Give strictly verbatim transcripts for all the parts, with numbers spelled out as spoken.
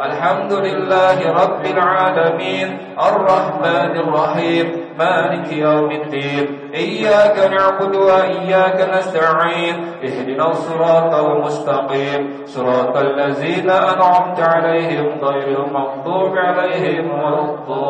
الحمد لله رب العالمين الرحمن الرحيم مالك يوم الدين إياك نعبد وإياك نستعين اهدنا الصراط المستقيم صراط الذين أنعمت عليهم غير المغضوب عليهم ولا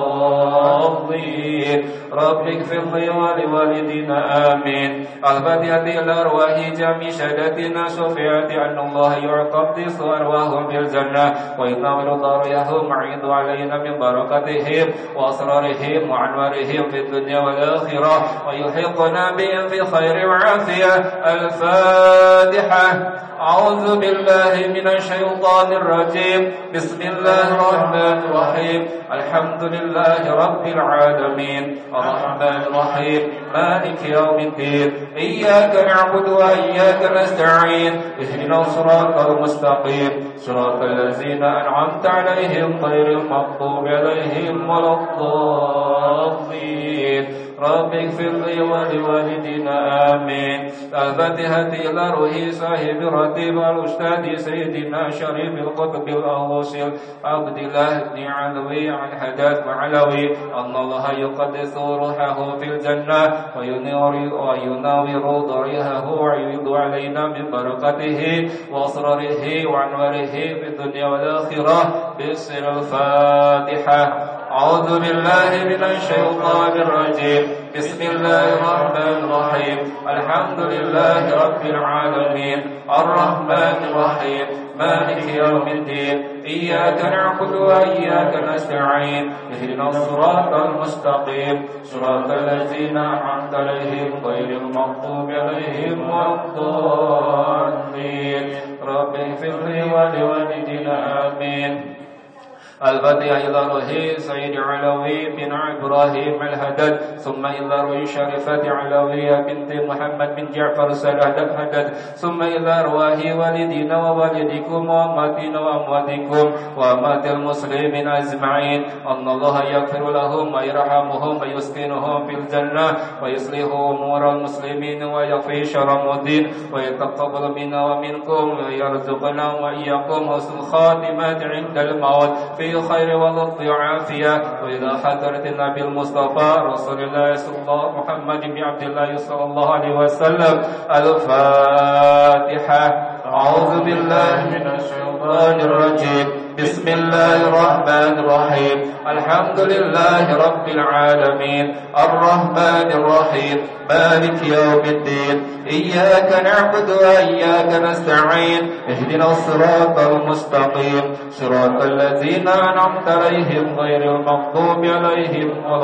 الضالين رب اغفر لي ولوالدينا آمين. الفاتحة إلى أرواح جميع سادتنا شفيعة أن الله يقدس أرواحهم في الجنة وينور ضريحهم ويعيد علينا من بركاتهم وأسرارهم وأنوارهم في الدنيا والآخرة ويحيطنا بهم في خير وعافية. الفاتحة. أعوذ بالله من الشيطان الرجيم. بسم الله الرحمن الرحيم. الحمد لله رب العالمين الرحمن الرحيم مالك يوم الدين إياك نعبد وإياك نستعين اهدنا الصراط المستقيم صراط الذين أنعمت عليهم غير المغضوب عليهم ولا الضالين رب اغفر لي ولوالدينا آمين. الفاتحة إلى روح صاحب الرتيب الأستاذ سيدنا شريف القطب الأوصل عبد الله بن علوي عن حداد وعلوي أن الله يقدس روحه في الجنة وينور وينور ضريحه ويعيد علينا من بركته وأسراره وأنواره في الدنيا والآخرة. بسم الفاتحة. أعوذ بالله من الشيطان الرجيم. بسم الله الرحمن الرحيم. الحمد لله رب العالمين الرحمن الرحيم مالك يوم الدين إياك نعبد وإياك نستعين اهدنا الصراط المستقيم صراط الذين أنعمت عليهم غير المغضوب عليهم ولا الضالين رب اغفر لي ولوالدينا آمين. الفاتحة إلى روح سيد علوي بن إبراهيم الهدد ثم إلى روح شريفة علوية بنت محمد بن جعفر الهدد هدد ثم إلى روح والدينا ووالدكم وأماتنا وأمواتكم وأمات المسلمين أجمعين أن الله يغفر لهم ويرحمهم ويسكنهم في الجنة ويصلح أمور المسلمين ويغفر شر الدين ويتقبل منا ومنكم ويرزقنا وإياكم حسن الخاتمة عند الموت في خير ولطف وعافية. وإلى حضرة النبي المصطفى رسول الله صلى الله محمد بن عبد الله صلى الله عليه وسلم. الفاتحة. أعوذ بالله من الشيطان الرجيم. بسم الله الرحمن الرحيم. الحمد لله رب العالمين الرحمن الرحيم مالك يوم الدين إياك نعبد وإياك نستعين اهدنا الصراط المستقيم صراط الذين أنعمت عليهم غير المغضوب عليهم ولا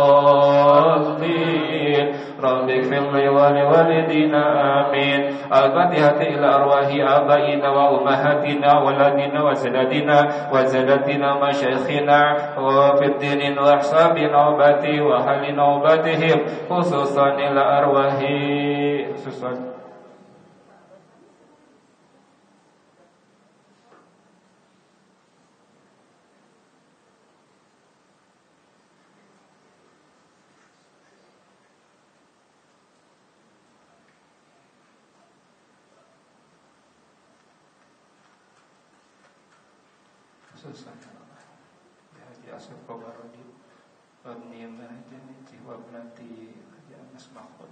الضالين رب اغفر لي ولوالدينا آمين. الفاتحة إلى أرواح آبائنا وأمهاتنا وولدنا وسادتنا وسادتنا مشايخنا وفي الدين وأحساب نوبتي وأهل نوبتهم خصوصا إلى أرواح خصوصا Haji Asif Kobarodi Wabni Mahajani Wabnati Haji Anas Mahmud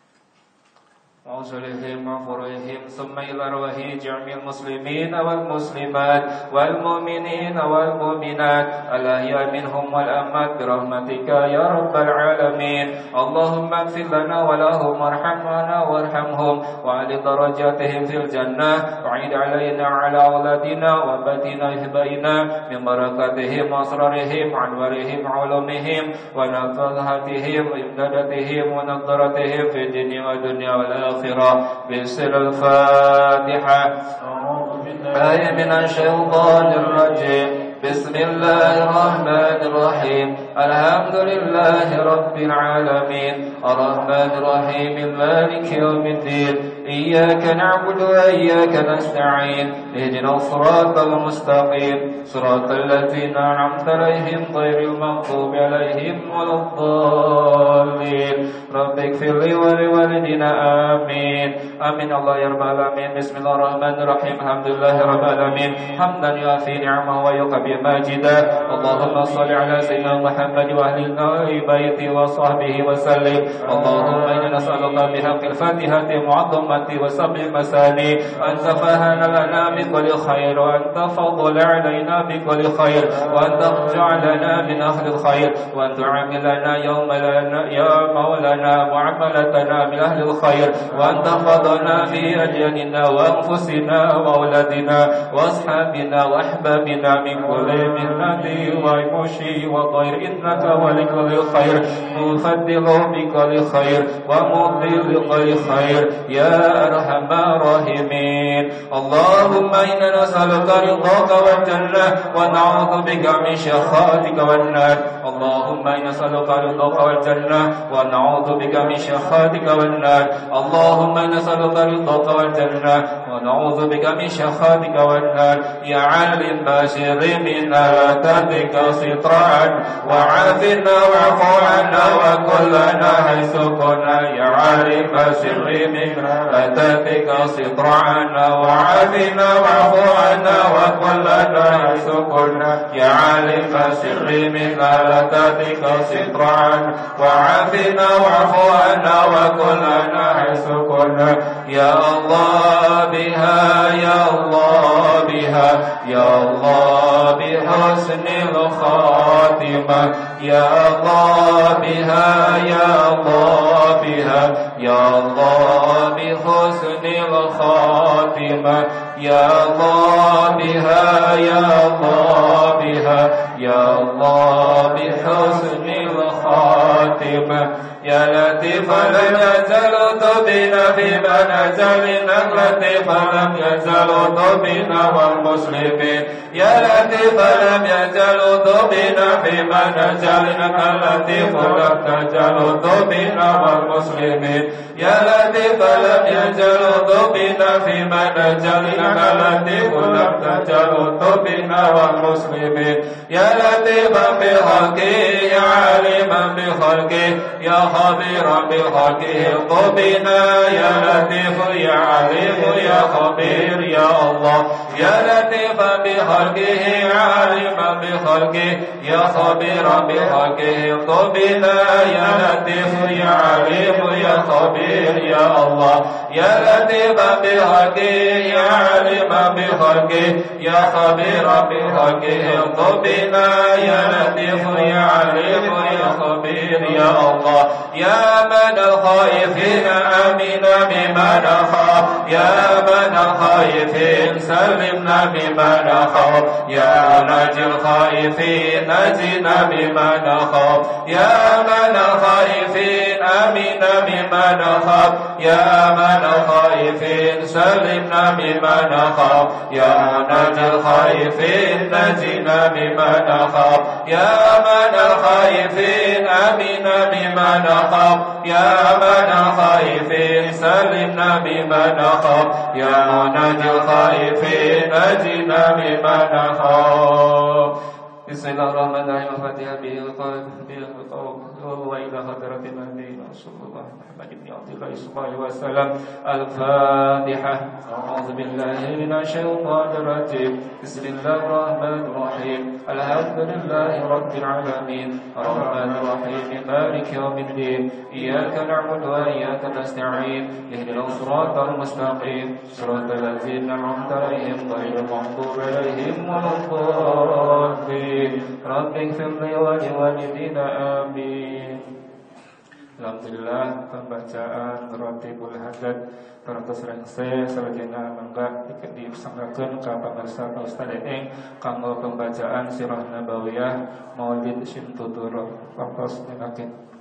وصلهم وفرهم ثم إلى روح جميع المسلمين والمسلمات والمؤمنين والمؤمنات الأحياء منهم والأموات برحمتك يا رب العالمين. اللهم اغفر لنا ولهم وارحمنا وارحمهم وعلي درجاتهم في الجنة وعيد علينا على أولادنا وباتنا إهبائنا من بركاتهم وأسرارهم وأنوارهم وعلومهم ونفذاتهم وإمداداتهم ونظرتهم في الدنيا والدنيا والآخرة. بسر الفاتحة. آية من الشيطان الرجيم. بسم الله الرحمن الرحيم. الحمد لله رب العالمين الرحمن الرحيم مالك يوم الدين إياك نعبد وإياك نستعين اهدنا الصراط المستقيم صراط الذين أنعمت عليهم غير المغضوب عليهم ولا الضالين رب اغفر لي ولوالدينا آمين آمين الله يا رب العالمين بسم الله الرحمن الرحيم الحمد لله رب العالمين حمدا يوافي نعمه ويكفي ماجدا اللهم صل على سيدنا محمد وأهل بيته وصحبه وسلم اللهم إنا نسألك بحق الفاتحة معظمة وسبع مساني أن تفهنا لنا بكل خير وأن تفضل علينا بكل خير وأن تجعلنا من أهل الخير وأن تعاملنا يوم لنا يا مولانا معاملتنا من أهل الخير وأن تحفظنا في أجلنا وأنفسنا وأولادنا وأصحابنا وأحبابنا من كل مهنة ومشي وطير إنك ولكل خير مفضل بكل خير ومضي بكل خير يا أرحم الراحمين اللهم إنا نسألك رضاك والجنة ونعوذ بك من سخطك والنار اللهم إنا نسألك رضاك والجنة ونعوذ بك من سخطك والنار اللهم إنا نسألك رضاك والجنة ونعوذ بك من سخطك والنار يا عالم بشر منا وتهدك سطرا وعافنا واعف عنا وكلنا حيث كنا يا عالم بشر منا وتهدك سطرا وعافنا واعف عنا وكلنا حيث كنا يا عالم بشر منا وتهدك سطرا وعافنا واعف عنا وكلنا حيث كنا يا الله بها يا الله بها يا الله بحسن الخاتمة يا الله بها يا الله بها يا الله بحسن الخاتمة يا الله بها يا الله بها يا الله بحسن الخاتمة يا لطيف لم يزل طبنا فيما نزلنا لطيف لم يزل طبنا والمسلمين يا لطيف لم يزل طبنا فيما نزلنا لطيف لم تزل طبنا والمسلمين يا لطيف لم يزل طبنا فيما نزلنا لطيف لم تزل طبنا والمسلمين يا لطيفا بخلقه يا عالما بخلقه يا خبيرا بخلقه طبنا يا لطيف يا عليم يا خبير يا الله يا لطيفا بخلقه يا عالما بخلقه يا خبيرا بخلقه طبنا يا لطيف يا عليم يا خبير يا الله يا لطيفا بخلقه يا عالما بخلقه يا خبيرا بخلقه طبنا يا لطيف يا عليم يا خبير يا الله يا من الخائفين آمنا بما نخاف يا من الخائفين سلمنا بما نخاف يا ناجي الخائفين نجنا بما نخاف يا من الخائفين آمنا بما نخاف يا من الخائفين سلمنا بما نخاف يا ناجي الخائفين نجنا بما نخاف يا من الخائفين آمنا بما نخاف يا من الخائفين سلمنا بما نخاف يا ناجي الخائفين نجنا بما نخاف بسم الله الرحمن الرحيم الفاتحة بالقلب بالقلب وإلى حضرة النبي صلى الله محمد بن عبد الله صلى الله عليه وسلم الفاتحة أعوذ بالله من الشيطان الرجيم بسم الله الرحمن الرحيم الحمد لله رب العالمين الرحمن الرحيم مالك يوم الدين إياك نعبد وإياك نستعين اهدنا الصراط المستقيم صراط الذين أنعمت عليهم غير المغضوب عليهم ولا الضالين رب اغفر لي ولوالدينا آمين. Alhamdulillah pembacaan Ratibul Hadat Teratus Rengse Selagina Mangga Dipersanggakan ke pemirsa Ustaz Eng Kanggo pembacaan Sirah Nabawiyah Maulid Syintuturo Waktos Ninakin.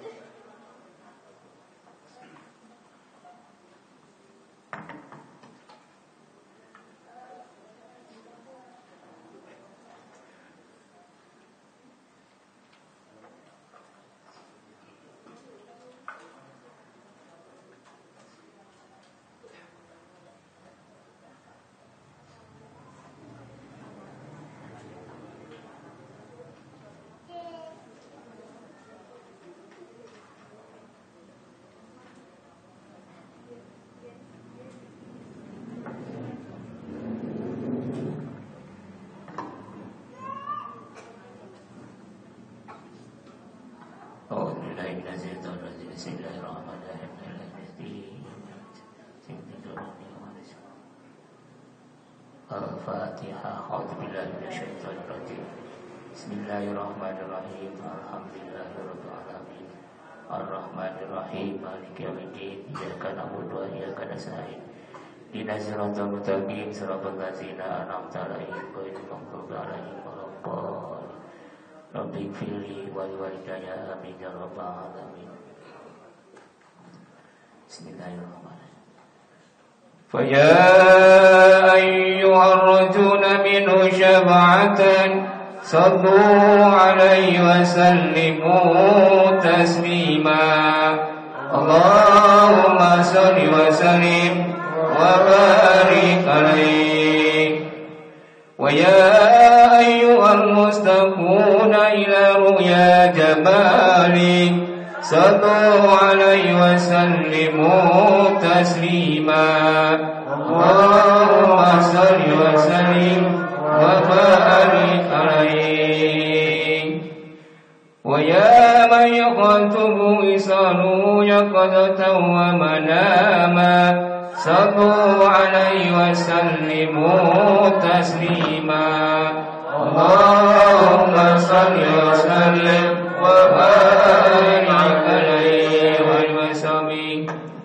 Al-Fatihah. A'udzubillahi minasyaitonir rajim. Bismillahirrahmanirrahim. Alhamdulillahirabbil alamin. Ar-Rahmanir-Rahim. Maliki yaumiddin. Iyyaka na'budu wa iyyaka nasta'in. Ihdinas siratal mustaqim. Siratal ladzina an'amta 'alaihim ghairil maghdubi 'alaihim waladdallin. Rabbighfirli wa liwalidayya amin ya rabbal alamin. Bismillahirrahmanirrahim. فيا أيها الرجل منه شفاعة صلوا عليه وسلموا تسليما اللهم صل وسلم وبارك عليه ويا أيها المستقون إلى رؤيا جمالك صلوا عليه وسلموا تسليما اللهم صل وسلم وبارك عليه ويا من يخاطب لسانه يقظة ومناما صلوا عليه وسلموا تسليما اللهم صل وسلم وبارك عليه وسلم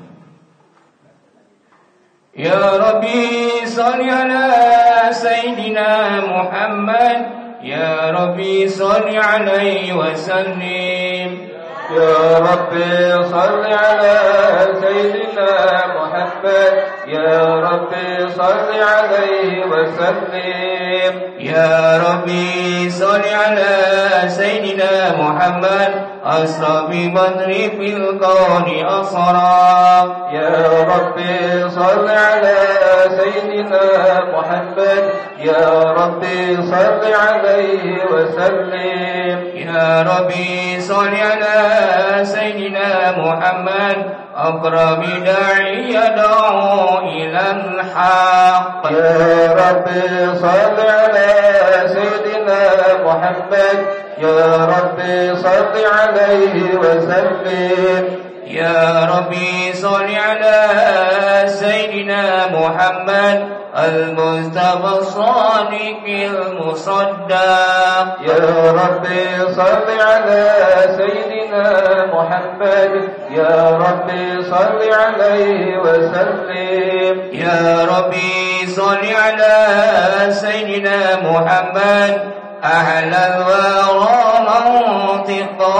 يا ربي صل على سيدنا محمد يا ربي صل عليه وسلم يا ربي صل على سيدنا محمد يا ربي صل عليه وسلم يا ربي صل على سيدنا محمد أسرى ببدر في الكون أسرى يا ربي صل على سيدنا محمد يا ربي صل عليه وسلم يا ربي صل على سيدنا محمد أقرب داعي يدعو إلى الحق يا ربي صل على سيدنا محمد يا ربي صل عليه وسلم يا ربي صل على سيدنا محمد المصطفى الصادق المصدق يا ربي صل على سيدنا محمد يا ربي صل عليه وسلم يا ربي صل على سيدنا محمد أهل الورى منطقا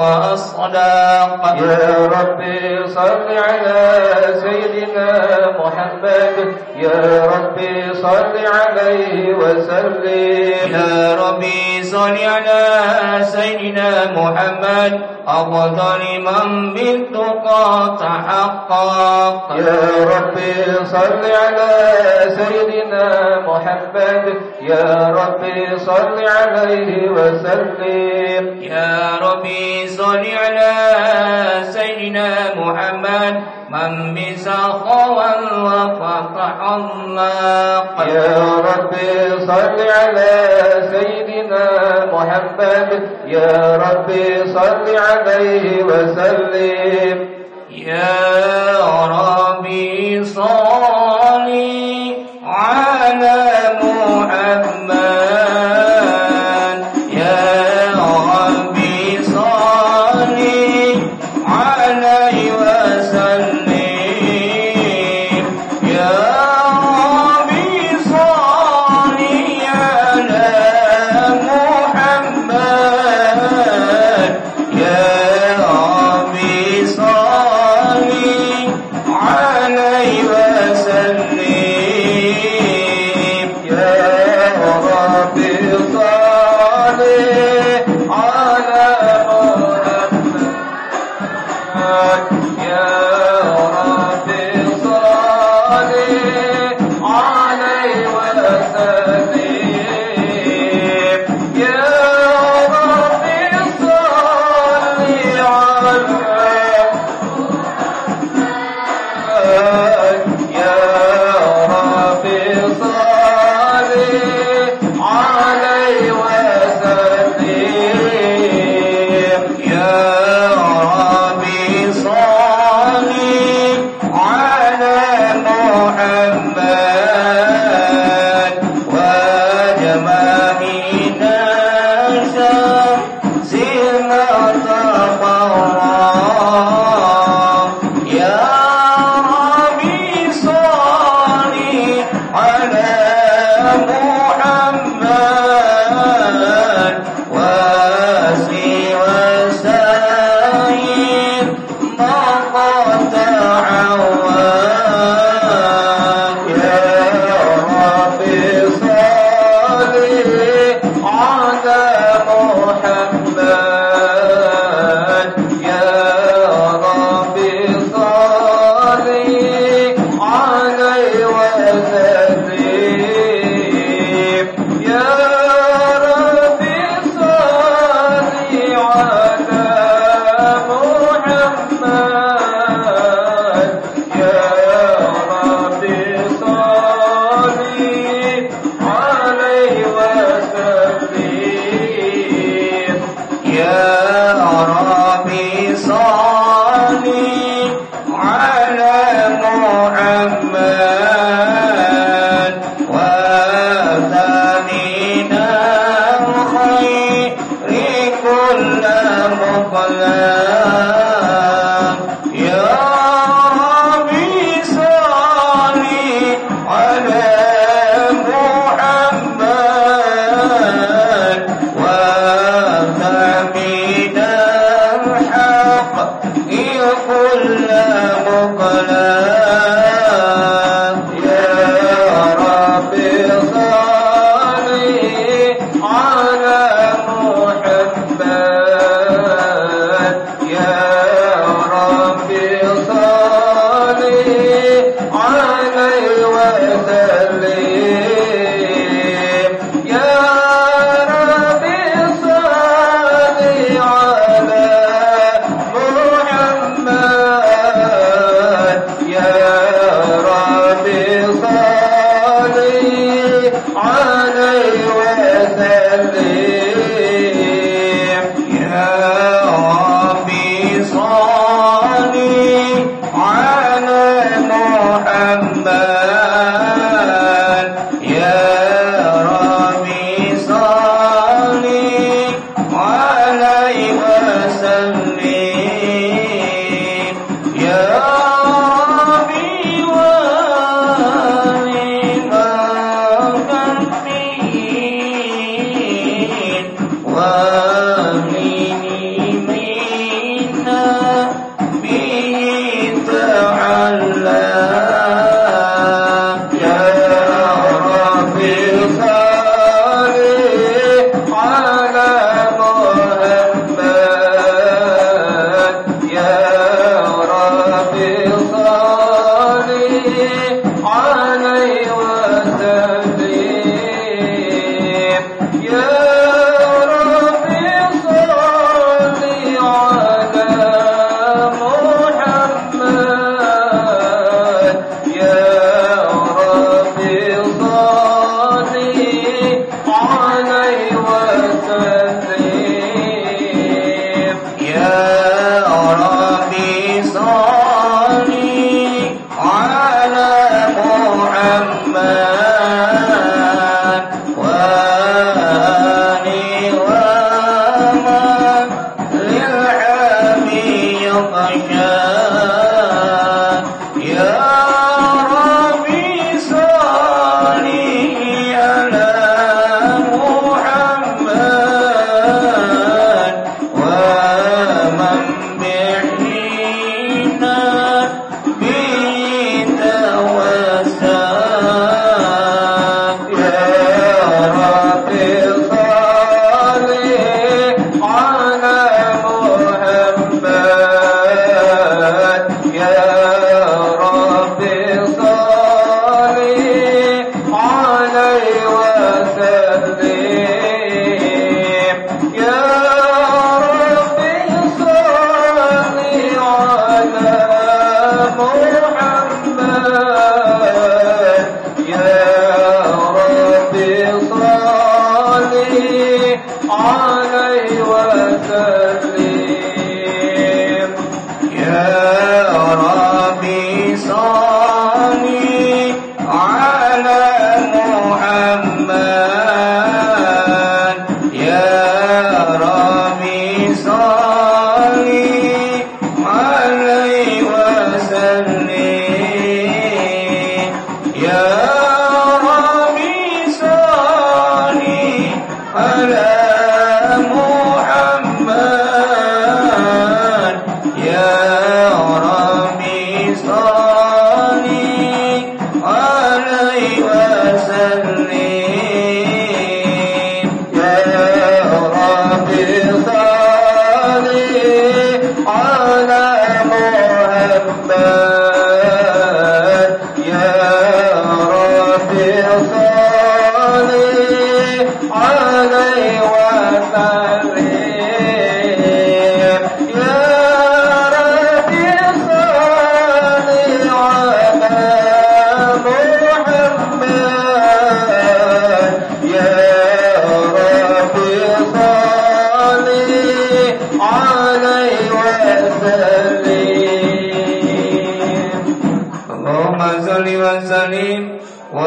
وأصداق يا ربي صل على سيدنا محمد يا ربي صل عليه وسلم يا ربي صل على سيدنا محمد أفضل من بالتقى تحقق يا ربي صل على سيدنا محمد يا ربي صل عليه وسلم يا ربي صل على سيدنا محمد من بسخاء وفتح الله يا ربي صل على سيدنا محمد يا ربي صل عليه وسلم يا ربي صل على محمد على على محمد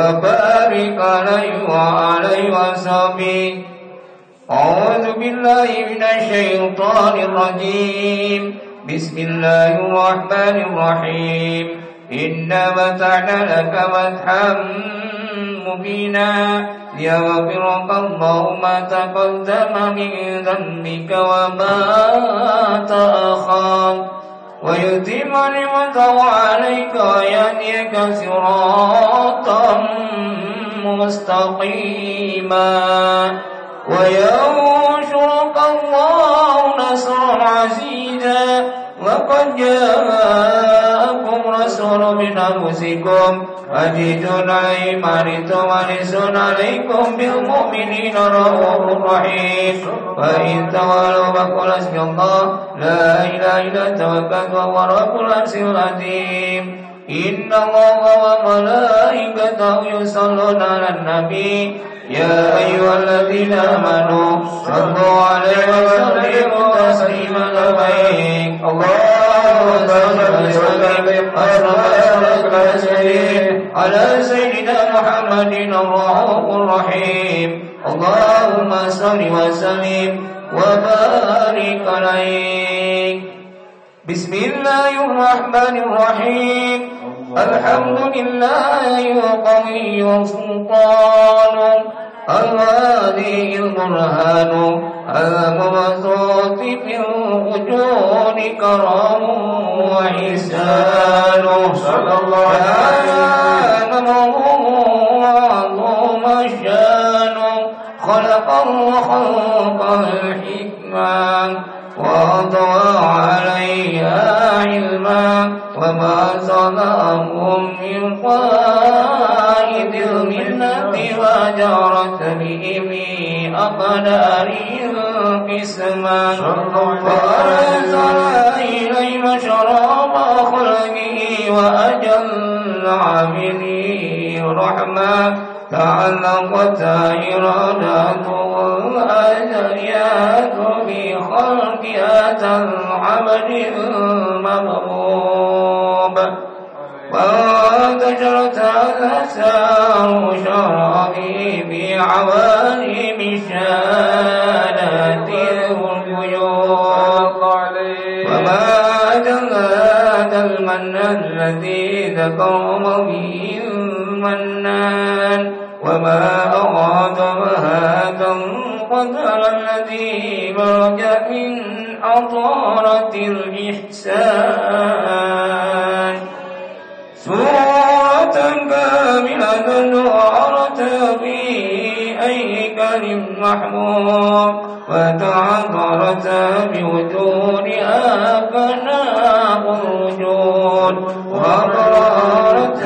وبارك عليه وعلى وصحبه. أعوذ بالله من الشيطان الرجيم. بسم الله الرحمن الرحيم. إنا فتحنا لك فتحا مبينا ليغفرك الله ما تقدم من ذنبك وما تأخر ويتم نعمته عليك ويهديك صراطا مستقيما وينصرك الله نصرا عزيزا. وقد جاءكم رسول من أنفسكم عزيز عليه ما عنتم حريص عليكم بالمؤمنين رؤوف رحيم. فإن تولوا فقل حسبي الله لا إله إلا هو توكلت وهو رب العرش العظيم. إن الله وملائكته يصلون على النبي يا أيها الذين آمنوا صلوا عليه وسلموا تسليما. لبيك اللهم صل وسلم على سيدنا محمد الرؤوف الرحيم. اللهم صل وسلم وبارك عليه. بسم الله الرحمن الرحيم. الحمد لله القوي سلطانه الهادي البرهان المبسوط في الوجود كرم وإحسان. صلى الله عليه وعظم الشان خلق الخلق الحكمة وأضوى عليها علما وما صنعهم من قائد الملة وجرت به في أقداره القسما وأرسل إليه شراب خلقه وأجل عامله رحمة تعلقت إرادته الأزليات بخلق هذا العبد المغضوب وانتشرت الأسرار شرابه بعوالم الشهادات والغيوب. وما أجل هذا المن الذي ذكر به المنان وما أراد هذا القدر الذي برج من أطارة الإحسان. سورة كاملة وعرت في أيكل محمود وتعذرت بوجودها كناء الوجود وقررت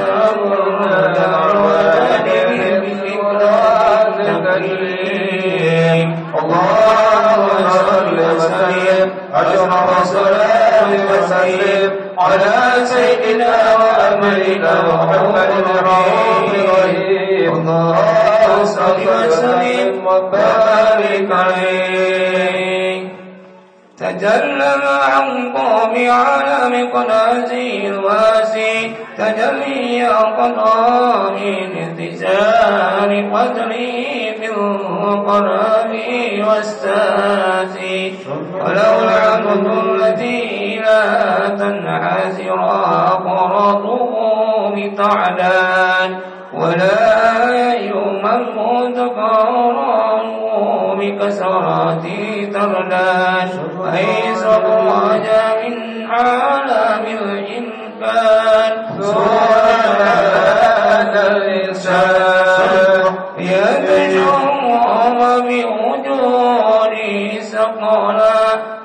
اللهم صل وسلم أجر وسلام وسلم على سيدنا وأملنا محمد الرحيم. اللهم صل وسلم وبارك عليه. تجلى عن قوم على مقنازه الواسع تجلي قضاء من انتشار قدره في القرآن والساسي. ولو العبد الذي لا تنحسر أقرضه بتعدان ولا يوم المذكر بكسرات تردان. أيس خرج من عالم الإمكان سبحان الإنسان يتجرم بوجود سقلا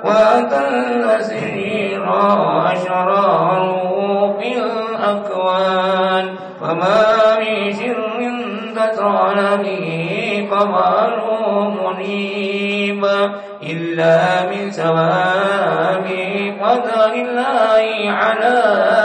وتنسير أشراره في الأكوان. وما من شر تسرع به قمر منيب إلا من سواب قدر الله على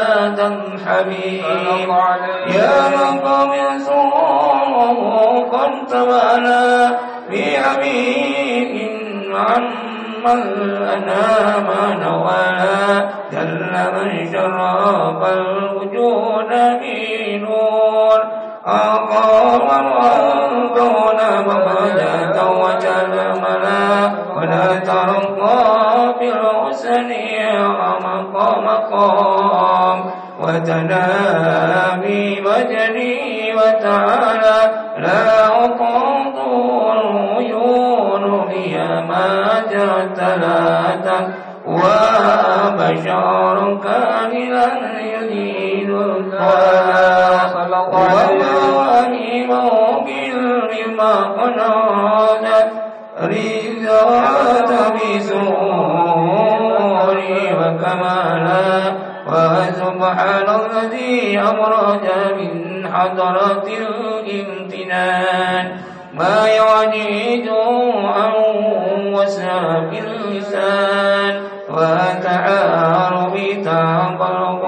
تنحبيب. يا مقام سوره قد تبالى بعبيد عمن الأنام نوالا جل من شرف الوجود بنور أقام وأنكون مخرجة وجلملا ولا ترقى بالحسن مقام مقام وتنامي وجري وتعالى لا أقاض العيون هي ما جرت لا وبشر كاملا يدين الله ومواهبه بالرما قنادت رزقات بسوري وكمالا وسبحان الذي أمرج من حضرة الامتنان ما يعجز عن وسام اللسان وتعارف تعبرك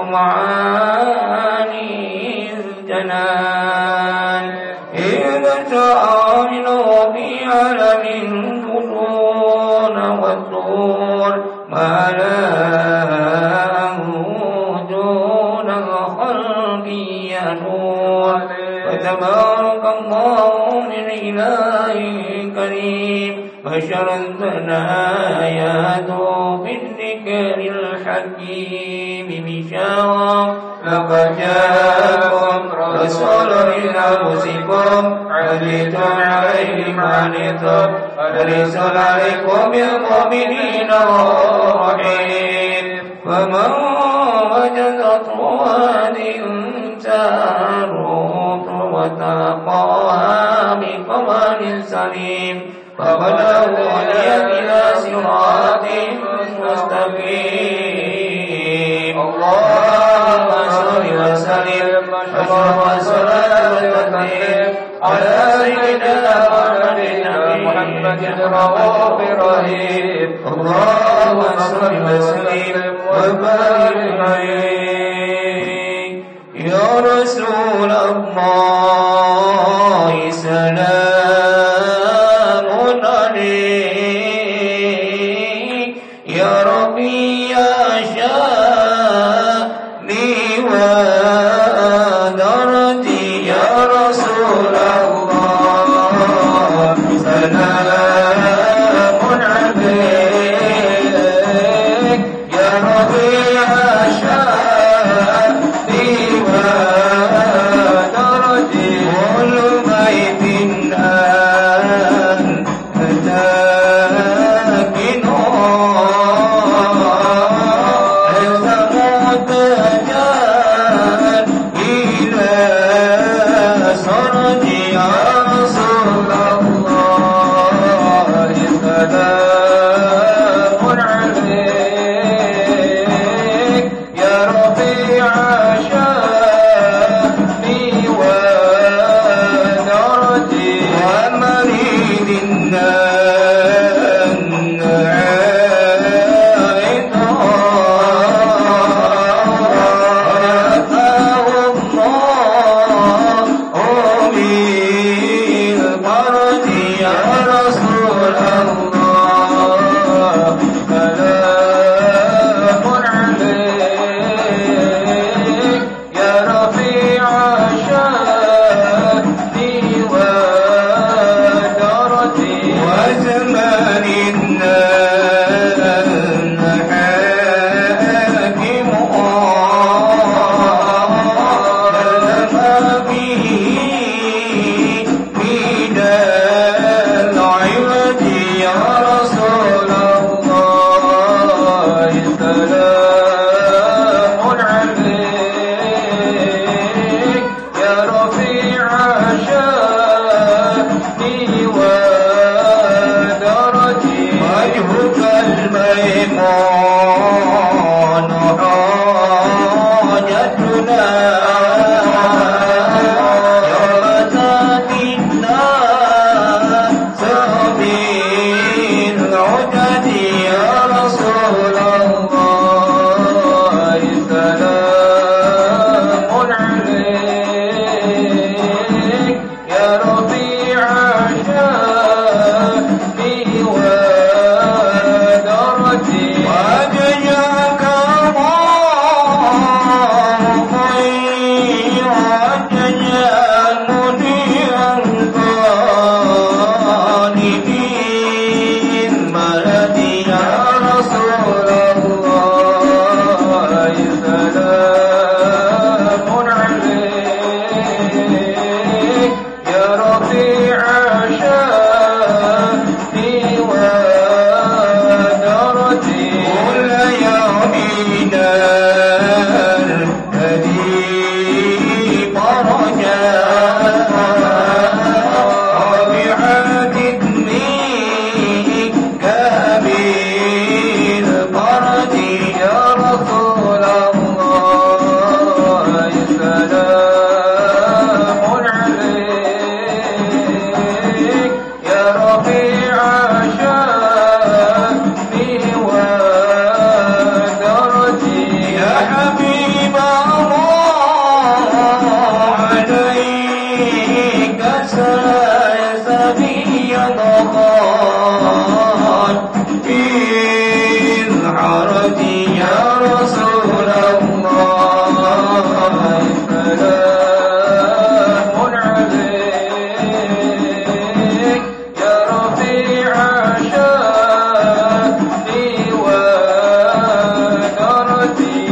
معاني الجنان إذا تعاملوا في عالم الفتون والسور ما لا دون الخلق ينور وتبارك الله من إله كريم بشر الثنايا بالذكر الحكيم بشارة لقد جاءكم رسول من أنفسكم عزيز عليه ما عنتم حريص عليكم بالمؤمنين رحيم فمن وجدته هذه التاروت وتلقاها بقمر سليم فقد أوحي إلى صراط مستقيم اللهم صل وسلم أشرف الصلاة والتسليم على سيدنا محمد الرؤوف الرحيم اللهم صل وسلم وبارك عليه يا رسول الله سلام عليك يا ربي يا شاني ودرتي يا رسول الله سلام عليك يا ربي يا شاني ودرتي كل بيت بالحرج يا رسول الله سلام عليك يا رفيع شأني ودرجي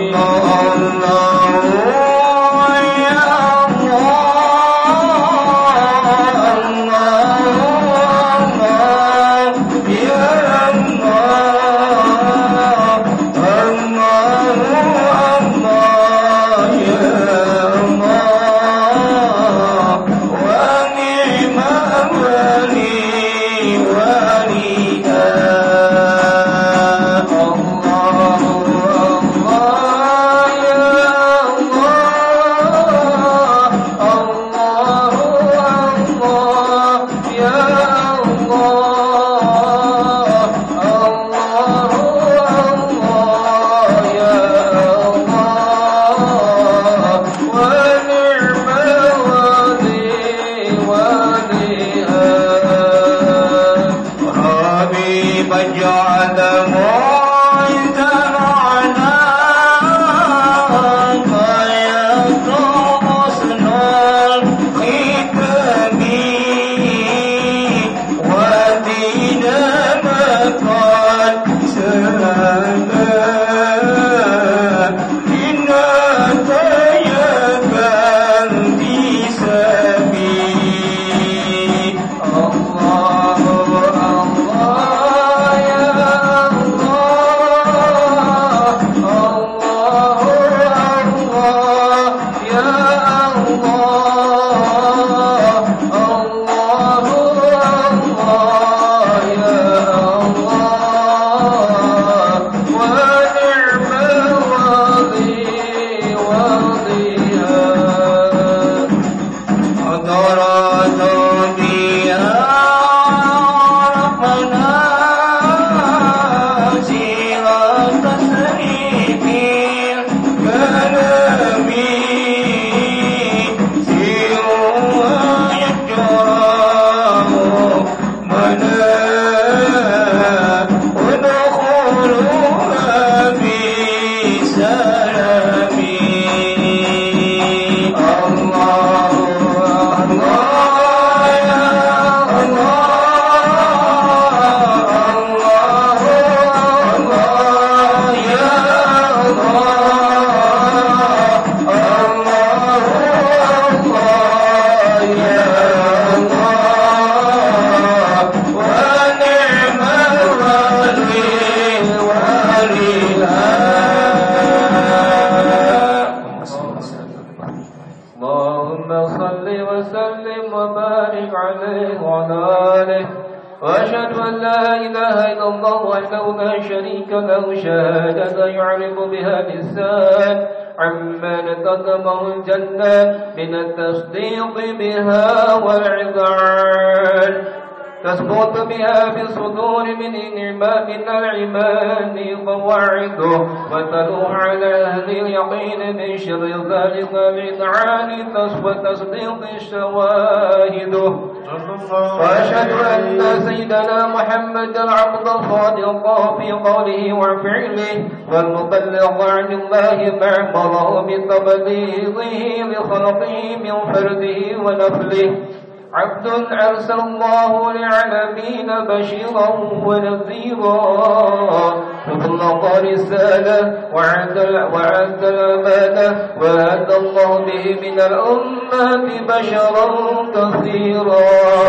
وأشهد أن لا إله إلا الله وحده لا شريك له شهادة يعرف بها اللسان عما نتقمه الجنة من التصديق بها والعذار تثبت بها في الصدور من الإيمان من الإيمان قواعده وتلوح على أهل اليقين من شر ذلك الإذعان وتصديق الشواهد وأشهد أن سيدنا محمد العبد الصادق في قوله وفعله والمبلغ عن الله ما أمره بتبليغه لخلقه من فرده ونفله عبد أرسل الله للعالمين بشيرا ونذيرا فبلغ رسالة وعد وعد الأمانة وهدى الله به من الأمة بشرا كثيرا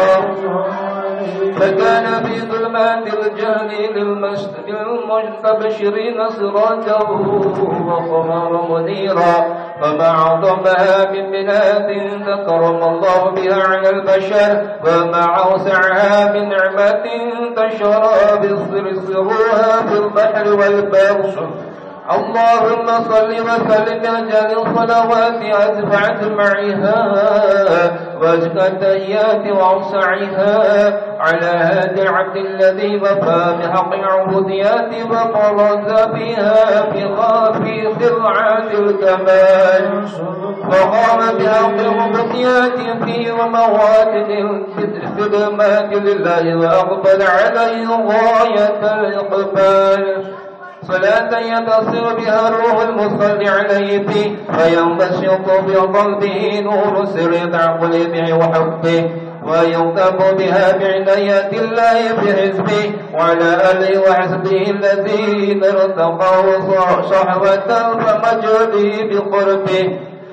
فكان في ظلمات الجهل للمستبشرين سراجا وقمرا منيرا فما أعظمها من بلاد ذكرم الله بها على البشر وما أوسعها من نعمة تشرى بالسرها في البحر والبر اللهم صل وسلم أجل الصلوات أدفعت معها وأزكى التحيات وأوسعها على هذا العبد الذي وفى بحق العبوديات وبرز بها في خافي سرعة الكمال وقام بحق المبكيات فيه ومواد الخدمات لله وأقبل عليه غاية الإقبال صلاة يتصل بها الروح المصلي عليه فيه وينبسط بقلبه نور سر تعقله وحبه ويكتب بها بعناية الله بحزبه وعلى آله وحزبه الذين ارتقوا صحوة فمجده بقربه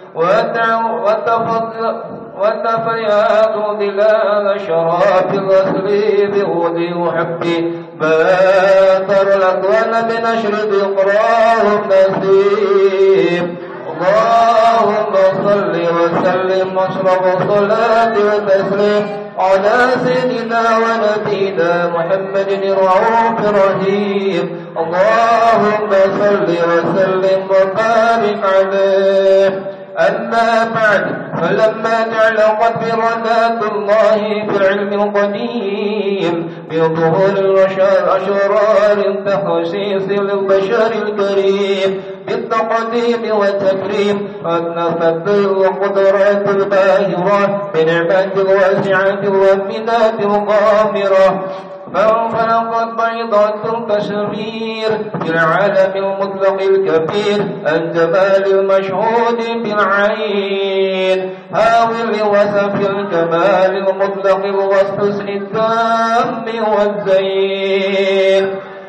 وتفياض ظلال شراب الرسل بغدي وحبه باتر الأكوان بنشر ذكراهم نسيم اللهم صل وسلم واشرب صلاة وتسليم على سيدنا ونبينا محمد الرؤوف الرحيم اللهم صل وسلم وبارك عليه أما بعد فلما تعلقت بركات الله في العلم القديم بظهور الأشرار تخصيص للبشر الكريم بالتقديم والتكريم والنفذ والقدرات الباهرة بنعمات الواسعة والمنات الغامرة فانفلقت بيضة كسرير في العالم المطلق الكبير الجمال المشهود بالعين هاوي لوصف الجمال المطلق الوصف التام والزين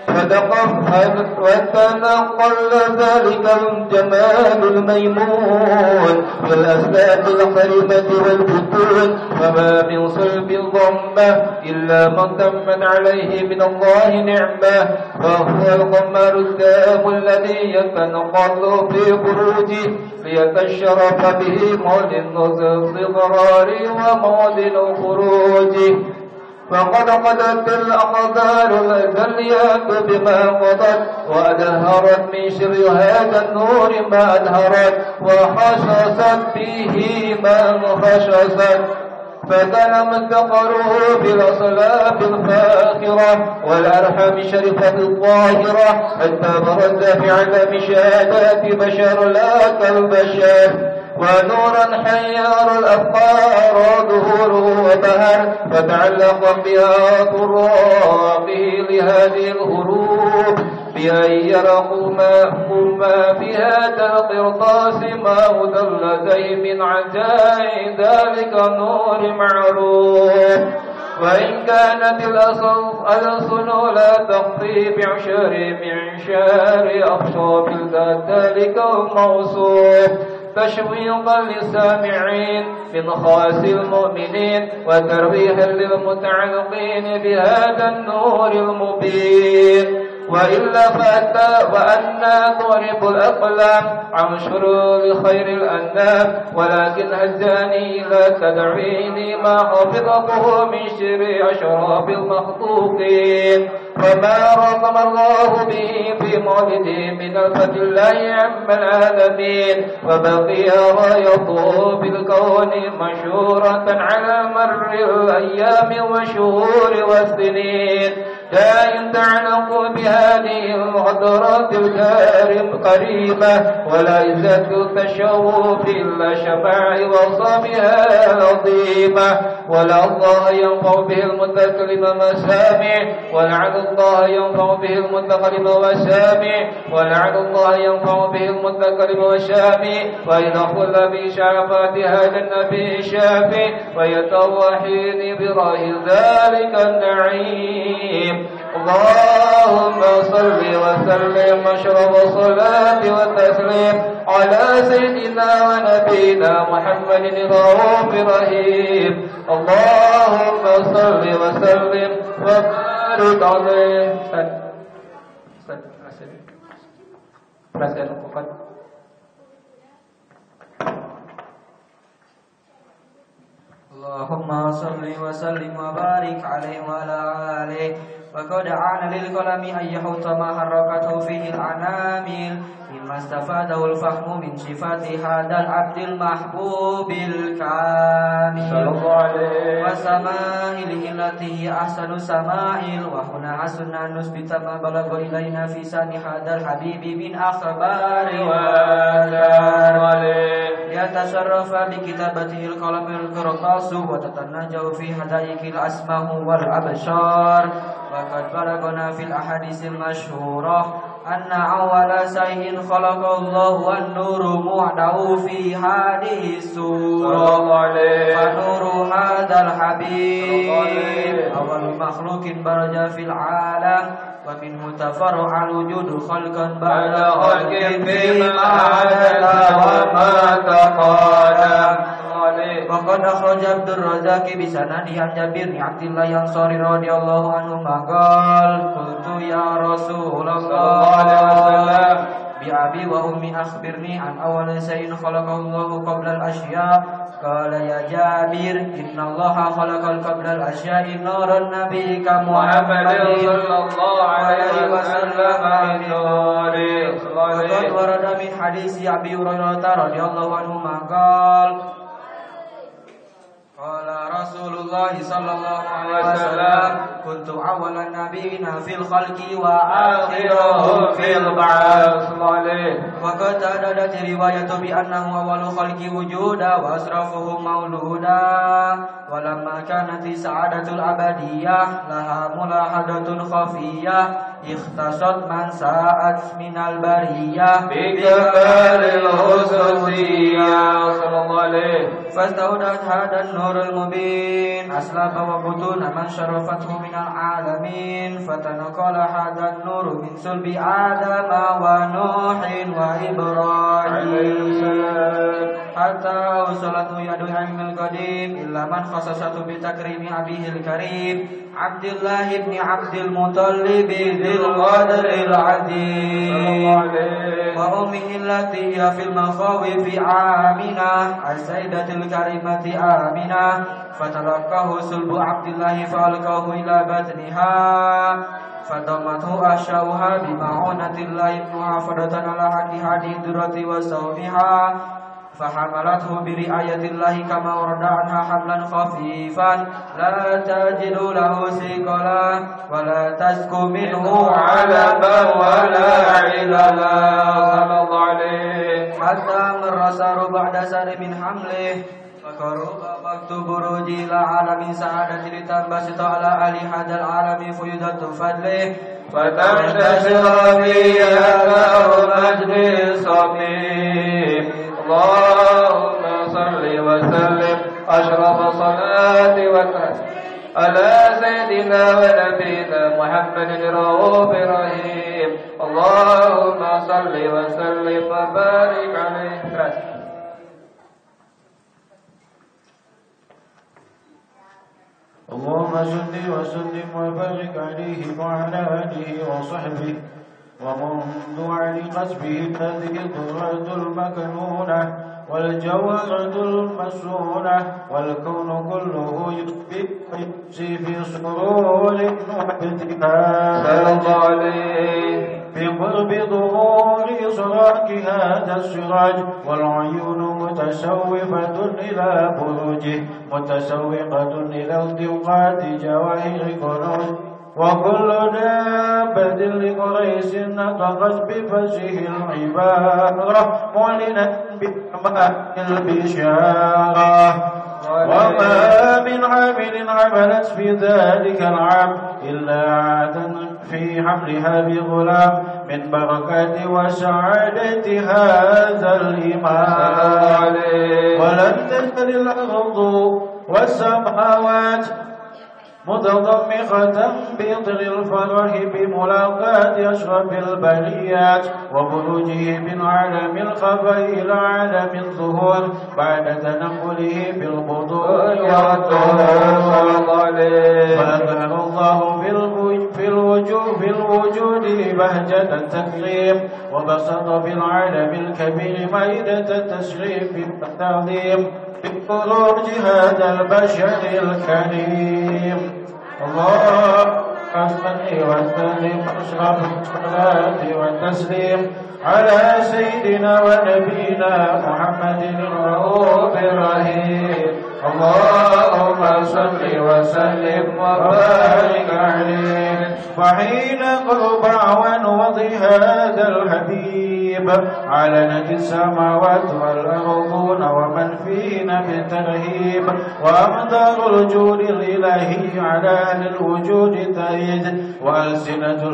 وتنقل ذلك الجمال الميمون في الأسباب القريبة والبطون فما من صلب الضمة إلا ما تمت عليه من الله نعمة فهو القمر التام الذي يتنقل في بروجه ليتشرف به موطن الصغرار وموطن خروجه فقد قدت الأقدار الذليات بما قضت وأدهرت من شر هذا النور ما أدهرت وخشصت به ما خشصت فتلمت قلوب بالأصلاب الفاخرة والأرحام الشريفة الظاهرة حتى برز في علم شهادات بشر لا كالبشر ونورا حيار الأفكار ظهوره وبهر فتعلق بها طراقه لهذه الهروب بأن يرقوا ما في هذا القرطاس ما مدلتين من عجائب ذلك النور معروف وإن كانت الألسن لا تخفي بعشر معشار أخشاب ذلك الموصوف تشويقا للسامعين من خاص المؤمنين وترويحا للمتعلقين بهذا النور المبين وإلا فأتى وأنا ضرب الأقلام عن شرور خير الأنام ولكن هزاني لا تدعيني ما حفظته من شر أشراب المخلوقين فما رقم الله به في مولده من الفتح الله عم العالمين وبقي رايته بالكون مشهورة على مر الأيام والشهور والسنين لا يتعلق بهذه المحضرات الكريم قريبة ولا يزد التشوف إلا شماع وصابها العظيمة ولا الله ينفع به المتكلم مسامع ولعن الله ينفع به المتكلم وسامع ولعن الله ينفع به المتكلم وسامع وإذا خل بشعفات هذا النبي الشافي ويتوحين براه ذلك النعيم اللهم صل وسلم واشرب صلاة وتسليم على سيدنا ونبينا محمد الرؤوف الرحيم اللهم صل وسلم وبارك عليه اللهم صل وسلم وبارك عليه وعلى آله وقد عان للقلم أن يحط ما حركته فيه الأنامل مما استفاده الفهم من صفات هذا العبد المحبوب الكامل صلى الله عليه وسمائله التي هي أحسن سمائل وهنا حسن أن نثبت ما بلغ إلينا في شأن هذا الحبيب من أخبار وآثار يتصرف بكتابته القلم القرطاس وتتنجو في هدايك الأسماء والأبصار. وقد بلغنا في الأحاديث المشهورة أن أول شيء خلق الله النور معده في هذه السورة. فنور هذا الحبيب أول مخلوق برز في العالم، ومنه تفرع الوجود خلقا بعد خلق فيما عدل وما تقادم. وقد أخرج عبد الرزاق بسنده عن جابر بن عبد الله الأنصاري رضي الله عنهما قال: قلت يا رسول الله بأبي وأمي أخبرني عن أول شيء خلقه الله قبل الأشياء. قال: يا جابر إن الله خلق قبل الأشياء نور النبي كمحمد صلى الله عليه وسلم من نوره. وقد ورد من حديث أبي هريرة رضي الله عنهما قال: قال رسول الله صلى الله عليه وسلم: كنت أول النبيين في الخلق وآخرهم في البعث. وقد ترددت رواية بأنه أول خلق وجودا وأشرفهم مولودا. ولما كانت السعادة الأبدية لها ملاحظة خفية اختصت من ساءت من البرية بكمال الخصوصية صلى الله عليه، فاستودعت هذا النور المبين أسلاب وبطون من شرفته من العالمين، فتنقل هذا النور من صلب آدم ونوح وإبراهيم حتى وصلته يد العلم القديم إلا من خصصته بتكريم أبيه الكريم عبد الله بن عبد المطلب ذي القدر العظيم، وأمه التي هي في المخاوف آمنة السيدة الكريمة آمنة، فتلقاه صلب عبد الله فألقاه إلى بطنها فضمته أشاؤها بمعونة الله محافظة على حق هذه الدرة وصومها، فحملته برعاية الله كما ورد عنها حملا خفيفا لا تجد له ثقلا ولا تسك منه علبا ولا عللا صلى الله عليه، حتى مر سار بعد سار من حمله فقرب وقت بروج إلى عالم سعادة لتنبسط على أهل هذا العالم فيضة فضله فتنتشر فيها نار مجد الصميم. اللهم صل وسلم أشرف صلاة وسلام على سيدنا ونبينا محمد الرؤوف الرحيم. اللهم صل وسلم وبارك عليه. اللهم صل وسلم وبارك عليه وعلى آله وصحبه ومن دعا لقصبه هذه الدرة المكنونة والجوهرة المسونة والكون كله يخفي في سرور وابتهاج بقرب ظهور إصراك هذا السراج، والعيون متشوفة إلى بروجه متشوقة إلى التقاط جواهر كنوز، وكل دابة لقريش نطقت بفشه العبارة معلنا بأمان البشارة، وما من عامل عملت في ذلك العام إلا عادا في حملها بغلام من بركات وسعادة هذا الإمام، ولن تزل الأرض والسماوات متضمخة بإطر الفرح بملاقاة أشرف البريات وبروجه من عالم الخفاء إلى عالم الظهور بعد تنقله بالبطون والطهور، فأظهر الله في الوجود في الوجود بهجة التكريم، وبسط في العالم الكبير مائدة التشريف والتعظيم بخروج هذا البشر الكريم. الله صل وسلم أشرف الصلاة والتسليم على سيدنا ونبينا محمد الرؤوف الرحيم اللهم صل وسلم وبارك عليه. فحين قرب عوان وضع هذا الحبيب علنت السماوات والأرضون ومن فينا بالترهيب، وأمطار الجود الإلهي على أهل الوجود تهيج، وألسنة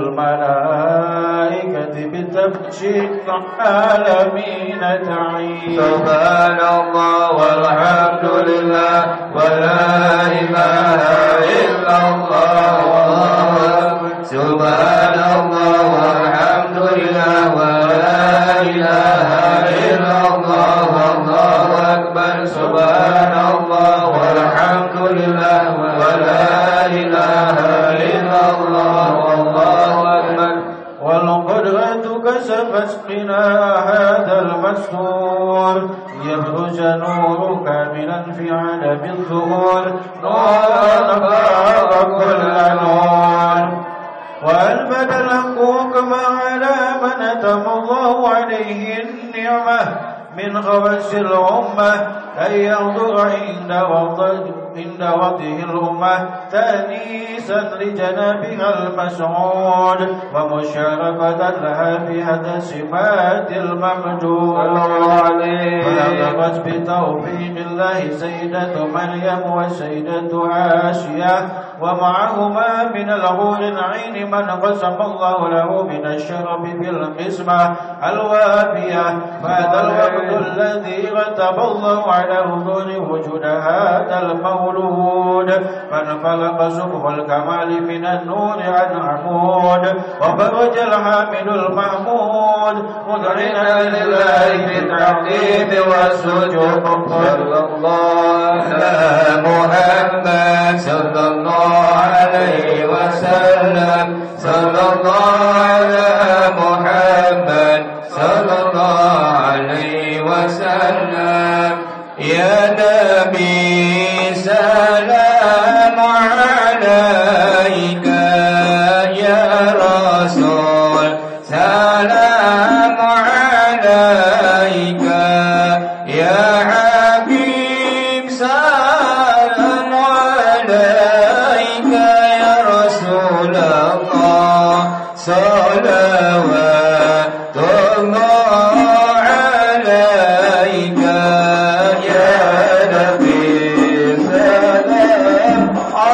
الملائكة بتبشير العالمين تعيد. سبحان الله والحمد لله ولا إله إلا الله والله أكبر. سبحان الله والحمد لله ولا إله إلا الله والله أكبر. سبحان الله والحمد لله ولا إله إلا الله والله أكبر. والقدرة كسفت قناع هذا المستور، يبرز نور كاملا في عالم الظهور، نورا فاق كل نور. وألبد الحقوق ما على من أتم الله عليه النعمة من خبث الأمة، أن ينظر عند وضعه الأمة تأنيسا لجنابها المسعود، ومشاركة لها في هذا السمات الممجود. فلقبت بتوفيق الله سيدة مريم وسيدة آسيا، ومعهما من الحور العين من قسم الله له من الشرف بالقسمة الوافية. فهذا الوقت الذي رتب الله على حضور وجود هذا المولود، فانفلق صبح الكمال من النور عن عمود، وفرج الحامل المحمود مذعنا لله بالتعظيم والسجود. صلى الله على محمد صلى الله عليه وسلم. صلى الله على محمد صلى الله عليه وسلم. يا نبي سلام عليك، يا رسول سلام عليك، يا حبيب سلام عليك، يا رسول الله صلوات الله عليك، يا نبي سلام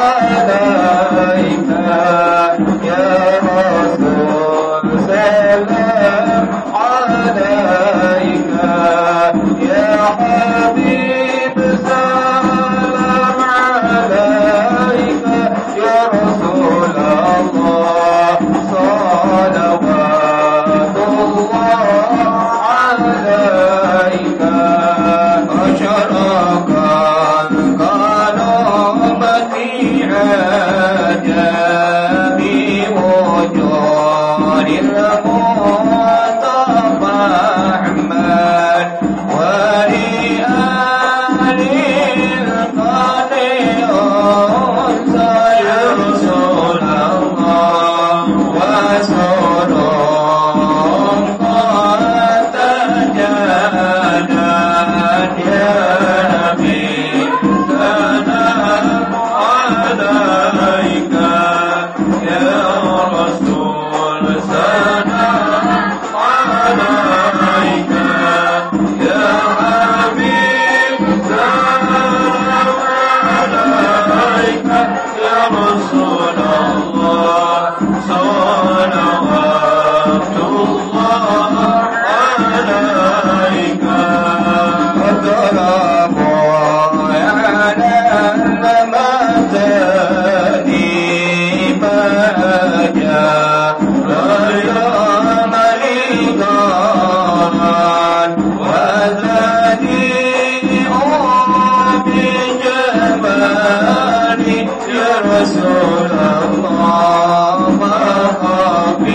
عليك، يا رسول سلام عليك، يا حبيب سلام عليك، يا رسول الله صلوات الله عليك. أشرق القلب في عجب وجود المصطفى أحمد، ولآل القدر يا رسول الله، وسرور قد تجلت يا نبي سلام عليك، يا رسول سلام عليك، يا حبيب سلام عليك، يا رسول الله صلوات الله عليك. الظلام على المتاني ما جاء اليوم لقاء، وذلي بجمالي يا رسول الله.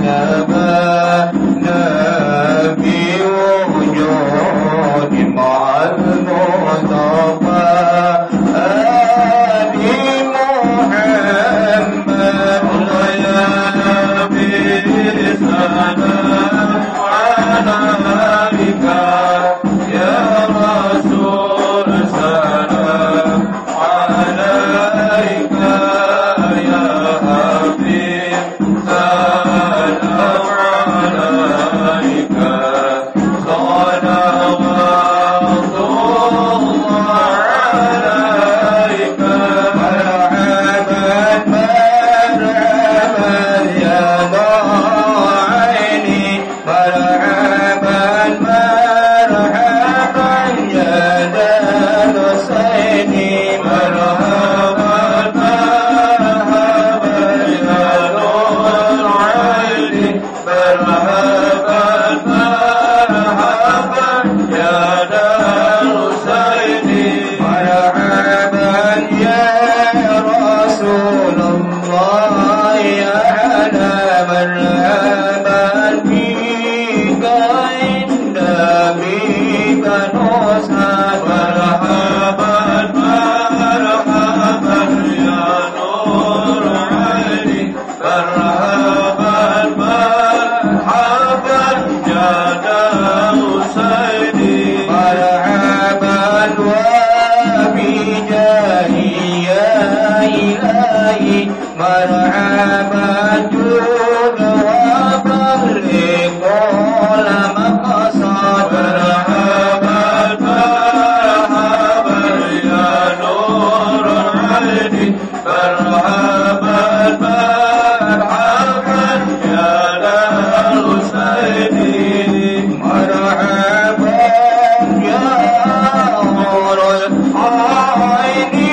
نبانا بوجود مع المصطفى آل محمد يا بسلام عليك يا رسول سلام عليك يا حبيب سلام عليك صلوات الله عليك مرحبا مرحبا يا عيني مرحبا مرحبا يا دار حسيني مرحبا مرحبا يا نور عيني مرحبا مرحبا يا دار حسيني مرحبا يا رسول الله يا على مرحبا بك عند بك نصحى مرحبا مرحبا يا نور عيني مرحبا مرحبا يا دار حسيني مرحبا وبجاهي يا إلهي مرحبا جود وبلغ كل مقصد مرحبا مرحبا يا نور عيني مرحبا مرحبا يا دار حسيني مرحبا يا نور عيني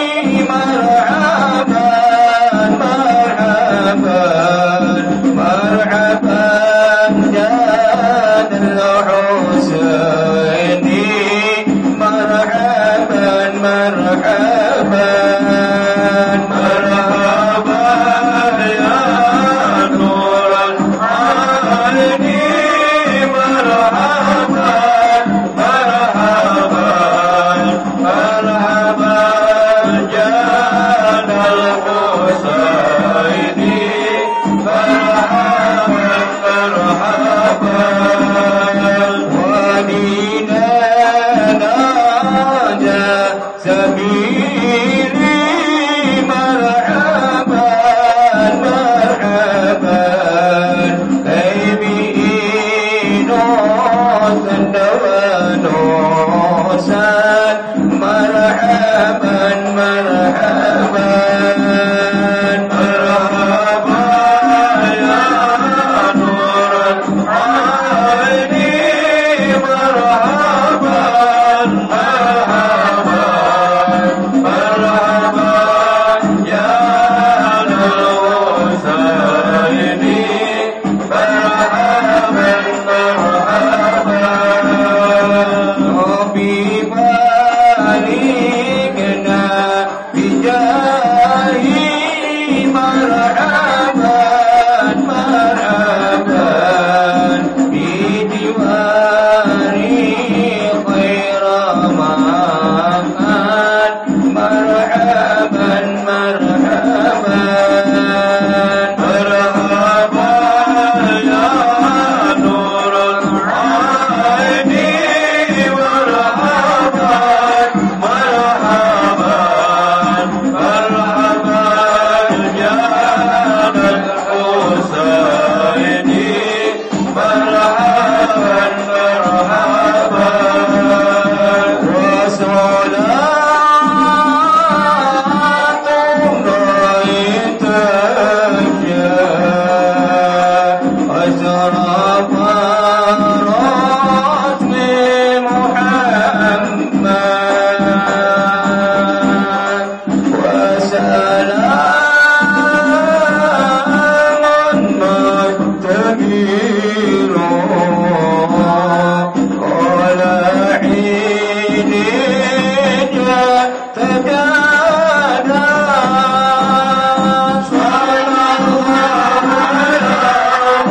مرحبا مرحبا مرحبا يا الحسيني مرحبا مرحبا مرحبا يا نور العيني مرحبا مرحبا مرحبا يا الحسيني مرحبا مرحبا ودينا ناجى سبيلي مرحبا مرحبا كيبي نوسا ونوسا مرحبا مرحبا مرحبا يا نور العيني مرحبا مرحبا مرحبا يا الحسيني مرحبا مرحبا ربي باركنا بجاهي مرحبا مرحبا بجواري خير مكان مرحبا مرحبا مرحبا يا نور العيني مرحبا مرحبا مرحبا يا الحسيني مرحبا مرحبا وصلاة الله تجاه أشرف رسم محمد وسلام مستمير على حين تجادى صلى الله على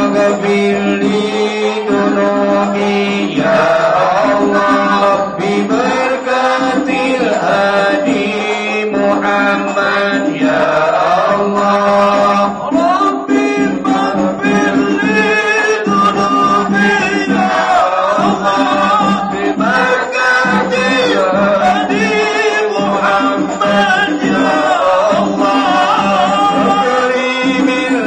واغفر لي ذنوبي يا الله ببركة الهادي محمد يا الله ربي اغفر لي ذنوبي يا الله ببركة الهادي محمد يا الله كريم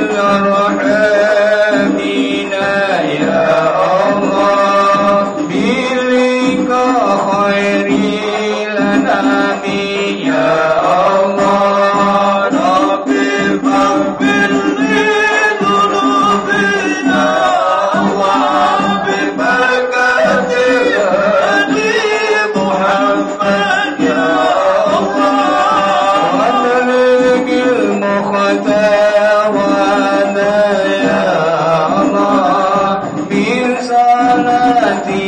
الرحمين يا الله بلك خير الأنام يا الله ربي اغفر لي ذنوبي يا الله ببركة الهادي محمد يا الله وأدرك المختار وانا يا الله من صلاتي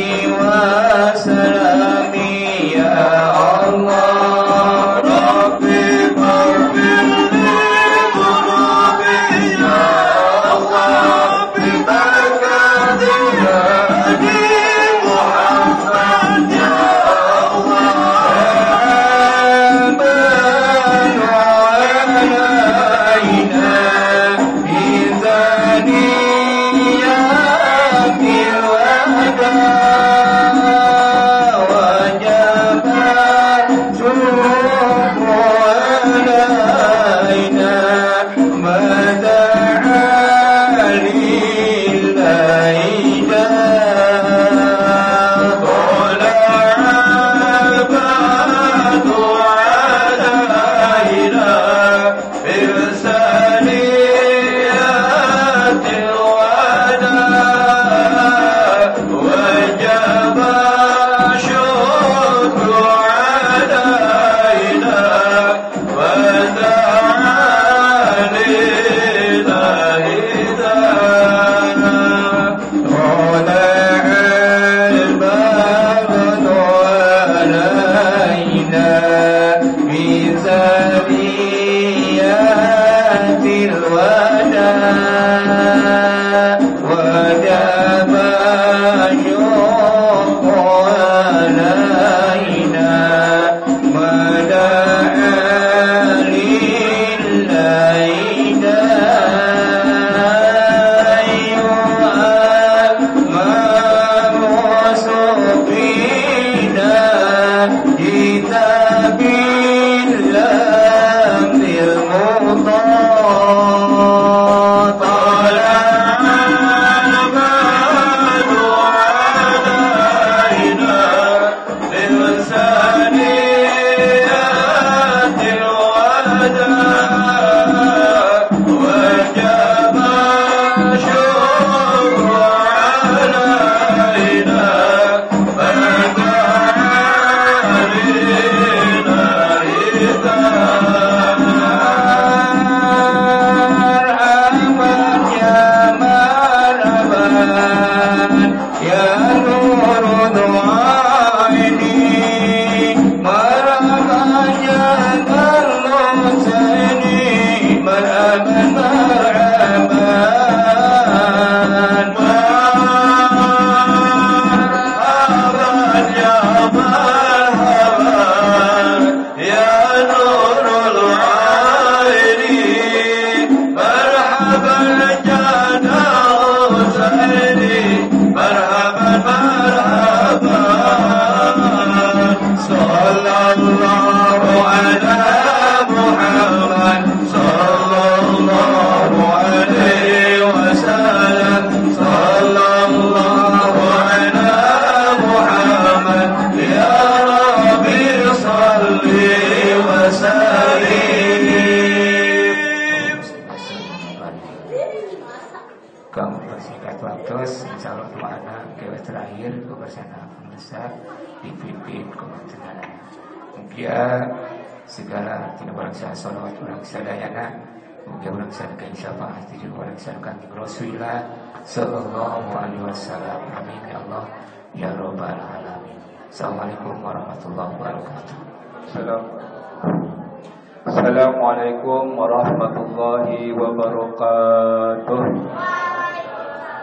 وسلامي يا الله ربي اغفر لي ذنوبي يا الله ببركة الهادي محمد يا الله آمن علينا بثنيات الوداع وجب الشكر علينا ما دعا لله طلع البدر علينا بثنيات الوداع وجب الشكر علينا ودعا لله دانا طلع البدر علينا بثنيات الوداع وجب الشكر علينا ما دعا لله كتاب الله المطاع طلع البدر علينا بثنيات الوداع وجب الشكر علينا يا نور دعائني مرحبا يا الحسين مرحبا مرحبا مرحبا يا مرحبا يا نور العين مرحبا جانا حسين مرحبا مرحبا صلى الله على محمد صلى الله عليه وسلم صلى الله على محمد يا ربي صل وسلم. Kamu bersingkat waktu, insya Allah doa kewas terakhir kebersama pemirsa dipimpin kebetulan. Mugia segala tidak orang saya salawat orang sadayana, mugia orang sadaya syafaat diri orang sadaya Rasulullah sallallahu alaihi wasallam. Amin ya Allah ya rabbal alamin. Assalamualaikum warahmatullahi wabarakatuh. Assalamualaikum warahmatullahi wabarakatuh.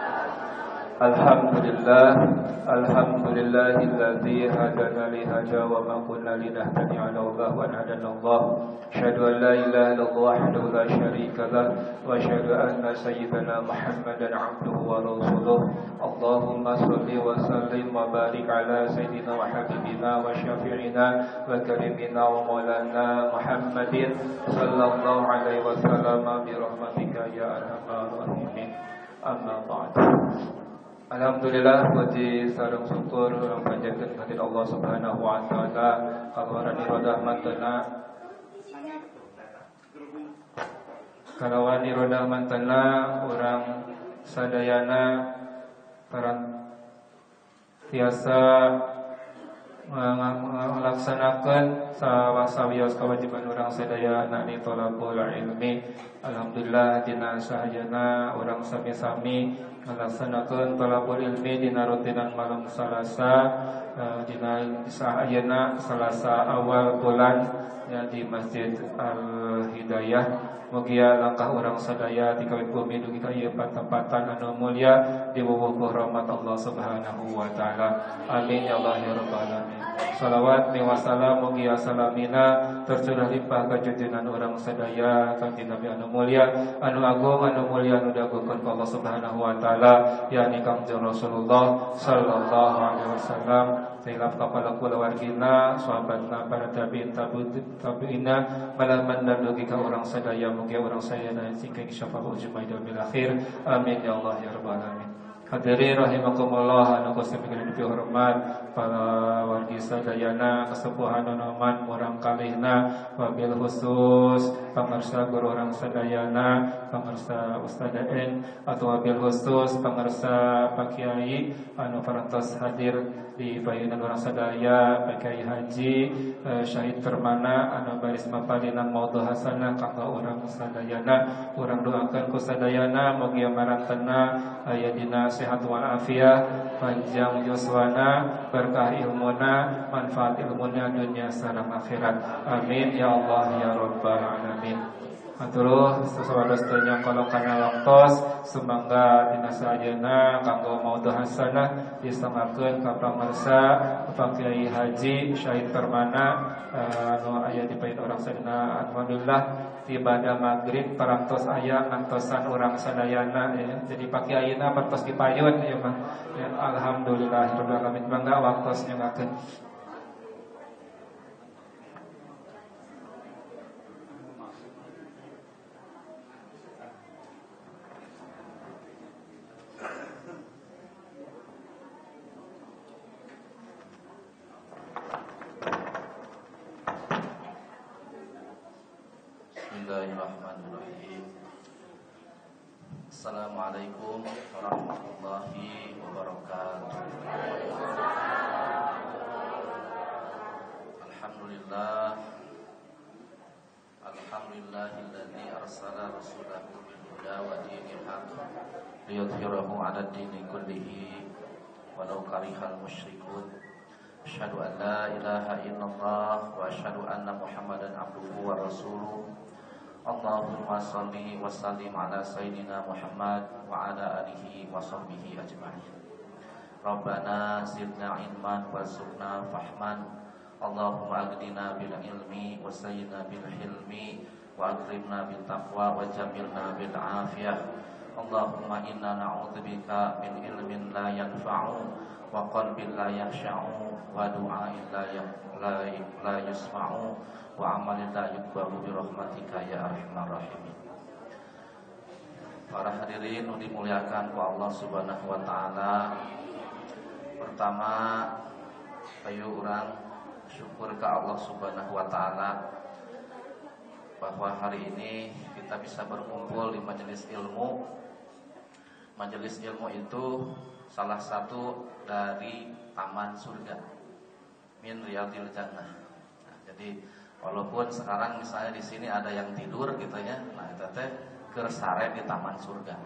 Alhamdulillah, alhamdulillahilladzi hadana li hada wa ma kunna linahtadiya laula an hadana Allah. Asyhadu an la ilaha illallah wahdahu la syarika lah wa asyhadu anna sayyidana Muhammadan abduhu wa rasuluh. Allahumma shalli wa sallim wa barik ala sayyidina wa habibina wa syafi'ina wa karimina wa maulana Muhammadin sallallahu alaihi wasallam bi rahmatika ya arhamar rahimin. Amma ba'd. Alhamdulillah puji sareng syukur urang panjatkeun ka Allah Subhanahu wa taala kaluaran rahmatna kalawan rahmatna urang sadayana parang tiasa melaksanakan sawasawios kewajiban orang sadayana di thalabul ilmi. Alhamdulillah dina sahayana orang sami-sami melaksanakan thalabul ilmi dina rutinan malam Salasa, dina sahayana Salasa awal bulan ya di Masjid Al Hidayah. Mugia langkah orang sadaya di kawit bumi dugi ka ieu patempatan anu mulya di wuwuh rahmat Allah Subhanahu wa taala. Amin ya Allah ya rabbal alamin. Salawat wa salam mugia salamina tercurah limpah ka junjungan orang sadaya kanjeng Nabi anu mulya anu agung anu mulya anu dagukeun ka Allah Subhanahu wa taala yakni Kangjeng Rasulullah sallallahu alaihi wasallam. Sailap kapala kula wargina sahabatna para tabi'in tabi'ina malaman dan dugi ka orang sadaya mugia orang saya dan singkeng syafaat jumaida bil akhir. Amin ya Allah ya rabbal alamin. Hadirin rahimakumullah anu kusami dipi hormat para wargi sadayana kasepuhan anoman urang kalihna wabil khusus pamirsa guru urang sadayana pamirsa ustadain atau wabil khusus pamirsa Pak Kiai anu parantos hadir di payunan urang sadaya Pak Kiai Haji eh, Syahid Permana anu baris mapalinan maudhu hasanah kanggo urang sadayana urang doakeun ku sadayana mugia marantena aya dina sehat walafiat, panjang yuswana, berkah ilmuna, manfaat ilmunya dunia sareng akhirat. Amin ya Allah ya rabbal alamin. Aturuh sasawados tanya kalau kana waktos sumangga dina sajeuna kanggo maudhu hasanah disangakeun ka pamirsa Pak Kiai Haji Syahid Permana anu aya di pain urang sadayana. Alhamdulillah ibadah maghrib parantos aya ngantosan urang sadayana ya. Jadi Pak Kiaina parantos dipayun ya mah. Ya, alhamdulillah rabbil alamin bangga waktos nyangakeun. Bismillahirrahmanirrahim. Assalamualaikum warahmatullahi wabarakatuh. Alhamdulillah Alhamdulillahilladzi arsala rasulahu bil huda wa dinil haqq liyudhhirahu 'ala ad-dini kullihi walau karihal musyrikun. Asyhadu an la ilaha illallah wa asyhadu anna Muhammadan abduhu wa rasuluh. Allahumma salli wa sallim ala sayyidina Muhammad wa ala alihi wa sahbihi ajma'in. Rabbana zidna ilman warzuqna fahman. Allahumma aghdina bil ilmi wa sayyidina bil hilmi wa akrimna bil taqwa wa jamilna bil afiyah. Allahumma inna na'udzubika min ilmin la yanfa'u wa qalbin la yakhsha'u wa du'ain la la la yusma'u wa amalin la yuqbalu bi rahmatika ya arhamar rahimin. Para hadirin yang dimuliakan ku Allah Subhanahu wa taala. Pertama, ayo urang syukur ke Allah Subhanahu wa taala bahwa hari ini kita bisa berkumpul di majelis ilmu. Majelis ilmu itu salah satu dari taman surga, min riyadil jannah. Nah, jadi walaupun sekarang misalnya di sini ada yang tidur gitu ya, nah itu teh keur sare di taman surga.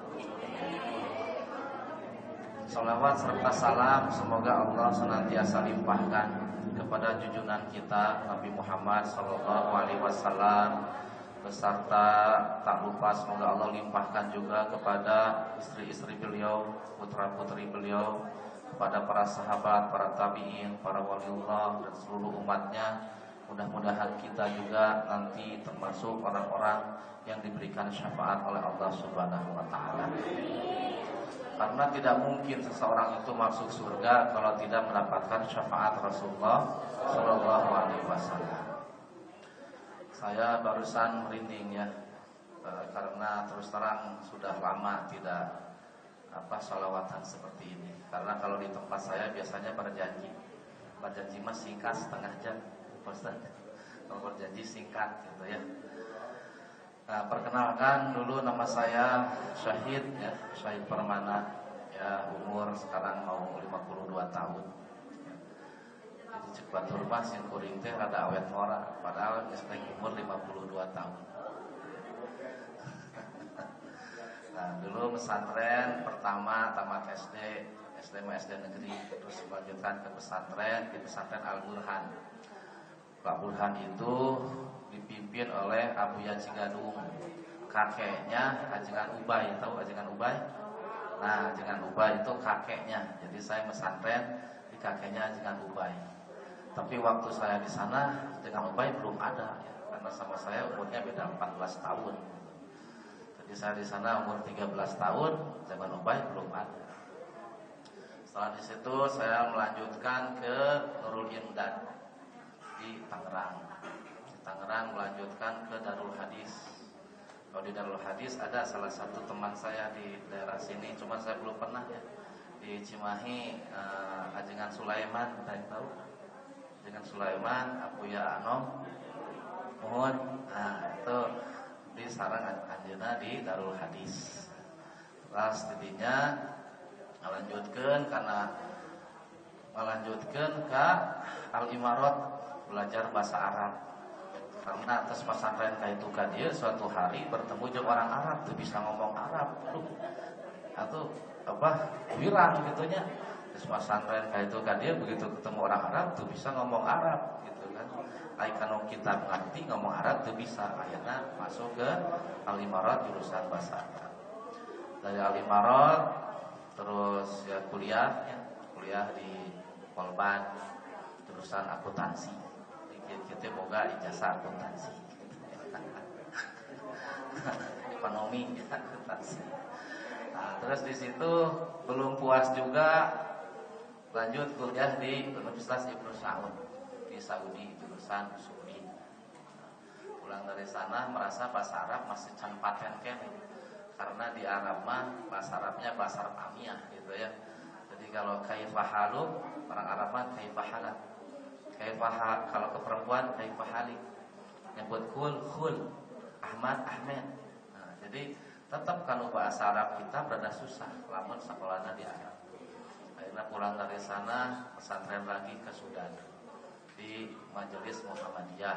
Salawat serta salam semoga Allah senantiasa limpahkan kepada junjungan kita Nabi Muhammad sallallahu alaihi wasallam, beserta tak lupa semoga Allah limpahkan juga kepada istri-istri beliau, putra-putri beliau, kepada para sahabat, para tabi'in, para waliullah dan seluruh umatnya. Mudah-mudahan kita juga nanti termasuk orang-orang yang diberikan syafaat oleh Allah Subhanahu wa taala. Karena tidak mungkin seseorang itu masuk surga kalau tidak mendapatkan syafaat Rasulullah sallallahu alaihi wasallam. Saya barusan merinding ya, e, karena terus terang sudah lama tidak apa sholawatan seperti ini. Karena kalau di tempat saya biasanya berjanji, berjanji mah singkat setengah jam, Ustaz. Kalau berjanji singkat gitu ya. Nah, perkenalkan dulu, nama saya Syahid ya, Syahid Permana. Ya, umur sekarang mau lima puluh dua tahun. Jadi cek batur mah sing kuring teh rada awet mora, padahal geus umur lima puluh dua tahun. Nah, dulu pesantren pertama tamat S D, S D mah S D negeri, terus melanjutkan ke pesantren di pesantren Al-Burhan. Pak Burhan itu dipimpin oleh Abuya Cigadung, kakeknya Ajengan Ubay. Tahu Ajengan Ubay? Nah, Ajengan Ubay itu kakeknya. Jadi saya pesantren di kakeknya Ajengan Ubay. Tapi waktu saya di sana Ajengan Ubay belum ada ya, karena sama saya umurnya beda empat belas tahun. Jadi saya di sana umur tiga belas tahun, Ajengan Ubay belum ada. Setelah di situ saya melanjutkan ke Nurul Imdad di Tangerang. Di Tangerang melanjutkan ke Darul Hadis. Kalau di Darul Hadis ada salah satu teman saya di daerah sini, cuma saya belum pernah ya. Di Cimahi, uh, Ajengan Sulaiman, ada yang tahu? Ajengan Sulaiman, Abuya Anom, mohon. Nah, itu di sarang anjeunna di Darul Hadis. Terus tidinya melanjutkan karena melanjutkan ke Al-Imarat, belajar bahasa Arab. Karena atas pesantren kaitu ka dieu suatu hari bertemu jeung orang Arab tuh bisa ngomong Arab. Atau apa? Wirang gitu nya. Terus pesantren kaitu ka dieu begitu ketemu orang Arab tuh bisa ngomong Arab gitu kan. Ai kanu kita ngerti ngomong Arab tuh bisa. Akhirnya masuk ke Al-Imarat jurusan bahasa Arab. Dari Al-Imarat terus ya kuliah ya, kuliah di Polban jurusan akuntansi. Kita boga ijazah akuntansi, ekonomi akuntansi. Nah, terus di situ belum puas juga, lanjut kuliah di Universitas Ibnu Saud di Saudi jurusan Usuli. Pulang dari sana merasa bahasa Arab masih can paten kene, karena di Arab mah bahasa Arabnya bahasa Arab amiyah gitu ya. Jadi kalau kaifahalu orang Arab mah kaifahalat. Kaifah kalau ke perempuan kaifahalik, nyebut kul kul, Ahmad Ahmed. Nah, jadi tetap kalau bahasa Arab kita berada susah, lamun sekolahnya di Arab. Akhirnya pulang dari sana pesantren lagi ke Sudan di Majelis Muhammadiyah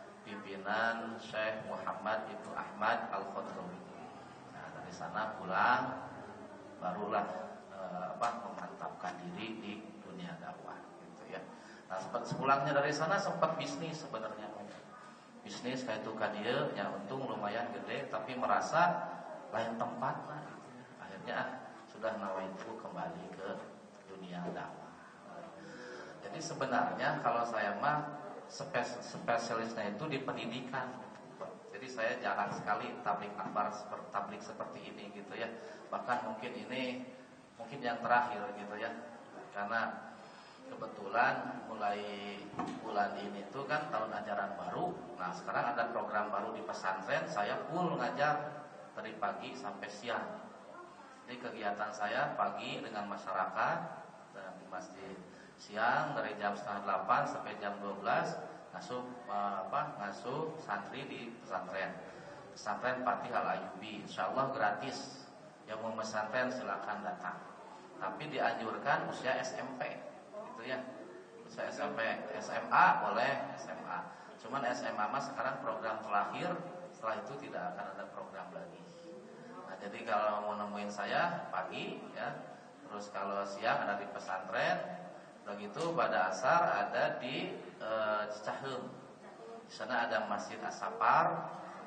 pimpinan Syekh Muhammad Ibnu Ahmad Al-Khadrawi. Nah, dari sana pulang barulah eh, apa memantapkan diri di dunia dakwah gitu ya. Nah, sempat sepulangnya dari sana sempat bisnis sebenarnya. Bisnis kayak itu kadia yang untung lumayan gede, tapi merasa lain tempat lah gitu ya. Akhirnya ah, sudah nawaitu kembali ke dunia dakwah. Jadi sebenarnya kalau saya mah spes spesialisnya itu di pendidikan. Jadi saya jarang sekali tablik akbar seperti tablik seperti ini gitu ya. Bahkan mungkin ini mungkin yang terakhir gitu ya. Karena kebetulan mulai bulan ini tuh kan tahun ajaran baru. Nah, sekarang ada program baru di pesantren. Saya full ngajar dari pagi sampai siang. Jadi kegiatan saya pagi dengan masyarakat dan di masjid, siang dari jam setengah delapan sampai jam dua belas ngasuh apa ngasuh santri di pesantren. Pesantren Fatih Al Ayyubi, insyaallah gratis. Yang mau pesantren silakan datang. Tapi dianjurkan usia S M P. Gitu ya. Usia S M P, S M A boleh S M A. Cuman S M A mah sekarang program terakhir, setelah itu tidak akan ada program lagi. Nah, jadi kalau mau nemuin saya pagi ya. Terus kalau siang ada di pesantren. Begitu pada asar ada di e, Cicaheum. Di sana ada Masjid As-Safar.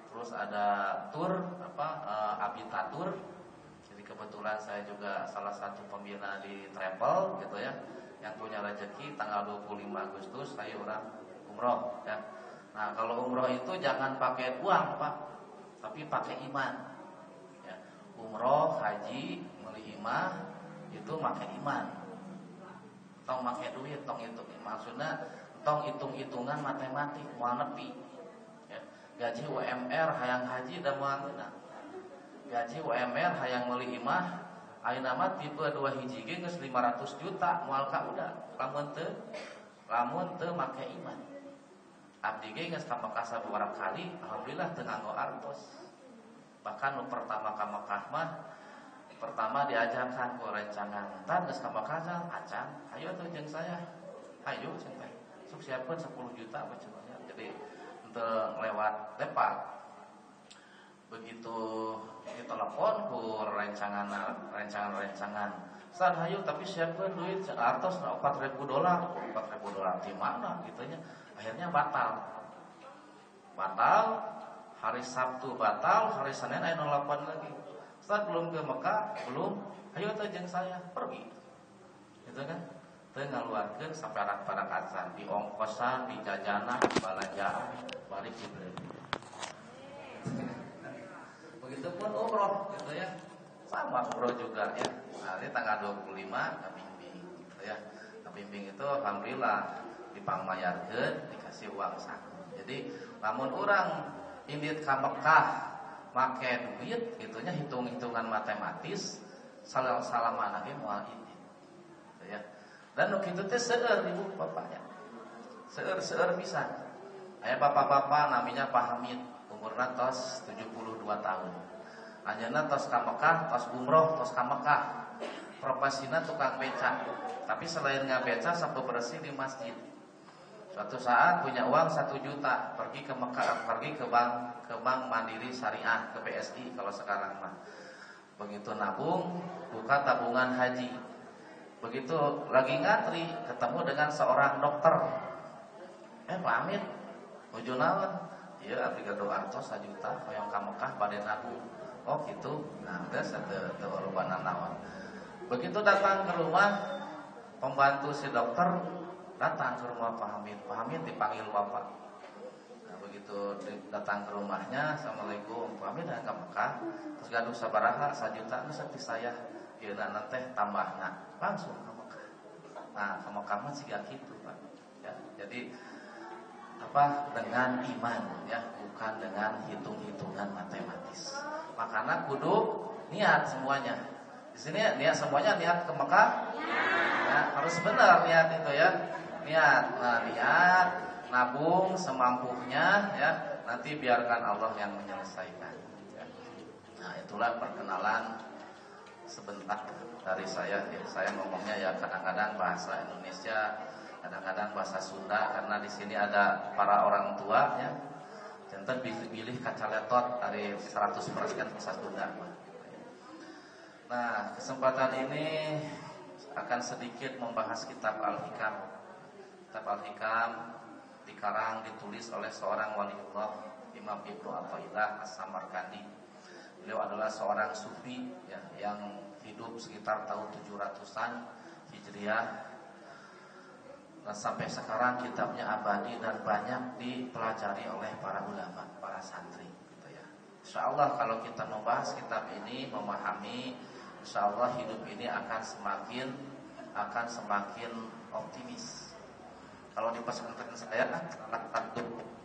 terus ada tour apa uh, Abitatur. Jadi kebetulan saya juga salah satu pembina di travel gitu ya, yang punya rezeki tanggal dua puluh lima Agustus saya orang umroh ya. Nah kalau umroh itu jangan pakai uang Pak, tapi pakai iman ya. Umroh, haji, beli imah itu pakai iman. Tong pakai duit, tong itu maksudnya tong hitung-hitungan matematik moal nepi ya. Gaji U M R hayang haji da moal geuna. Gaji U M R hayang meuli imah ayeuna mah tipe dua hiji ge geus lima ratus juta moal ka udah. Lamun teu lamun teu make iman. Abdi ge geus ka Mekah sabaraha kali, alhamdulillah teu nganggo artos. Bahkan nu pertama ka Mekah mah pertama diajarkan ku rencangan entar geus ka Mekah acan, ayo tuh jeung saya. Ayo cenah. Sok siapkeun sepuluh juta apa cenah. Jadi teu lewat lepat. Begitu ditelepon ku rencangan rencangan-rencangan. San hayu tapi siapkeun duit artos empat ribu dolar. empat ribu dolar di mana gitu nya. Akhirnya batal. Batal, hari Sabtu batal, hari Senin aya nelpon lagi. Ustaz belum ke Mekah, belum. Ayo teh jeung saya pergi. Gitu kan? Teu ngaluarkeun saperak-perak acan di ongkosan, di jajanan, di balanjaan, balik dibeli. Begitupun umroh gitu ya. Sama umroh juga ya. Nah, ini tanggal dua puluh lima kabimbing gitu ya. Kabimbing itu alhamdulillah dipangmayarkeun, dikasih uang saku. Jadi lamun urang indit ka Mekah make duit gitunya hitung-hitungan matematis salah-salamana ge moal indit. Gitu ya. Dan nu kitu teh seueur ibu bapaknya. Seueur-seueur pisan. Aya bapak-bapak namanya Pak Hamid, umurna tos tujuh puluh dua tahun. Anjeunna tos ka Mekah, tos umroh, tos ka Mekah. Profesina tukang beca. Tapi selain ngabeca sapu bersih di masjid. Suatu saat punya uang satu juta, pergi ke Mekah, pergi ke bank, ke bank Mandiri Syariah, ke B S I kalau sekarang mah. Begitu nabung, buka tabungan haji. Begitu lagi ngantri, ketemu dengan seorang dokter. Eh Pak Amin, tujuh naon? Iya, abdi gado artos satu juta, hoyong ka Mekah bade nabung. Oh gitu. Nah, geus teu teu urubana naon. Begitu datang ke rumah, pembantu si dokter datang ke rumah Pak Hamid. Pak Hamid dipanggil bapak. Nah, begitu datang ke rumahnya, Assalamualaikum. Pak Hamid datang ke Mekah, terus gaduh sabaraha satu juta geus teh saya. Ieu na teh tambahna langsung ke Mekah. Nah, ke Mekah mah siga kitu, Pak. Ya, jadi apa dengan iman ya, bukan dengan hitung-hitungan matematis. Makanya kudu niat semuanya. Di sini niat semuanya niat ke Mekah. Ya, harus benar niat itu ya. Niat, nah, niat, nabung semampunya ya. Nanti biarkan Allah yang menyelesaikan. Ya. Nah, itulah perkenalan sebentar dari saya. Ya, saya ngomongnya ya kadang-kadang bahasa Indonesia, kadang-kadang bahasa Sunda karena di sini ada para orang tua ya. Jantan pilih kaca letot dari seratus persen bahasa Sunda. Nah, kesempatan ini akan sedikit membahas kitab Al-Hikam. Kitab Al-Hikam dikarang ditulis oleh seorang waliullah, Imam Ibnu Athaillah As-Samarkandi. Beliau adalah seorang sufi ya, yang hidup sekitar tahun tujuh ratusan Hijriah. Nah, sampai sekarang kitabnya abadi dan banyak dipelajari oleh para ulama, para santri gitu ya. Insyaallah kalau kita membahas kitab ini, memahami, insyaallah hidup ini akan semakin akan semakin optimis. Kalau di pesantren saya salah satu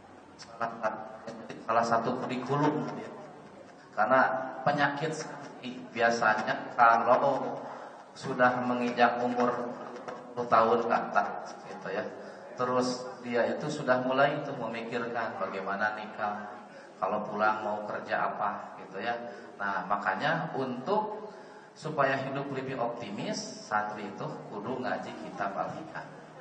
salah satu kurikulum ya. Karena penyakit biasanya kalau sudah menginjak umur sepuluh tahun ke atas gitu ya. Terus dia itu sudah mulai itu memikirkan bagaimana nikah, kalau pulang mau kerja apa gitu ya. Nah, makanya untuk supaya hidup lebih optimis, santri itu kudu ngaji kitab Al-Hikam.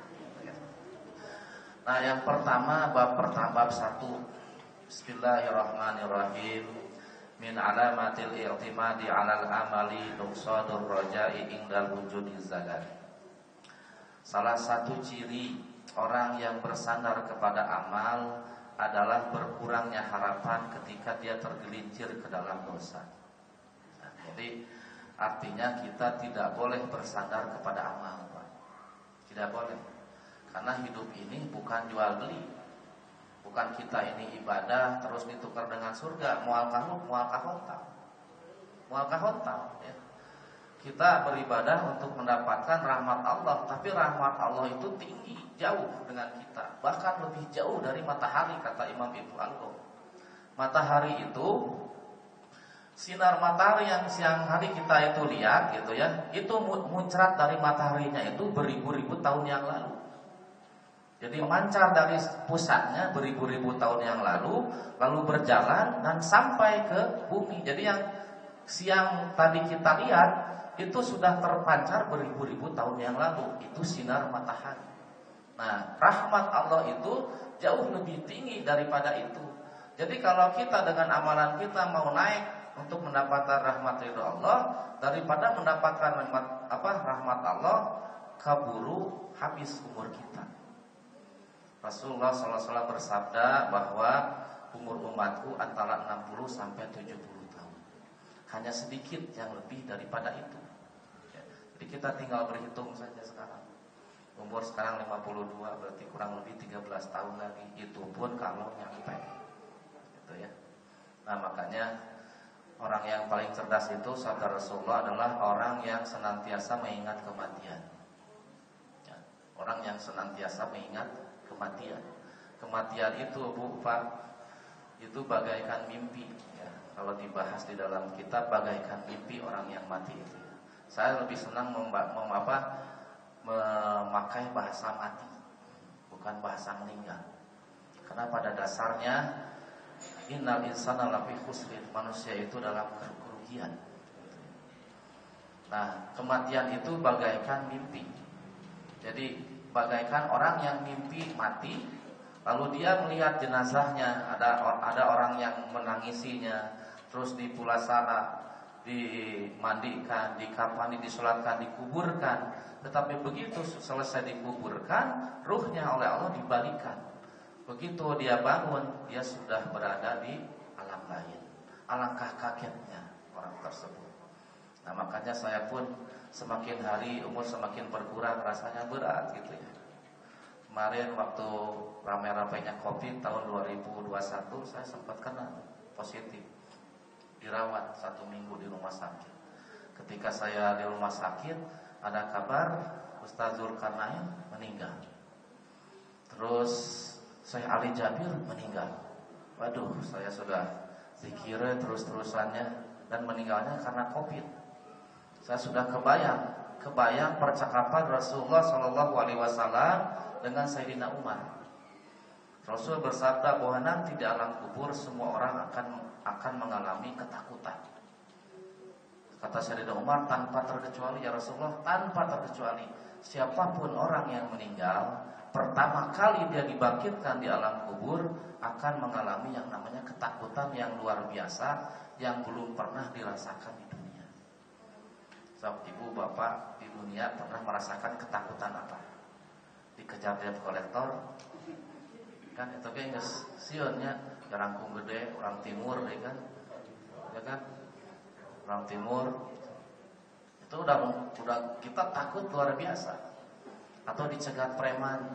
Nah, yang pertama bab pertama bab satu. Bismillahirrahmanirrahim. Min alamatil i'timadi 'alal amali nuqsadur raja'i indal wujudiz zalat. Salah satu ciri orang yang bersandar kepada amal adalah berkurangnya harapan ketika dia tergelincir ke dalam dosa. Nah, jadi artinya kita tidak boleh bersandar kepada amal, Pak. Tidak boleh. Karena hidup ini bukan jual beli. Bukan kita ini ibadah terus ditukar dengan surga, mual kahuk, mual kahontal. Mual kahontal ya. Kita beribadah untuk mendapatkan rahmat Allah, tapi rahmat Allah itu tinggi, jauh dengan kita, bahkan lebih jauh dari matahari, kata Imam Ibnu Al-Qayyim. Matahari itu, sinar matahari yang siang hari kita itu lihat gitu ya, itu muncrat dari mataharinya itu beribu-ribu tahun yang lalu. Jadi memancar dari pusatnya beribu-ribu tahun yang lalu, lalu berjalan dan sampai ke bumi. Jadi yang siang tadi kita lihat itu sudah terpancar beribu-ribu tahun yang lalu. Itu sinar matahari. Nah, rahmat Allah itu jauh lebih tinggi daripada itu. Jadi kalau kita dengan amalan kita mau naik untuk mendapatkan rahmat ridho Allah, daripada mendapatkan rahmat apa rahmat Allah, keburu habis umur kita. Rasulullah shallallahu alaihi wasallam bersabda bahwa umur umatku antara enam puluh sampai tujuh puluh tahun. Hanya sedikit yang lebih daripada itu. Jadi kita tinggal berhitung saja sekarang. Umur sekarang lima puluh dua, berarti kurang lebih tiga belas tahun lagi. Itu pun kalau nyampe. Gitu ya. Nah, makanya orang yang paling cerdas itu sabda Rasulullah adalah orang yang senantiasa mengingat kematian. Ya, orang yang senantiasa mengingat kematian. Kematian itu, Bu, Pak, itu bagaikan mimpi ya. Kalau dibahas di dalam kitab, bagaikan mimpi orang yang mati itu. Saya lebih senang memba- mem- apa, memakai bahasa mati, bukan bahasa meninggal. Karena pada dasarnya innal insana lafi khusrin, manusia itu dalam kerugian. Nah, kematian itu bagaikan mimpi. Jadi bagaikan orang yang mimpi mati, lalu dia melihat jenazahnya, ada ada orang yang menangisinya, terus dipulasana, dimandikan, dikafani, disolatkan, dikuburkan. Tetapi begitu selesai dikuburkan, ruhnya oleh Allah dibalikan. Begitu dia bangun, dia sudah berada di alam lain. Alangkah kagetnya orang tersebut. Nah, makanya saya pun semakin hari umur semakin berkurang, rasanya berat gitu ya. Kemarin waktu ramai-ramainya Covid tahun dua ribu dua puluh satu, saya sempat kena positif. Dirawat satu minggu di rumah sakit. Ketika saya di rumah sakit, ada kabar Ustaz Zulkarnain meninggal. Terus Syekh Ali Jabir meninggal. Waduh, saya sudah zikir terus-terusannya, dan meninggalnya karena Covid. Saya sudah kebayang, kebayang percakapan Rasulullah Shallallahu Alaihi Wasallam dengan Sayyidina Umar. Rasul bersabda bahwa nanti di alam kubur semua orang akan akan mengalami ketakutan. Kata Sayyidina Umar, tanpa terkecuali ya Rasulullah, tanpa terkecuali siapapun orang yang meninggal, pertama kali dia dibangkitkan di alam kubur akan mengalami yang namanya ketakutan yang luar biasa yang belum pernah dirasakan di dunia. So, ibu bapak di dunia pernah merasakan ketakutan apa? Dikejar debt collector, kan itu kayak sionnya Jarangkung gede, orang timur ya kan, ya kan, orang timur itu udah udah kita takut luar biasa. Atau dicegat preman,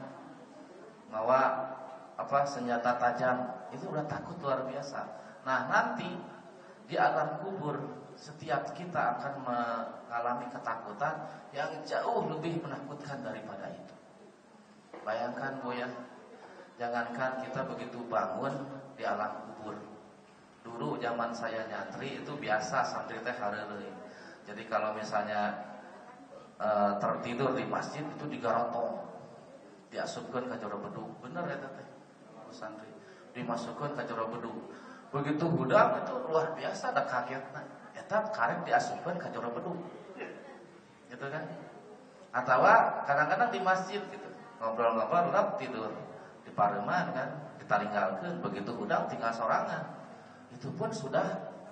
bawa apa senjata tajam, itu udah takut luar biasa. Nah, nanti di alam kubur setiap kita akan mengalami ketakutan yang jauh lebih menakutkan daripada itu. Bayangkan Bu ya, jangankan kita begitu bangun di alam kubur. Dulu zaman saya nyantri itu biasa santri teh hareuleuh. Jadi kalau misalnya e, tertidur di masjid itu digarotong, diasupkeun ka jero bedug. Bener eta teh. Santri dimasukkeun ka jero bedug. Begitu budak itu luar biasa da kagetna. Eta karek diasupkeun ka jero bedug. Gitu kan? Atawa kadang-kadang di masjid gitu. Ngobrol-ngobrol lap tidur di pareuman kan, ditaringgalkeun, begitu udang tinggal sorangan. Itu pun sudah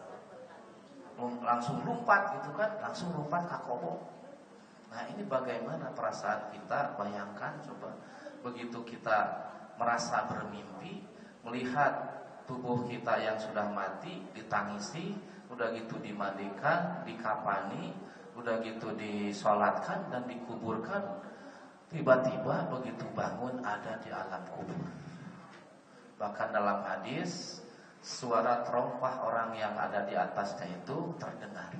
langsung lompat gitu kan, langsung lompat ka kobo. Nah, ini bagaimana perasaan kita? Bayangkan coba, begitu kita merasa bermimpi, melihat tubuh kita yang sudah mati ditangisi, udah gitu dimandikan, dikafani, udah gitu disolatkan dan dikuburkan. Tiba-tiba begitu bangun ada di alam kubur. Bahkan dalam hadis suara terompah orang yang ada di atasnya itu terdengar.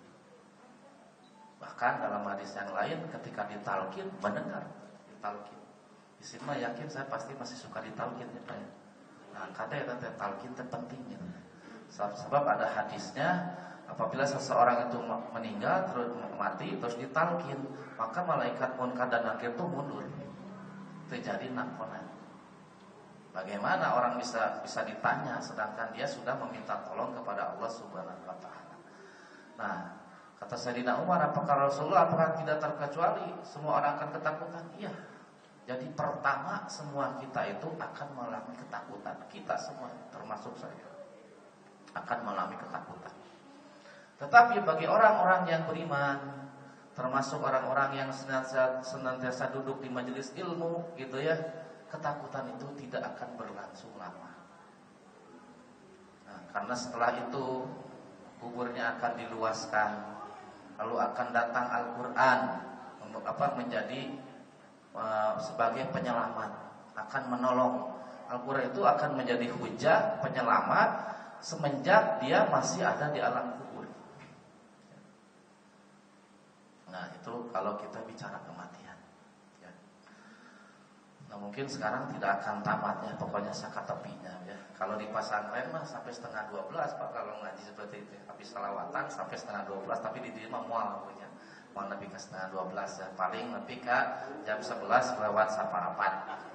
Bahkan dalam hadis yang lain ketika ditalkin mendengar ditalkin. Di sini mah yakin saya pasti masih suka ditalkin ya Pak. Nah, katanya tentang talkin itu pentingnya. Sebab ada hadisnya apabila seseorang itu meninggal terus mati terus ditalkin, maka malaikat munkar dan nakir itu mundur. Terjadi nakponan. Bagaimana orang bisa bisa ditanya sedangkan dia sudah meminta tolong kepada Allah Subhanahu wa taala. Nah, kata Sayyidina Umar, apakah Rasulullah apakah tidak terkecuali semua orang akan ketakutan? Iya. Jadi pertama semua kita itu akan mengalami ketakutan. Kita semua termasuk saya akan mengalami ketakutan. Tetapi bagi orang-orang yang beriman, termasuk orang-orang yang senantiasa, senantiasa duduk di majelis ilmu gitu ya, ketakutan itu tidak akan berlangsung lama. Nah, karena setelah itu kuburnya akan diluaskan, lalu akan datang Al-Quran untuk apa menjadi uh, sebagai penyelamat, akan menolong. Al-Quran itu akan menjadi hujah penyelamat semenjak dia masih ada di alam kubur. Nah, itu kalau kita bicara kematian. Ya. Nah, mungkin sekarang tidak akan tamatnya, pokoknya saka tepinya. Ya. Kalau di pesantren mah sampai setengah dua belas Pak kalau ngaji seperti itu. Habis salawatan sampai setengah dua belas, tapi di diri mah mual punya. Mau lebih ke setengah dua belas ya. Paling lebih ke jam sebelas lewat saparapat.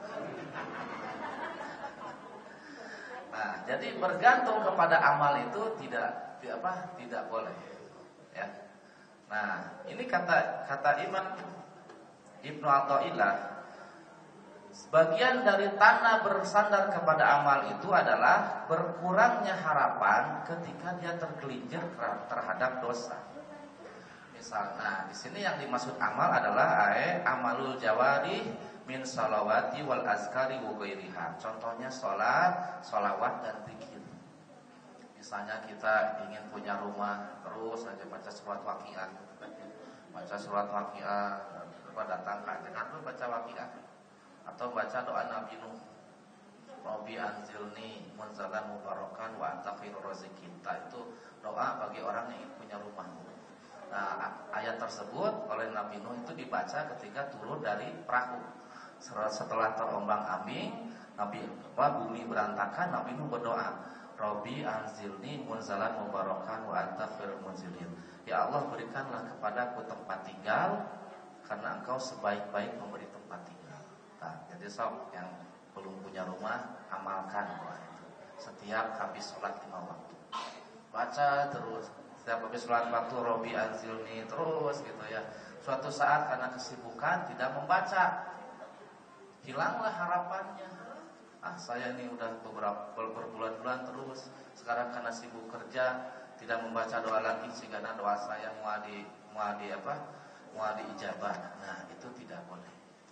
Nah, jadi bergantung kepada amal itu tidak, tidak apa, tidak boleh, ya. Nah, ini kata kata Imam Ibnu Athaillah, sebagian dari tanah bersandar kepada amal itu adalah berkurangnya harapan ketika dia tergelincir terhadap dosa. Misalnya, di sini yang dimaksud amal adalah ae amalul jawari min salawati wal azkari wa ghairiha. Contohnya sholat, sholawat dan zikir. Misalnya kita ingin punya rumah, terus saja baca surat Waqiah, baca surat Waqiah, datang ke dengan baca Waqiah, atau baca doa Nabi Nuh, Rabbi anzilni munzalan mubarakan wa anta khairur raziqin. Itu doa bagi orang yang ingin punya rumah. Nah, ayat tersebut oleh Nabi Nuh itu dibaca ketika turun dari perahu. Setelah terombang-ambing, Nabi apa, bumi berantakan, Nabi Nuh berdoa, Rabbi anzilni munzalan mubarakan wa anta khairul munzilin. Ya Allah, berikanlah kepadaku tempat tinggal karena Engkau sebaik-baik memberi tempat tinggal. Nah, jadi sob yang belum punya rumah, amalkan doa itu. Setiap habis sholat lima waktu, baca terus. Setiap habis sholat waktu Rabbi anzilni terus gitu ya. Suatu saat karena kesibukan tidak membaca, hilanglah harapannya. Ah, saya ini udah beberapa berbulan-bulan terus. Sekarang karena sibuk kerja tidak membaca doa lagi sehingga doa saya mau di mau di apa? Mau diijabah. Nah, itu tidak boleh.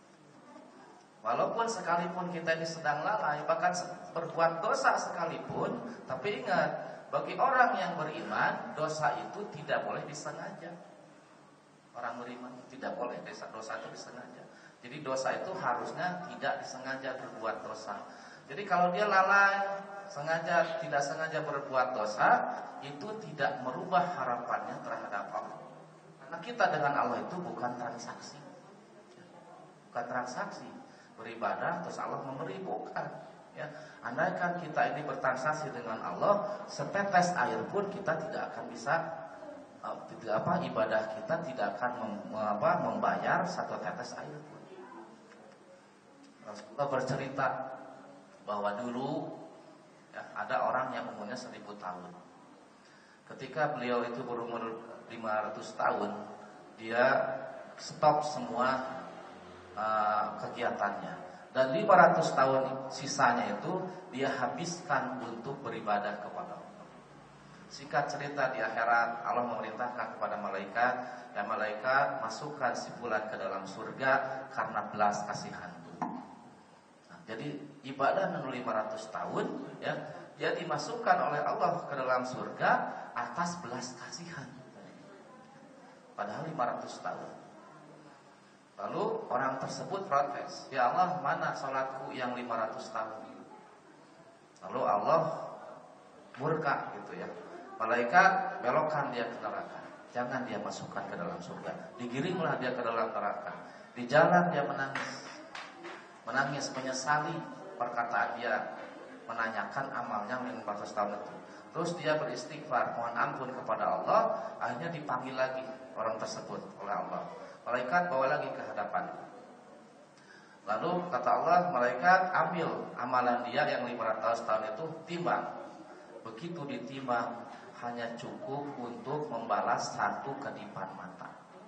Walaupun sekalipun kita ini sedang lalai, bahkan berbuat dosa sekalipun, tapi ingat, bagi orang yang beriman, dosa itu tidak boleh disengaja. Orang beriman tidak boleh dosa dosa itu disengaja. Jadi dosa itu harusnya tidak disengaja berbuat dosa. Jadi kalau dia lalai, sengaja tidak sengaja berbuat dosa, itu tidak merubah harapannya terhadap Allah. Karena kita dengan Allah itu bukan transaksi. Bukan transaksi. Beribadah terus Allah memberi, bukan. Ya, andaikan kita ini bertransaksi dengan Allah, setetes air pun kita tidak akan bisa uh, tidak apa ibadah kita tidak akan mem, apa, membayar satu tetes air pun. Rasulullah bercerita bahwa dulu ya, ada orang yang umurnya seribu tahun. Ketika beliau itu berumur lima ratus tahun, dia stop semua uh, kegiatannya. Dan lima ratus tahun sisanya itu dia habiskan untuk beribadah kepada Allah. Singkat cerita, di akhirat Allah memerintahkan kepada malaikat, ya malaikat masukkan si fulan ke dalam surga karena belas kasihan. Nah, Jadi ibadah nu lima ratus tahun ya, dia dimasukkan oleh Allah ke dalam surga atas belas kasihan. Padahal lima ratus tahun. Lalu orang tersebut protes, "Ya Allah, mana salatku yang lima ratus tahun?" Lalu Allah murka gitu ya. Malaikat belokkan dia ke neraka. Jangan dia masukkan ke dalam surga. Digiringlah dia ke dalam neraka. Di jalan dia menangis. Menangis menyesali perkataan dia, menanyakan amalnya lima ratus tahun itu. Terus dia beristighfar, mohon ampun kepada Allah. Akhirnya dipanggil lagi orang tersebut oleh Allah. Malaikat bawa lagi ke hadapan. Lalu kata Allah, malaikat ambil amalan dia yang lima ratus tahun itu, timbang. Begitu ditimbang, hanya cukup untuk membalas satu kedipan mata.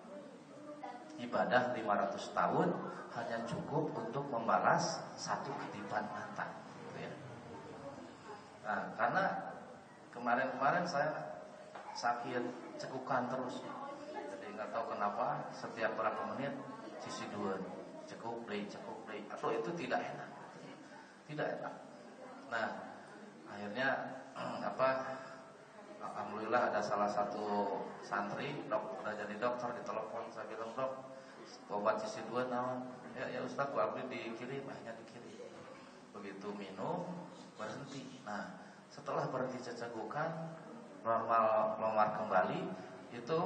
Ibadah lima ratus tahun hanya cukup untuk membalas satu kedipan mata gitu ya. Nah, karena kemarin-kemarin saya sakit cekukan terus. Jadi nggak tahu kenapa setiap berapa menit sisi dua cekuk play cekuk play. Atau itu tidak enak. Tidak enak. Nah, akhirnya apa? Alhamdulillah ada salah satu santri dok, udah jadi dokter, ditelepon, saya bilang, "Dok, obat sisi dua naon?" "Ya ya Ustaz, gua abdi dikirim." Akhirnya dikirim. Begitu minum berhenti. Nah, setelah berhenti cecegukan, normal normal kembali, itu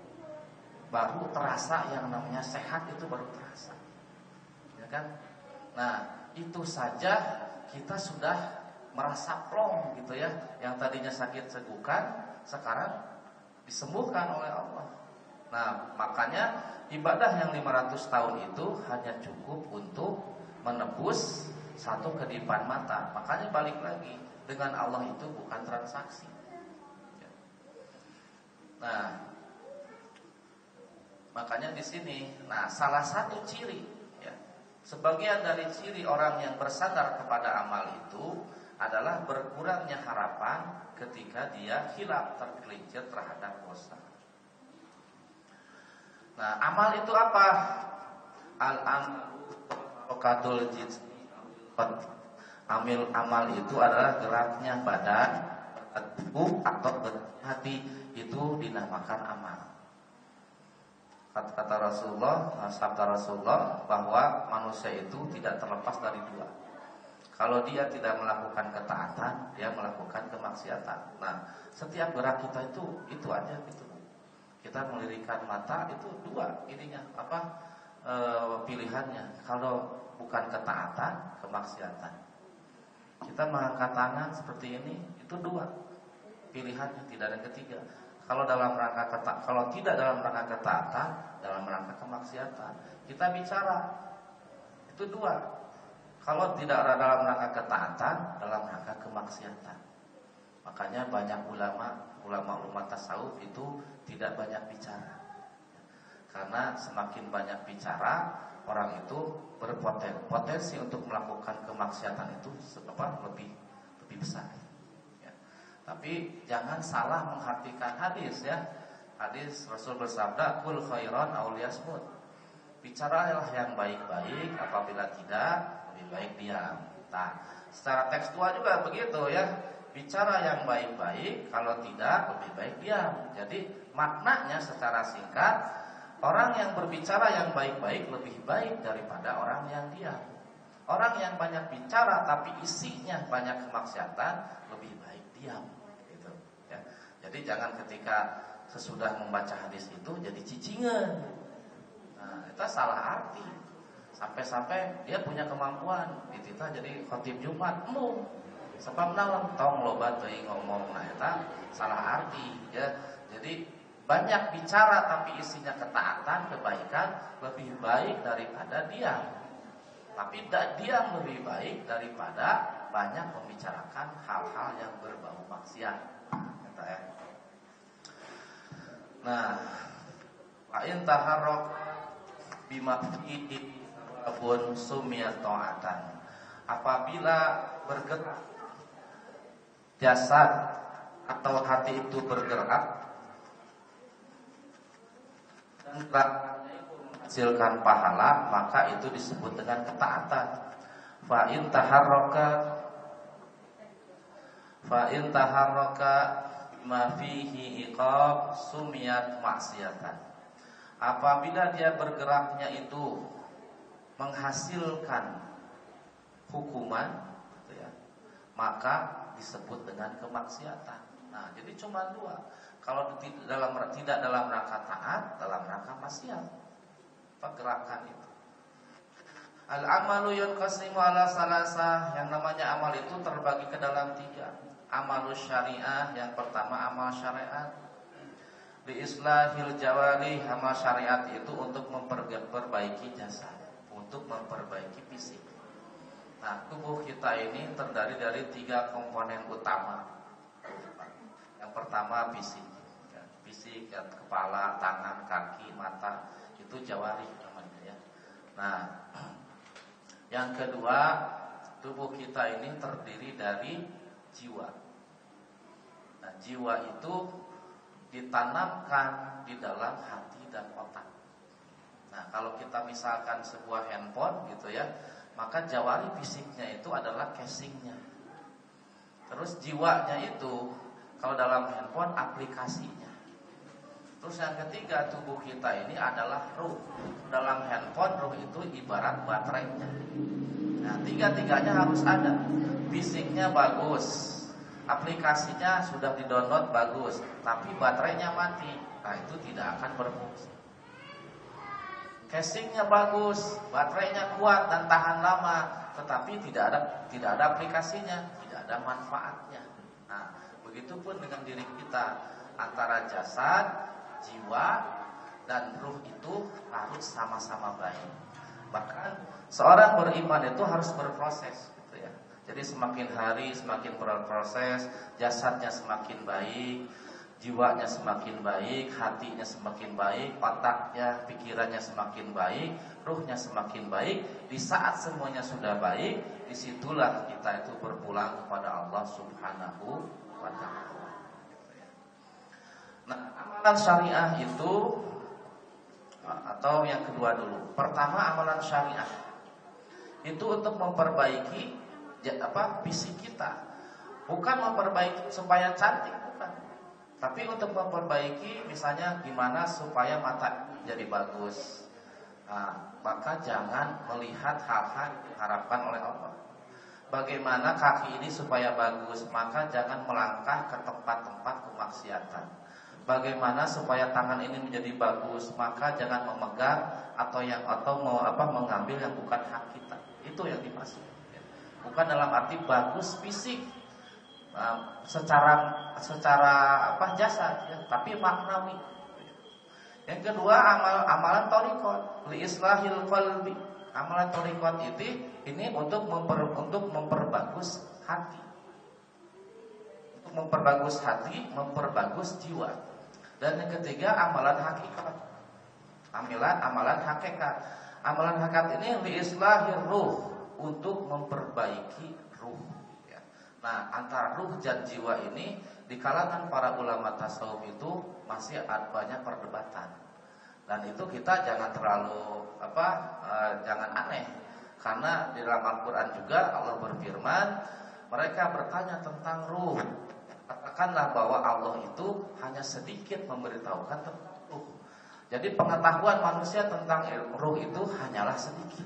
baru terasa yang namanya sehat, itu baru terasa. Ya kan? Nah, itu saja kita sudah merasa plong gitu ya. Yang tadinya sakit cegukan sekarang disembuhkan oleh Allah. Nah, makanya ibadah yang lima ratus tahun itu hanya cukup untuk menebus satu kedipan mata. Makanya balik lagi, dengan Allah itu bukan transaksi. Nah, makanya di sini, nah salah satu ciri ya, sebagian dari ciri orang yang bersandar kepada amal itu adalah berkurangnya harapan ketika dia hilaf, tergelincir terhadap dosa. Nah, amal itu apa? Al-amil jins. Amil amal itu adalah geraknya badan, tubuh atau hati, itu dinamakan amal. Kata Rasulullah, sabda Rasulullah bahwa manusia itu tidak terlepas dari dua. Kalau dia tidak melakukan ketaatan, dia melakukan kemaksiatan. Nah, setiap gerak kita itu itu aja gitu. Kita melirikkan mata itu dua ininya apa e, pilihannya. Kalau bukan ketaatan, kemaksiatan. Kita mengangkat tangan seperti ini, itu dua pilihannya, tidak ada yang ketiga. Kalau dalam rangka keta, kalau tidak dalam rangka ketaatan, dalam rangka kemaksiatan. Kita bicara itu dua. Kalau tidak ada dalam rangka ketaatan, dalam rangka kemaksiatan. Makanya banyak ulama, ulama-ulama tasawuf itu tidak banyak bicara. Karena semakin banyak bicara, orang itu berpotensi untuk melakukan kemaksiatan itu apa, lebih lebih besar. Ya. Tapi jangan salah mengartikan hadis ya. Hadis Rasul bersabda, "Kul khairan aw liyasmut." Bicaralah yang baik-baik, apabila tidak lebih baik diam. Nah, secara tekstual juga begitu ya. Bicara yang baik-baik, kalau tidak lebih baik diam. Jadi maknanya secara singkat, orang yang berbicara yang baik-baik lebih baik daripada orang yang diam. Orang yang banyak bicara tapi isinya banyak kemaksiatan lebih baik diam. Gitu. Ya. Jadi jangan ketika sesudah membaca hadis itu jadi cicingan. Nah, itu salah arti. Sampai-sampai dia punya kemampuan dititah jadi khotib Jumat, mu sebab naon tong loba teuing ngomong, nah eta salah arti ya. Jadi banyak bicara tapi isinya ketaatan, kebaikan lebih baik daripada diam. Tapi diam lebih baik daripada banyak membicarakan hal-hal yang berbau maksiat. Kata ya. Nah, wa in taharrak bima fihi abun sumiyat ta'atan. Apabila bergerak jasad atau hati itu bergerak dan menghasilkan pahala, maka itu disebut dengan ketaatan. Fa in taharraka fa in taharraka ma fihi iqab sumiyat maksiatan. Apabila dia bergeraknya itu menghasilkan hukuman, gitu ya, maka disebut dengan kemaksiatan. Nah, jadi cuma dua. Kalau dalam tidak dalam rangka taat, dalam rangka maksiat, pergerakan itu. Al-amalu yanqasimu ala salasa. Yang namanya amal itu terbagi ke dalam tiga. Amalus syariah, yang pertama amal syariat. Li islahil jawari, amal syariat itu untuk memperbaiki jasad, untuk memperbaiki fisik. Nah, tubuh kita ini terdiri dari tiga komponen utama. Yang pertama fisik, ya, fisik, ya, kepala, tangan, kaki, mata, itu jawari namanya ya. Nah, yang kedua, tubuh kita ini terdiri dari jiwa. Nah, jiwa itu ditanamkan di dalam hati dan otak. Nah, kalau kita misalkan sebuah handphone gitu ya, maka jawari fisiknya itu adalah casingnya. Terus jiwanya itu kalau dalam handphone aplikasinya. Terus yang ketiga, tubuh kita ini adalah ruh. Dalam handphone ruh itu ibarat baterainya. Nah, tiga-tiganya harus ada. Fisiknya bagus, aplikasinya sudah di-download bagus, tapi baterainya mati. Nah, itu tidak akan berfungsi. Casingnya bagus, baterainya kuat dan tahan lama, tetapi tidak ada tidak ada aplikasinya, tidak ada manfaatnya. Nah, begitupun dengan diri kita, antara jasad, jiwa, dan ruh itu harus sama-sama baik. Bahkan seorang beriman itu harus berproses, gitu ya. Jadi semakin hari semakin berproses, jasadnya semakin baik, jiwanya semakin baik, hatinya semakin baik, otaknya, pikirannya semakin baik, ruhnya semakin baik. Di saat semuanya sudah baik, disitulah kita itu berpulang kepada Allah Subhanahu wa ta'ala. Nah, amalan syariah itu, atau yang kedua dulu. Pertama, amalan syariah itu untuk memperbaiki apa fisik kita, bukan memperbaiki supaya cantik, bukan. Tapi untuk memperbaiki, misalnya gimana supaya mata jadi bagus. Nah, maka jangan melihat hal-hal yang diharapkan oleh Allah. Bagaimana kaki ini supaya bagus, maka jangan melangkah ke tempat-tempat kemaksiatan. Bagaimana supaya tangan ini menjadi bagus, maka jangan memegang atau yang atau mau apa mengambil yang bukan hak kita. Itu yang dimaksud. Bukan dalam arti bagus fisik, uh, secara secara apa jasad, ya, tapi maknawi. Yang kedua, amal amalan thariqat li islahil qalbi. Amalan thariqat itu ini untuk memper, untuk memperbagus hati. Untuk memperbagus hati, memperbagus jiwa. Dan yang ketiga, amalan hakikat. Amalan amalan hakikat. Amalan hakikat ini li islahir ruh, untuk memperbaiki ruh. Ya. Nah, antara ruh dan jiwa ini di kalangan para ulama tasawuf itu masih ada banyak perdebatan. Dan itu kita jangan terlalu apa, uh, jangan aneh, karena di dalam Al-Quran juga Allah berfirman, mereka bertanya tentang ruh. Katakanlah bahwa Allah itu hanya sedikit memberitahukan tentang ruh. Jadi pengetahuan manusia tentang ruh itu hanyalah sedikit.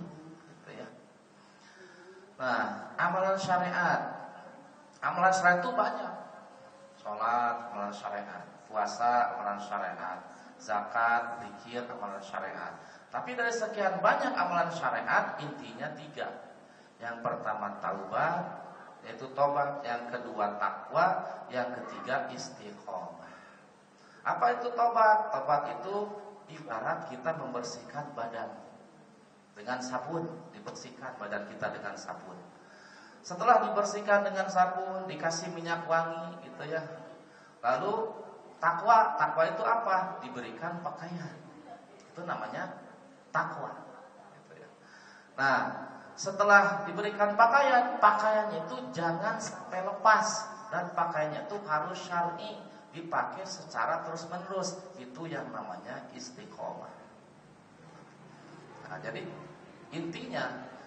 Nah, amalan syariat, amalan syariat itu banyak. Sholat, amalan syariat. Puasa, amalan syariat. Zakat, zikir, amalan syariat. Tapi dari sekian banyak amalan syariat, intinya tiga. Yang pertama taubat, yaitu tobat. Yang kedua takwa. Yang ketiga istiqomah. Apa itu tobat? Tobat itu ibarat kita membersihkan badan dengan sabun, dibersihkan badan kita dengan sabun. Setelah dibersihkan dengan sabun, dikasih minyak wangi, gitu ya. Lalu takwa, takwa itu apa? Diberikan pakaian. Itu namanya takwa. Gitu ya. Nah, setelah diberikan pakaian, pakaiannya itu jangan sampai lepas, dan pakaiannya itu harus syar'i, dipakai secara terus menerus. Itu yang namanya istiqomah. Nah, jadi intinya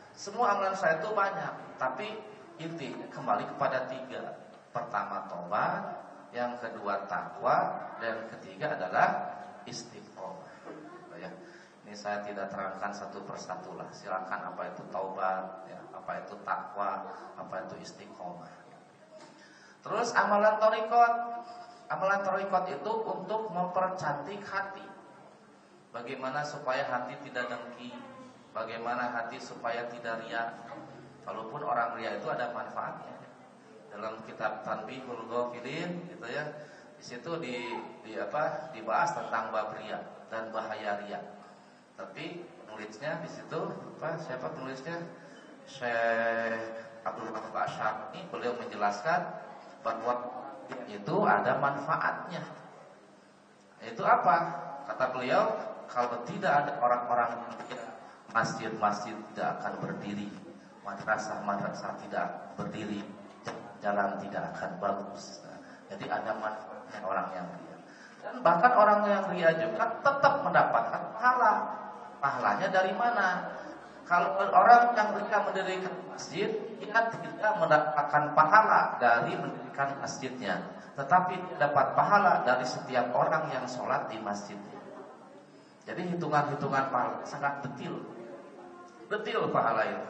Semua amalan saya itu banyak, tapi intinya kembali kepada tiga. Pertama tobat, yang kedua takwa, dan ketiga adalah istiqomah. Ya. Ini saya tidak terangkan satu persatu lah. Silakan apa itu taubat, ya, apa itu takwa, apa itu istiqomah. Terus amalan thariqat. Amalan thariqat itu untuk mempercantik hati. Bagaimana supaya hati tidak dengki, bagaimana hati supaya tidak riya. Walaupun orang riya itu ada manfaatnya. Dalam kitab Tanbihul Ghafilin gitu ya. Di situ di, di apa? dibahas tentang bab riya dan bahaya riya. Tapi penulisnya di situ apa? Siapa penulisnya? Syekh Abdul Rahman Asy'ari. Ini beliau menjelaskan bahwa itu ada manfaatnya. Itu apa? Kata beliau, kalau tidak ada orang-orang yang masjid-masjid tidak akan berdiri, madrasah-madrasah tidak berdiri, jalan tidak akan bagus. Nah, jadi ada manfaatnya orang yang ria. Dan bahkan orang yang ria juga tetap mendapatkan pahala. Pahalanya dari mana? Kalau orang yang ria mendirikan masjid, dia tidak mendapatkan pahala dari mendirikan masjidnya, tetapi dapat pahala dari setiap orang yang sholat di masjidnya. Jadi hitungan-hitungan pahala sangat detil, detil pahala itu.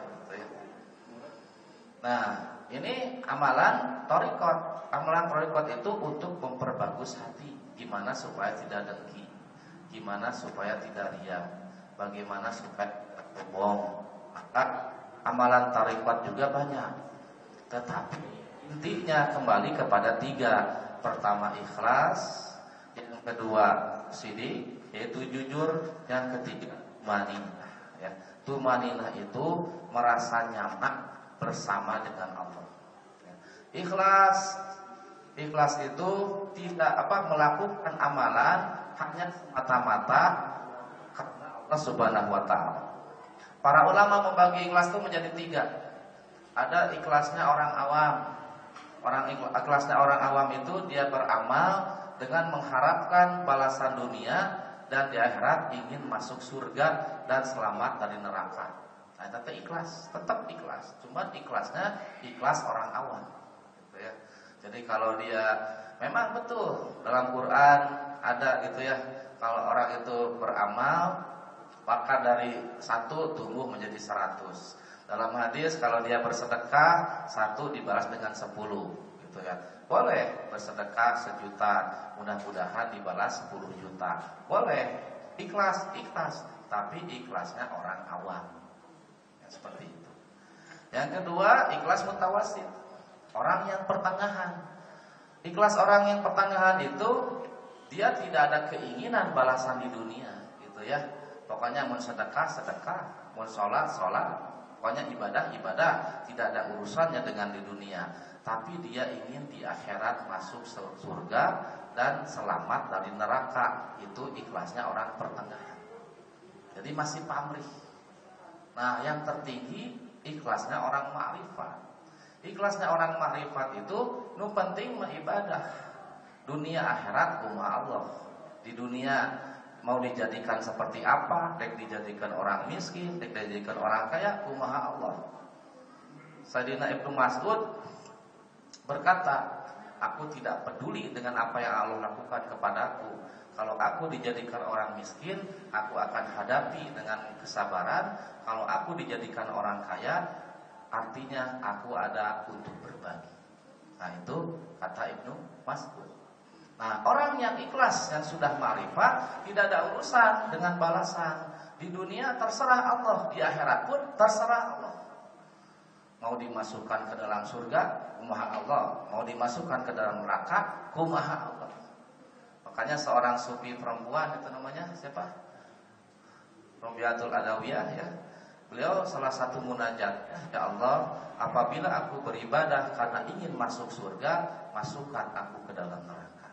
Nah, ini amalan thariqat. Amalan thariqat itu untuk memperbagus hati. Gimana supaya tidak dengki, gimana supaya tidak riya, bagaimana supaya tidak bohong. Maka amalan thariqat juga banyak. Tetapi intinya kembali kepada tiga. Pertama ikhlas, yang kedua sidik, yaitu jujur, yang ketiga tumaninah. Ya, tumaninah itu merasa nyaman bersama dengan Allah. Ya. Ikhlas, ikhlas itu tidak apa melakukan amalan hanya semata-mata karena Allah Subhanahu Wa Taala. Para ulama membagi ikhlas itu menjadi tiga. Ada ikhlasnya orang awam. Orang ikhlasnya orang awam itu dia beramal dengan mengharapkan balasan dunia dan di akhirat ingin masuk surga dan selamat dari neraka. Nah, itu ikhlas, tetap ikhlas. Cuma ikhlasnya ikhlas orang awam. Gitu ya. Jadi kalau dia memang betul dalam Quran ada gitu ya. Kalau orang itu beramal maka dari satu tumbuh menjadi seratus. Dalam hadis kalau dia bersedekah satu dibalas dengan sepuluh, gitu ya. Boleh bersedekah sejuta, mudah-mudahan dibalas sepuluh juta. Boleh, ikhlas, ikhlas, tapi ikhlasnya orang awam. Ya, seperti itu. Yang kedua, ikhlas mutawasit, orang yang pertengahan. Ikhlas orang yang pertengahan itu dia tidak ada keinginan balasan di dunia, gitu ya. Pokoknya mau sedekah, sedekah, mau sholat, sholat. Pokoknya ibadah, ibadah. Tidak ada urusannya dengan di dunia. Tapi dia ingin di akhirat masuk surga dan selamat dari neraka. Itu ikhlasnya orang pertengahan. Jadi masih pamrih. Nah, yang tertinggi ikhlasnya orang ma'rifat. Ikhlasnya orang ma'rifat itu nu penting mengibadah. Dunia akhirat kumaha Allah. Di dunia mau dijadikan seperti apa, dek dijadikan orang miskin, dek dijadikan orang kaya, kumaha Allah. Sayyidina Ibnu Mas'ud berkata, aku tidak peduli dengan apa yang Allah lakukan kepadaku. Kalau aku dijadikan orang miskin, aku akan hadapi dengan kesabaran. Kalau aku dijadikan orang kaya, artinya aku ada untuk berbagi. Nah, itu kata Ibnu Mas'ud. Nah, orang yang ikhlas, yang sudah ma'rifat, tidak ada urusan dengan balasan. Di dunia terserah Allah, di akhirat pun terserah Allah. Mau dimasukkan ke dalam surga, kumaha Allah. Mau dimasukkan ke dalam neraka, kumaha Allah. Makanya seorang sufi perempuan, itu namanya siapa? Rabiatul Adawiyah ya. Beliau salah satu munajat, ya Allah, apabila aku beribadah karena ingin masuk surga, masukkan aku ke dalam neraka.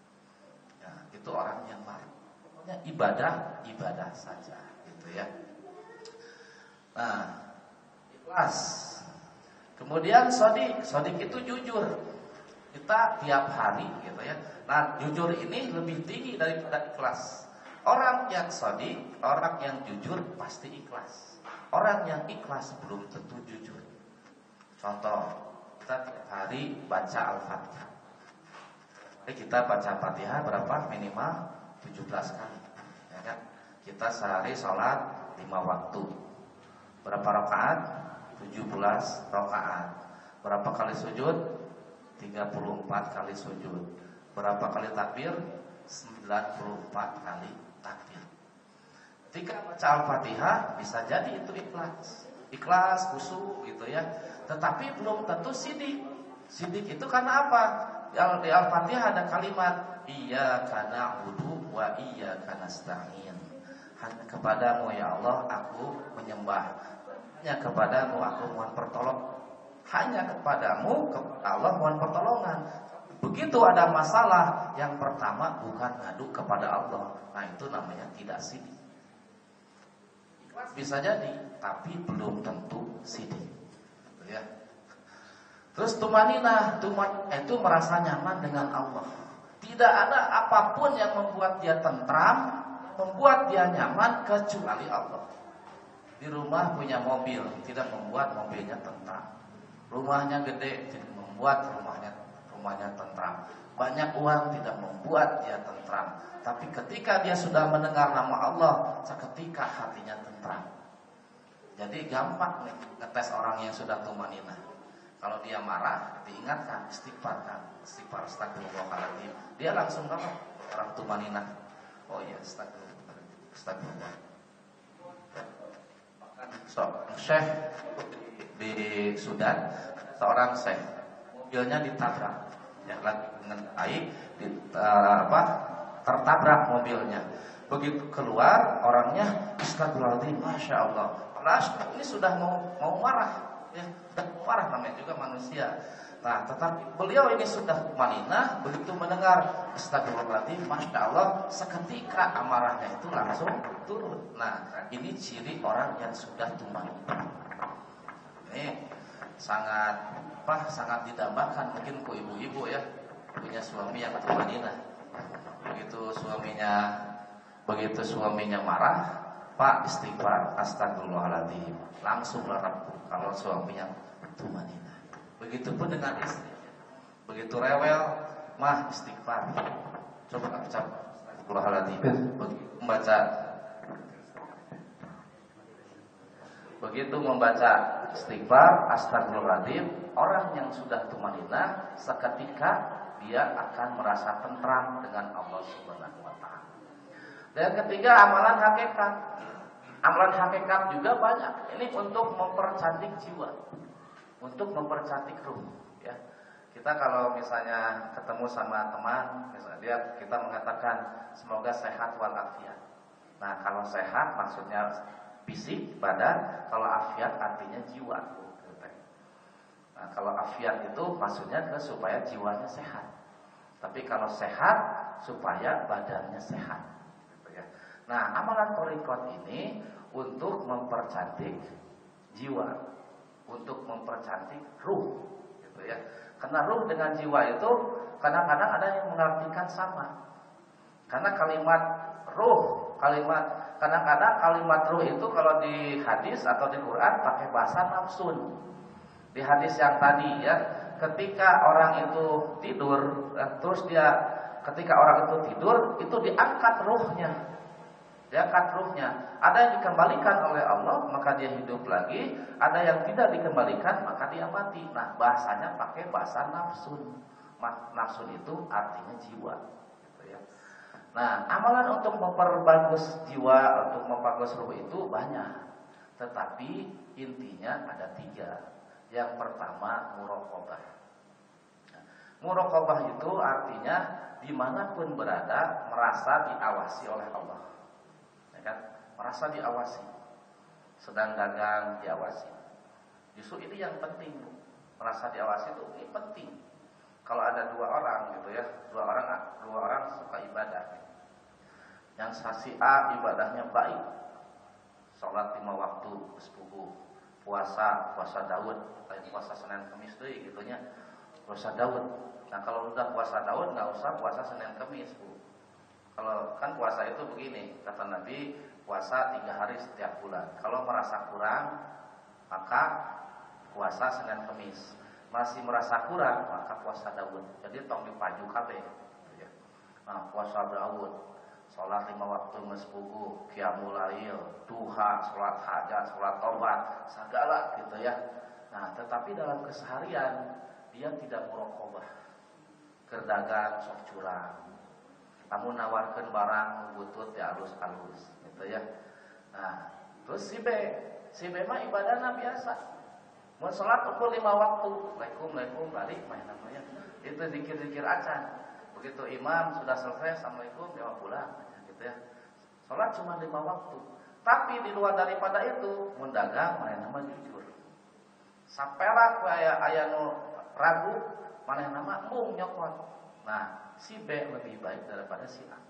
Itu orang yang marah. Pokoknya ibadah, ibadah saja, gitu ya. Nah, ikhlas. Kemudian sodik, sodik itu jujur. Kita tiap hari, gitu ya. Nah, jujur ini lebih tinggi daripada ikhlas. Orang yang shadiq, orang yang jujur pasti ikhlas. Orang yang ikhlas belum tentu jujur. Contoh, kita tiap hari baca Al-Fatihah. Jadi kita baca Fatihah berapa? Minimal tujuh belas kali. Ya kan? Kita sehari sholat lima waktu. Berapa rakaat? tujuh belas rakaat. Berapa kali sujud? tiga puluh empat kali sujud. Berapa kali takbir? sembilan puluh empat kali takbir. Ketika baca Al-Fatihah bisa jadi itu ikhlas. Ikhlas, khusyuk gitu ya. Tetapi belum tentu sidik. Sidik itu karena apa? Di Al-Fatihah ada kalimat iyyaka na'budu wa iyyaka nasta'in. Hanya kepadamu ya Allah aku menyembah. Hanya kepadamu aku mohon pertolongan. Hanya kepadamu kepada Allah mohon pertolongan. Begitu ada masalah, yang pertama bukan ngadu kepada Allah. Nah itu namanya tidak sidik. Bisa jadi, tapi belum tentu sidik. Ya. Terus tumaninah, tuman itu merasa nyaman dengan Allah. Tidak ada apapun yang membuat dia tentram, membuat dia nyaman kecuali Allah. Di rumah punya mobil, tidak membuat mobilnya tentram. Rumahnya gede, tidak membuat rumahnya rumahnya tentram. Banyak uang tidak membuat dia tentram. Tapi ketika dia sudah mendengar nama Allah, seketika hatinya tentram. Jadi gampang nih ngetes orang yang sudah tumaninah. Kalau dia marah, diingatkan istighfar kan, istighfar astagfirullahaladzim. Dia langsung apa? Orang tumaninah. Oh iya, astagfirullah. Astagfirullah. So, Syekh di Sudan, seorang syekh, mobilnya ditabrak, ya lagi dengan baik, di, uh, apa, tertabrak mobilnya. Begitu keluar orangnya, astagfirullahaladzim, masya Allah. Padahal ini sudah mau mau marah, ya, sudah mau marah namanya juga manusia. Nah, tetapi beliau ini sudah tumaninah, begitu mendengar astagfirullahaladzim, masya Allah, seketika amarahnya itu langsung turun. Nah, ini ciri orang yang sudah tumaninah. Ini sangat apa? Sangat didambakan mungkin ku ibu-ibu ya, punya suami yang tumaninah. Begitu suaminya begitu suaminya marah, Pak istighfar, astagfirullahaladzim, langsung larang kalau suaminya tumaninah. Begitupun dengan istri. Begitu rewel, mah istighfar. Coba ucap astagfirullahaladzim. Begitu membaca Begitu membaca istighfar, astagfirullahaladzim, orang yang sudah tumaninah seketika dia akan merasa tentram dengan Allah Subhanahu wa taala. Dan ketiga, amalan hakikat. Amalan hakikat juga banyak. Ini untuk mempercantik jiwa, untuk mempercantik ruh, ya. Kita kalau misalnya ketemu sama teman, misalnya dia kita mengatakan semoga sehat walafiat. Nah, kalau sehat maksudnya fisik, badan, kalau afiat artinya jiwa. Nah, kalau afiat itu maksudnya ke supaya jiwanya sehat. Tapi kalau sehat supaya badannya sehat. Gitu ya. Nah, amalan thariqat ini untuk mempercantik jiwa, untuk mempercantik ruh, gitu ya. Karena ruh dengan jiwa itu kadang-kadang ada yang mengartikan sama. Karena kalimat ruh, kalimat kadang-kadang kalimat ruh itu kalau di hadis atau di Quran pakai bahasa nafsun. Di hadis yang tadi ya, ketika orang itu tidur, terus dia ketika orang itu tidur, itu diangkat ruhnya. Diangkat ruhnya. Ada yang dikembalikan oleh Allah, maka dia hidup lagi. Ada yang tidak dikembalikan, maka dia mati. Nah, bahasanya pakai bahasa nafsun. Nafsun itu artinya jiwa. Gitu ya. Nah, amalan untuk memperbagus jiwa, untuk memperbagus ruh itu banyak. Tetapi intinya ada tiga. Yang pertama, muraqabah. Nah, muraqabah itu artinya dimanapun berada merasa diawasi oleh Allah, ya kan? Merasa diawasi. Sedang dagang diawasi. Justru ini yang penting, merasa diawasi itu ini penting. Kalau ada dua orang gitu ya, dua orang dua orang suka ibadah. Yang si A ibadahnya baik, sholat lima waktu sepupu, puasa puasa Daud, lain puasa Senin Kamis tuh gitunya, puasa Daud. Nah kalau udah puasa Daud nggak usah puasa Senin Kamis bu, Kalau kan puasa itu begini, kata Nabi, puasa tiga hari setiap bulan. Kalau merasa kurang, maka puasa Senin Kemis. Masih merasa kurang, maka puasa Daud. Jadi tong dipaju kabeh. Nah, puasa Daud, sholat lima waktu mesbuku, qiyamul lail, duha, sholat hajat, sholat tobat, segala gitu ya. Nah, tetapi dalam keseharian dia tidak muraqabah. Kerdagang sok curang. Kamu nawarkan barang butut ya halus-halus gitu ya. Nah, terus si B, si B mah ibadahnya biasa. Mau sholat pukul lima waktu, Assalamualaikum, Assalamualaikum, balik main namanya. Itu zikir-zikir acan. Begitu imam sudah selesai, Assalamualaikum, jawab pulang, gitu ya. Sholat cuma lima waktu. Tapi di luar daripada itu, mendagang main nama jujur. Sampailah kayak aya nu ragu, main nama mung nyokot. Nah, si B lebih baik daripada si A.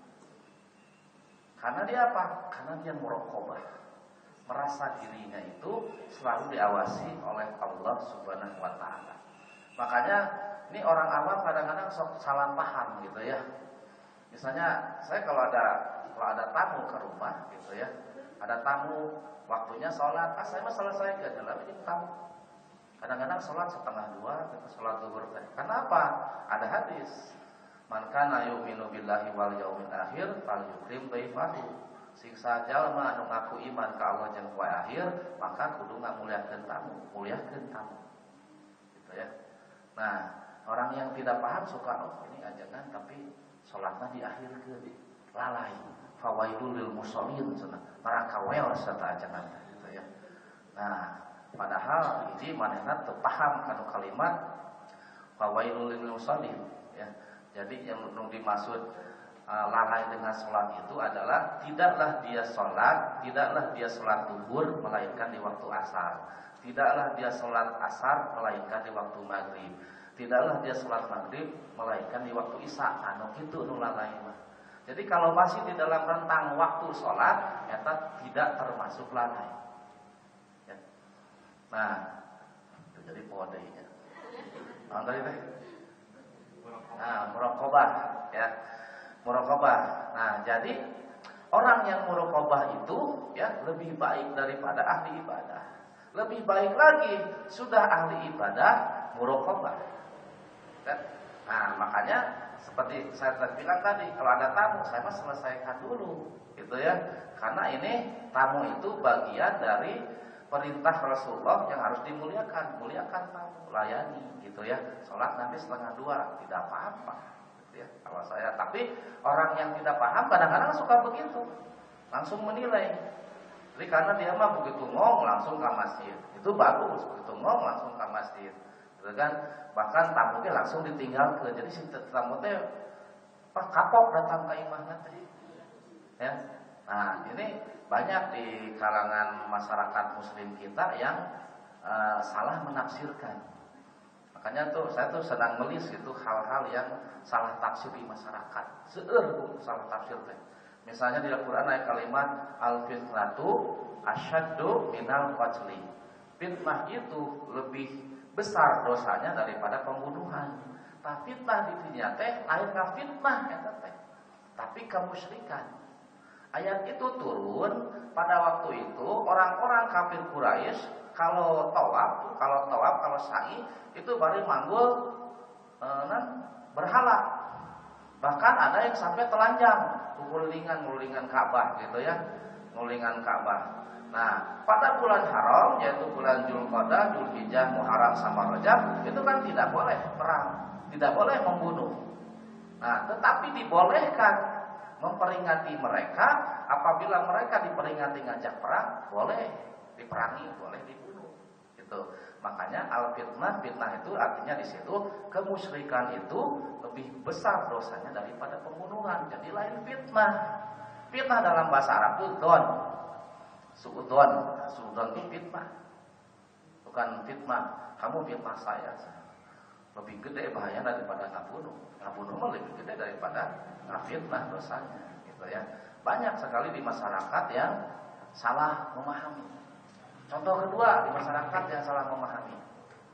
Karena dia apa? Karena dia muraqabah. Merasa dirinya itu selalu diawasi oleh Allah Subhanahu wa taala. Makanya ini orang awam kadang-kadang sok salah paham gitu ya. Misalnya saya kalau ada kalau ada tamu ke rumah gitu ya. Ada tamu waktunya sholat, ah saya mah selesai ke dalam ini tamu. Kadang-kadang sholat setengah dua, kita sholat zuhur teh. Kenapa? Ada hadis. Man kana yu'minu billahi wal yaumil akhir falyukrim dhaifahu. Siksa jalma anu ngaku iman ka Allah jeung poe akhir, maka kudu ngamuliakeun tamu, muliakeun tamu. Gitu ya. Nah, orang yang tidak paham suka oh ini ajangan tapi salatna diakhirkeun. Lalai. Fawaidul lil musallin cenah. Para kawel serta ajangan gitu ya. Nah, padahal ini manehna teu paham kana kalimat fawaidul lil musallin ya. Jadi yang dimaksud lalai dengan sholat itu adalah tidaklah dia sholat, tidaklah dia sholat zuhur melainkan di waktu asar, tidaklah dia sholat asar melainkan di waktu maghrib, tidaklah dia sholat maghrib melainkan di waktu isya. Anu kitu nu lalai mah. Jadi kalau masih di dalam rentang waktu sholat, eta tidak termasuk lalai. Ya. Nah, itu jadi podenya. Nah, tadi teh. Nah, muraqabah ya. Muraqabah. Nah, jadi orang yang muraqabah itu ya lebih baik daripada ahli ibadah. Lebih baik lagi sudah ahli ibadah muraqabah. Kan? Nah, makanya seperti saya bilang tadi, kalau ada tamu saya mah selesaikan dulu, gitu ya. Karena ini tamu itu bagian dari perintah Rasulullah yang harus dimuliakan, muliakan tamu, layani, gitu ya. Salat nanti setengah dua, tidak apa-apa. Ya, kalau saya, tapi orang yang tidak paham kadang-kadang suka begitu, langsung menilai. Jadi karena dia mah begitu ngomong langsung ke masjid, itu bagus, begitu ngomong langsung ke masjid, gitu kan? Bahkan tamunya langsung ditinggalkan. Jadi si tamunya pak kapok datang ke imahnya tadi, ya. Nah ini banyak di kalangan masyarakat Muslim kita yang uh, salah menafsirkan. Makanya tuh saya tuh sedang melis itu hal-hal yang salah tafsir di masyarakat. Seueur salah tafsir teh. Misalnya di Al-Qur'an ayat kalimat al-fitnatu asyaddu minal qatli. Fitnah itu lebih besar dosanya daripada pembunuhan. Tapi fitnah di dinya teh lain ka fitnah eta teh. Tapi kemusyrikan. Ayat itu turun pada waktu itu orang-orang kafir Quraisy kalau tawaf, kalau tawaf, kalau sa'i itu baru manggul e, nan, berhala. Bahkan ada yang sampai telanjang, ngulingan-ngulingan Ka'bah gitu ya, ngulingan Ka'bah. Nah, pada bulan haram yaitu bulan Dzulqa'dah, Dzulhijjah, Muharram sama Rajab itu kan tidak boleh perang, tidak boleh membunuh. Nah, tetapi dibolehkan memperingati mereka apabila mereka diperingati ngajak perang, boleh diperangi, boleh dibunuh. Itu makanya al-fitnah, fitnah itu artinya di situ kemusyrikan itu lebih besar dosanya daripada pembunuhan. Jadi lain fitnah. Fitnah dalam bahasa Arab itu don, suudon, suudon itu fitnah. Bukan fitnah, kamu fitnah saya. Lebih gede bahaya daripada ngabunuh. Ngabunuh mah lebih gede daripada ngafitnah dosanya, gitu ya. Banyak sekali di masyarakat yang salah memahami. Contoh kedua di masyarakat yang salah memahami.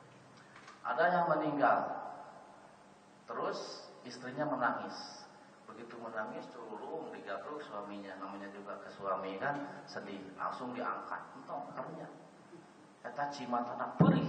Ada yang meninggal, terus istrinya menangis. begitu menangis curung digabruk suaminya, namanya juga ke suami kan sedih, langsung diangkat entong karunya eta cimatana perih.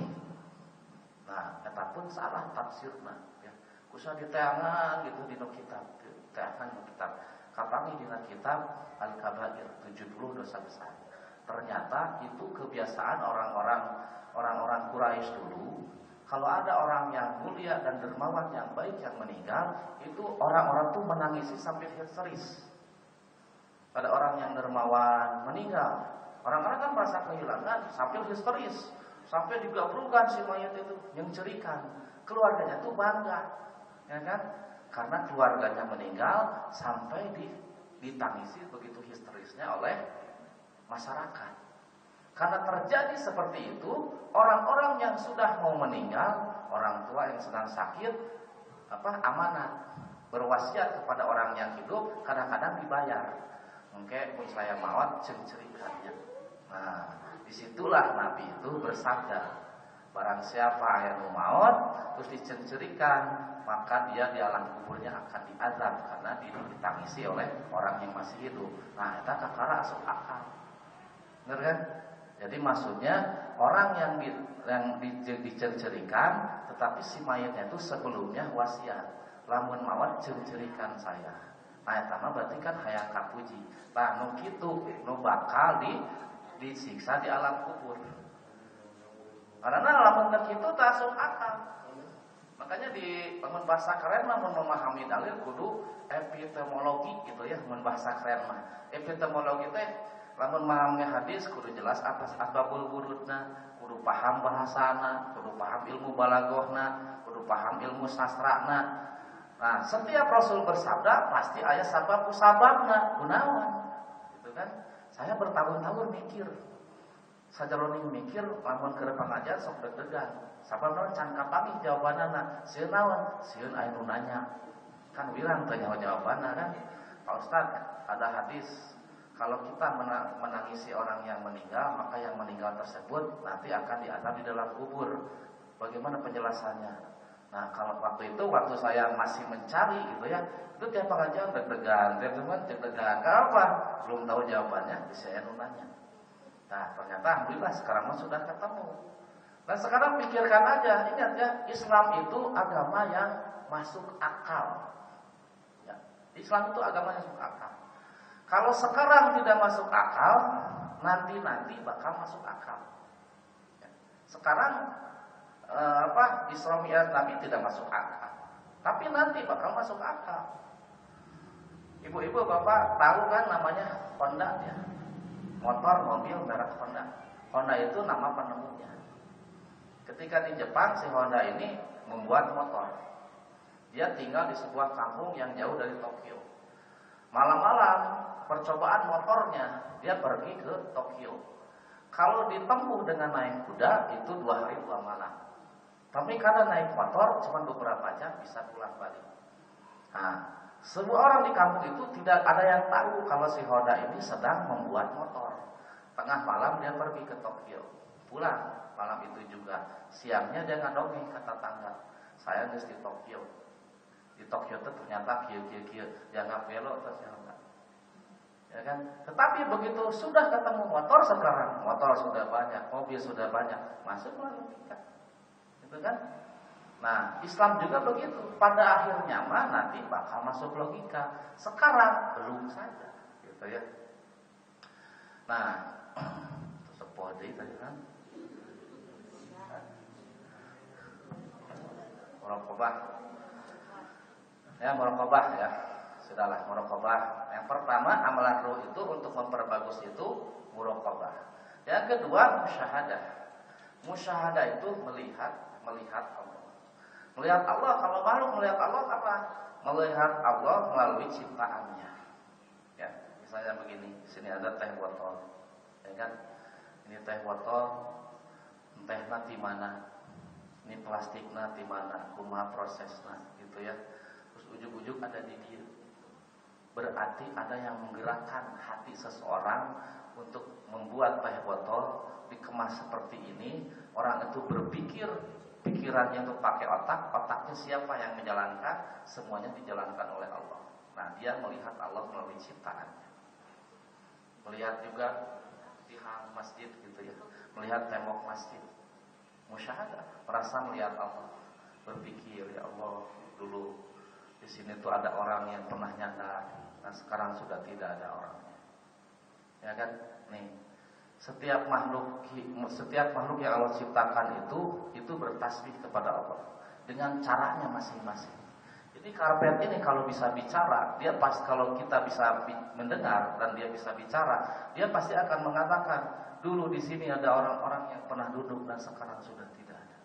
Nah eta pun salah tafsirna ya, kusa diteangan gitu dina kitab, teangan dina kitab kapangi dina kitab Al-Kabair tujuh puluh dosa besar. Ternyata itu kebiasaan orang-orang orang-orang Quraisy dulu. Kalau ada orang yang mulia dan dermawan yang baik yang meninggal, itu orang-orang tuh menangisi sampai histeris. Pada orang yang dermawan meninggal, orang-orang kan merasa kehilangan sampai histeris, sampai digabrukan si mayat itu, yang cerikan. Keluarganya tuh bangga, ya kan? Karena keluarganya meninggal sampai di, ditangisi begitu histerisnya oleh masyarakat. Karena terjadi seperti itu, orang-orang yang sudah mau meninggal, orang tua yang sedang sakit, apa amanat berwasiat kepada orang yang hidup, kadang-kadang dibayar. Mungkin pun saya mawat ceng-cerikannya. Nah, disitulah Nabi itu bersabda, barang siapa yang mau maut terus diceng-cerikan, maka dia di alam kuburnya akan diazab karena ditangisi oleh orang yang masih hidup. Nah, itu kakara asup akal. Benar kan? Jadi maksudnya orang yang di, yang di, dicerikan, tetapi si mayatnya itu sebelumnya wasiat, lamun mawat cerikan saya. Nah, eta mah berarti kan hayang kapuji. Nah, nu kitu nu bakal di disiksa di alam kubur. Karena lamun teu kitu teu asup akal. Makanya di lamun bahasa keren mah mun memahami dalil kudu epistemologi gitu ya, mun bahasa keren mah. Epistemologi teh lamun memahami hadis kudu jelas atas asbabul wurudna, kudu paham bahasana, kudu paham ilmu balaghahna, kudu paham ilmu sastrana. Nah, setiap Rasul bersabda pasti aya sabab kusababna, kunaon. Gitu kan? Saya bertahun-tahun mikir. Sajaroning mikir lamun keur pangajian sok deg-degan. Sabab naon can kapangi jawabanana? Sieun naon? Sieun aya nu nanya. Kan wirang teh nyawa jawabanna kan. Pak Ustaz, ada hadis kalau kita menangisi orang yang meninggal, maka yang meninggal tersebut nanti akan diazab di dalam kubur. Bagaimana penjelasannya? Nah, kalau waktu itu, waktu saya masih mencari gitu ya, itu tiap pengajian deg-degan, tiap teman deg-degan. Kenapa? Belum tahu jawabannya, bisa nanya. Nah, ternyata alhamdulillah sekarang mah sudah ketemu. Nah, sekarang pikirkan aja, ingat ya, Islam itu agama yang masuk akal. Ya, Islam itu agama yang masuk akal. Kalau sekarang tidak masuk akal, nanti-nanti bakal masuk akal. Ya. Sekarang eh, apa Isra Mi'raj Nabi tidak masuk akal, tapi nanti bakal masuk akal. Ibu-ibu, bapak tahu kan namanya Honda ya, motor mobil merek Honda. Honda itu nama penemunya. Ketika di Jepang si Honda ini membuat motor, dia tinggal di sebuah kampung yang jauh dari Tokyo. Malam-malam percobaan motornya, dia pergi ke Tokyo. Kalau ditempuh dengan naik kuda itu dua hari dua malam. Tapi karena naik motor cuma beberapa jam bisa pulang balik. Nah, semua orang di kampung itu tidak ada yang tahu kalau si Honda ini sedang membuat motor. Tengah malam dia pergi ke Tokyo, pulang malam itu juga. Siangnya dia ngadongeng ke tetangga, saya geus di Tokyo. Di Tokyo itu ternyata kieu-kieu jangan belok terus ya Honda. Ya kan? Tetapi begitu sudah ketemu motor sekarang, motor sudah banyak, mobil sudah banyak, masuklah logika. Gitu kan? Nah, Islam juga begitu. Pada akhirnya mah nanti bakal masuk logika. Sekarang belum saja, gitu ya. Nah, sepode tadi kan. Muraqabah. Ya, muraqabah ya. Sudahlah, muraqabah. Yang pertama, amalan ruh itu untuk memperbagus itu muraqabah. Yang kedua, musyahadah. Musyahadah itu melihat melihat Allah. Melihat Allah, kalau makhluk melihat Allah apa? Melihat Allah melalui ciptaannya. Ya, misalnya begini, di sini ada teh botol. Ya kan? Ini teh botol, tehna di mana? Ini plastikna di mana? Kumaha prosesna gitu ya. Terus ujug-ujug ada di dia. Berarti ada yang menggerakkan hati seseorang untuk membuat teh botol dikemas seperti ini. Orang itu berpikir, pikirannya itu pakai otak, otaknya siapa yang menjalankan? Semuanya dijalankan oleh Allah. Nah, dia melihat Allah melalui ciptaannya. Melihat juga tiang masjid gitu ya, melihat tembok masjid. Musyahadah, merasa melihat Allah. Berpikir, ya Allah, dulu di sini tuh ada orang yang pernah nyandar, nah sekarang sudah tidak ada orangnya. Ya kan? Nih, setiap makhluk setiap makhluk yang Allah ciptakan itu itu bertasbih kepada Allah dengan caranya masing-masing. Jadi karpet ini kalau bisa bicara, dia pas kalau kita bisa mendengar dan dia bisa bicara, dia pasti akan mengatakan, dulu di sini ada orang-orang yang pernah duduk dan sekarang sudah tidak ada.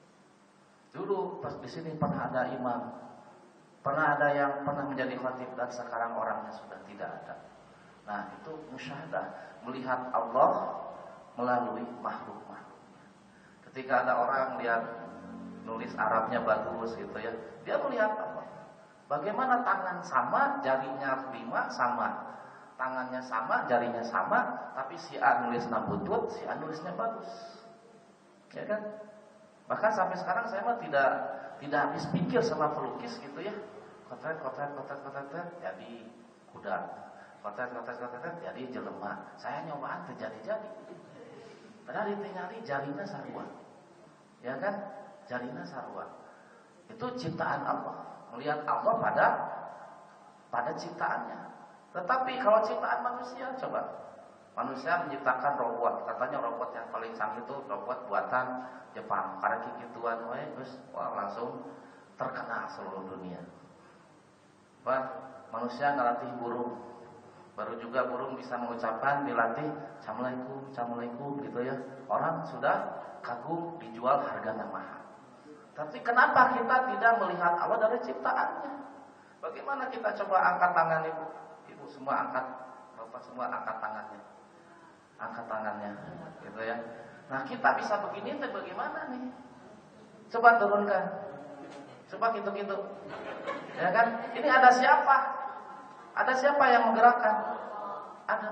Dulu pas di sini pernah ada imam, pernah ada yang pernah menjadi khatib dan sekarang orangnya sudah tidak ada. Nah, itu musyahadah, melihat Allah melalui makhluk-makhluknya. Ketika ada orang lihat nulis Arabnya bagus gitu ya, dia melihat Allah. Bagaimana tangan sama, jarinya lima sama, tangannya sama, jarinya sama, tapi si A nulisnya butut, si A nulisnya bagus, ya kan? Bahkan sampai sekarang saya mah tidak tidak habis pikir sama pelukis gitu ya, kotret kotret kotret kotret jadi kuda, kotret kotret kotret jadi jelema. Saya nyobaan terjadi-jadi, padahal ditinggali jarinya sarua, ya kan? Jarinya sarua, itu ciptaan Allah. Melihat Allah pada pada ciptaannya. Tetapi kalau ciptaan manusia, coba manusia menciptakan robot, katanya robot yang paling canggih itu robot buatan Jepang. Karena kikituan we terus wah, langsung terkenal seluruh dunia. Wah, manusia ngelatih burung. Baru juga burung bisa mengucapkan, dilatih Assalamualaikum, Assalamualaikum gitu ya. Orang sudah kagum, dijual harganya mahal. Tapi kenapa kita tidak melihat Allah dari ciptaannya? Bagaimana kita coba angkat tangan ibu? Ibu semua angkat, bapak semua angkat tangannya, angkat tangannya, gitu ya. Nah kita bisa begini, tapi bagaimana nih? Coba turunkan, coba gitu-gitu, ya kan? Ini ada siapa? Ada siapa yang menggerakkan? Ada.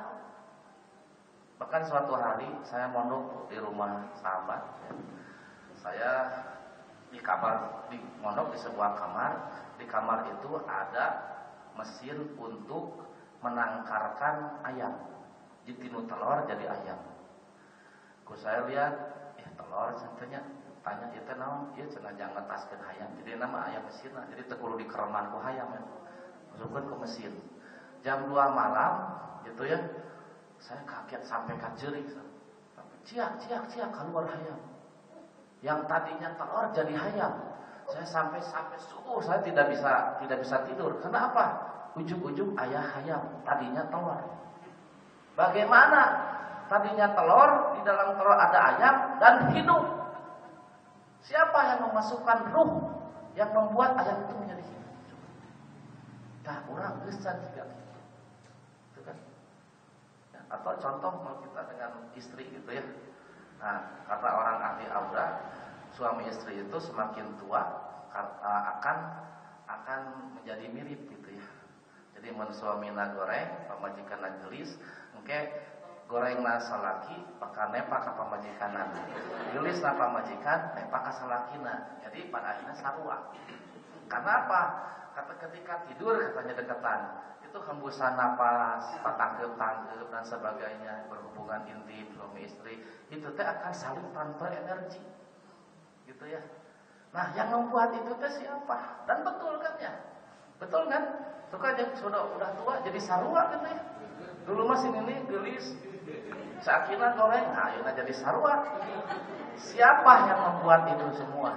Bahkan suatu hari saya mondok di rumah sahabat, ya. Saya di kamar, di mondok di sebuah kamar. Di kamar itu ada mesin untuk menangkarkan ayam. Jadi tinu telur jadi ayam. Ku saya lihat, eh telur centenya tanya itu naon, ieu cenah jangan ngetaskeun ayam. Jadi nama ayam mesinna, jadi teu kudu dikereman ku hayam ya. Masukkeun ke mesin. Jam dua malam gitu ya. Saya kaget sampai kajerik. Ciak, ciak, ciak keluar hayam. Yang tadinya telur jadi hayam. Saya sampai sampai subuh saya tidak bisa tidak bisa tidur. Kenapa? Ujung-ujung ayah hayam, tadinya telur. Bagaimana? Tadinya telur, di dalam telur ada ayam dan hidup. Siapa yang memasukkan ruh yang membuat ayam itu menjadi hidup? Nah, orang besar juga. Itu kan? Ya, atau contoh kalau kita dengan istri gitu ya. Nah, kata orang ahli aura, suami istri itu semakin tua akan akan menjadi mirip gitu ya. Jadi mun suamina goreng, pamajikanna gelis, engke gorengna salaki bakal nepak ka pamajikanna. Gelisna pamajikan nepak ka salakina. Jadi pada akhirnya sarua. Karena apa? Kata ketika tidur katanya deketan, itu hembusan napas, tangkep-tangkep dan sebagainya, berhubungan intim suami istri, itu teh akan saling transfer energi, gitu ya. Nah, yang membuat itu teh siapa? Dan betul kan ya? Betul kan? Tuh kan sudah udah tua jadi sarua gitu ya. Dulu masih ini gelis, sakina goreng, nah ayeuna jadi sarua. Siapa yang membuat itu semua?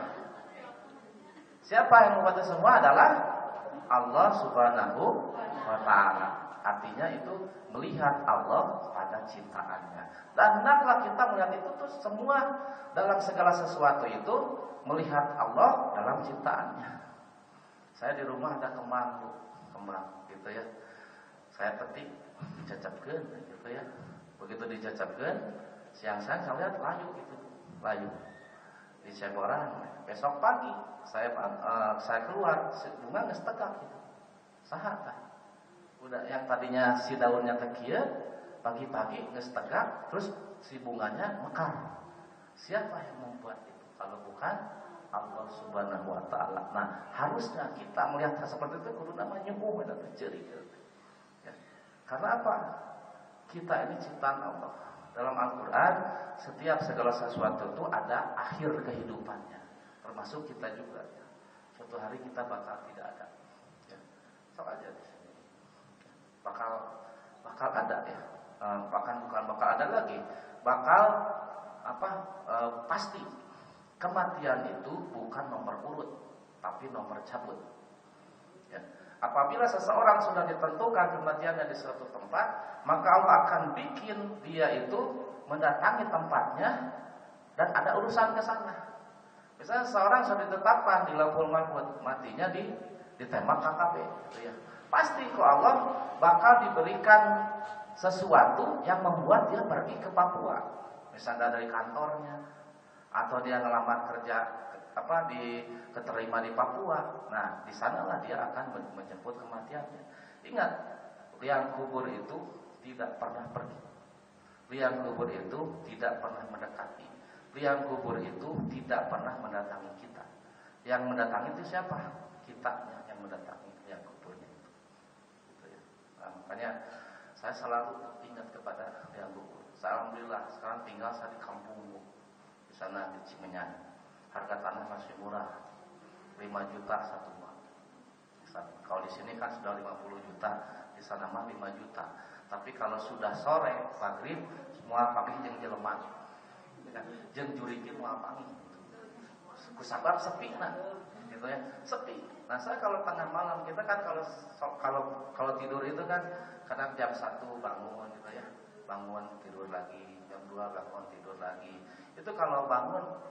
Siapa yang membuat itu semua adalah Allah Subhanahu wa ta'ala. Artinya itu melihat Allah pada ciptaannya. Dan hendaklah kita melihat itu tuh semua dalam segala sesuatu itu melihat Allah dalam ciptaannya. Saya di rumah ada kembang, kembang gitu ya. Saya petik, dicacapkeun gitu ya. Begitu dicacapkeun, siang-siang saya lihat layu gitu, layu. Di Ceboran, besok pagi saya uh, saya keluar, bunga geus tegak gitu. Saha tah? Udah yang tadinya si daunnya tekieu, pagi-pagi geus tegak, terus si bunganya mekar. Siapa yang membuat itu? Kalau bukan Allah Subhanahu wa taala. Nah, harusnya kita melihat hal seperti itu kudu namanya nyukuh eta ceurik. Ya. Karena apa? Kita ini ciptaan Allah. Dalam Al-Qur'an, setiap segala sesuatu itu ada akhir kehidupannya. Termasuk kita juga. Ya. Suatu hari kita bakal tidak ada. Ya. Sok aja di sini. Bakal bakal ada ya. E, bahkan bukan bakal ada lagi. Bakal apa? E, pasti. Kematian itu bukan nomor urut, tapi nomor cabut. Ya. Apabila seseorang sudah ditentukan kematiannya di suatu tempat, maka Allah akan bikin dia itu mendatangi tempatnya dan ada urusan ke sana. Misalnya seseorang sudah ditetapkan di Lauhul Mahfuz, matinya di ditembak K K B, gitu ya. Pasti kok Allah bakal diberikan sesuatu yang membuat dia pergi ke Papua, misalnya dari kantornya, atau dia ngelamar kerja apa di keterima di Papua. Nah, di sanalah dia akan menjemput kematiannya. Ingat, liang kubur itu tidak pernah pergi. Liang kubur itu tidak pernah mendekati. Liang kubur itu tidak pernah mendatangi kita. Yang mendatangi itu siapa? Kitanya yang mendatangi liang kuburnya itu. Gitu ya. Nah, makanya saya selalu ingat kepada liang kubur. Alhamdulillah sekarang tinggal saya di kampung di sana di Cimenyan. Harga tanah masih murah, lima juta satu buah. Kalau di sini kan sudah lima puluh juta, di sana mah lima juta. Tapi kalau sudah sore, maghrib, semua panggil jeung jelema. Jeung jurikeun moal panggil. Kusabab sepi nah, gitu ya, sepi. Nah, saya kalau tengah malam kita kan kalau kalau kalau tidur itu kan kadang jam satu bangun gitu ya. Bangun tidur lagi, jam dua bangun tidur lagi. Itu kalau bangun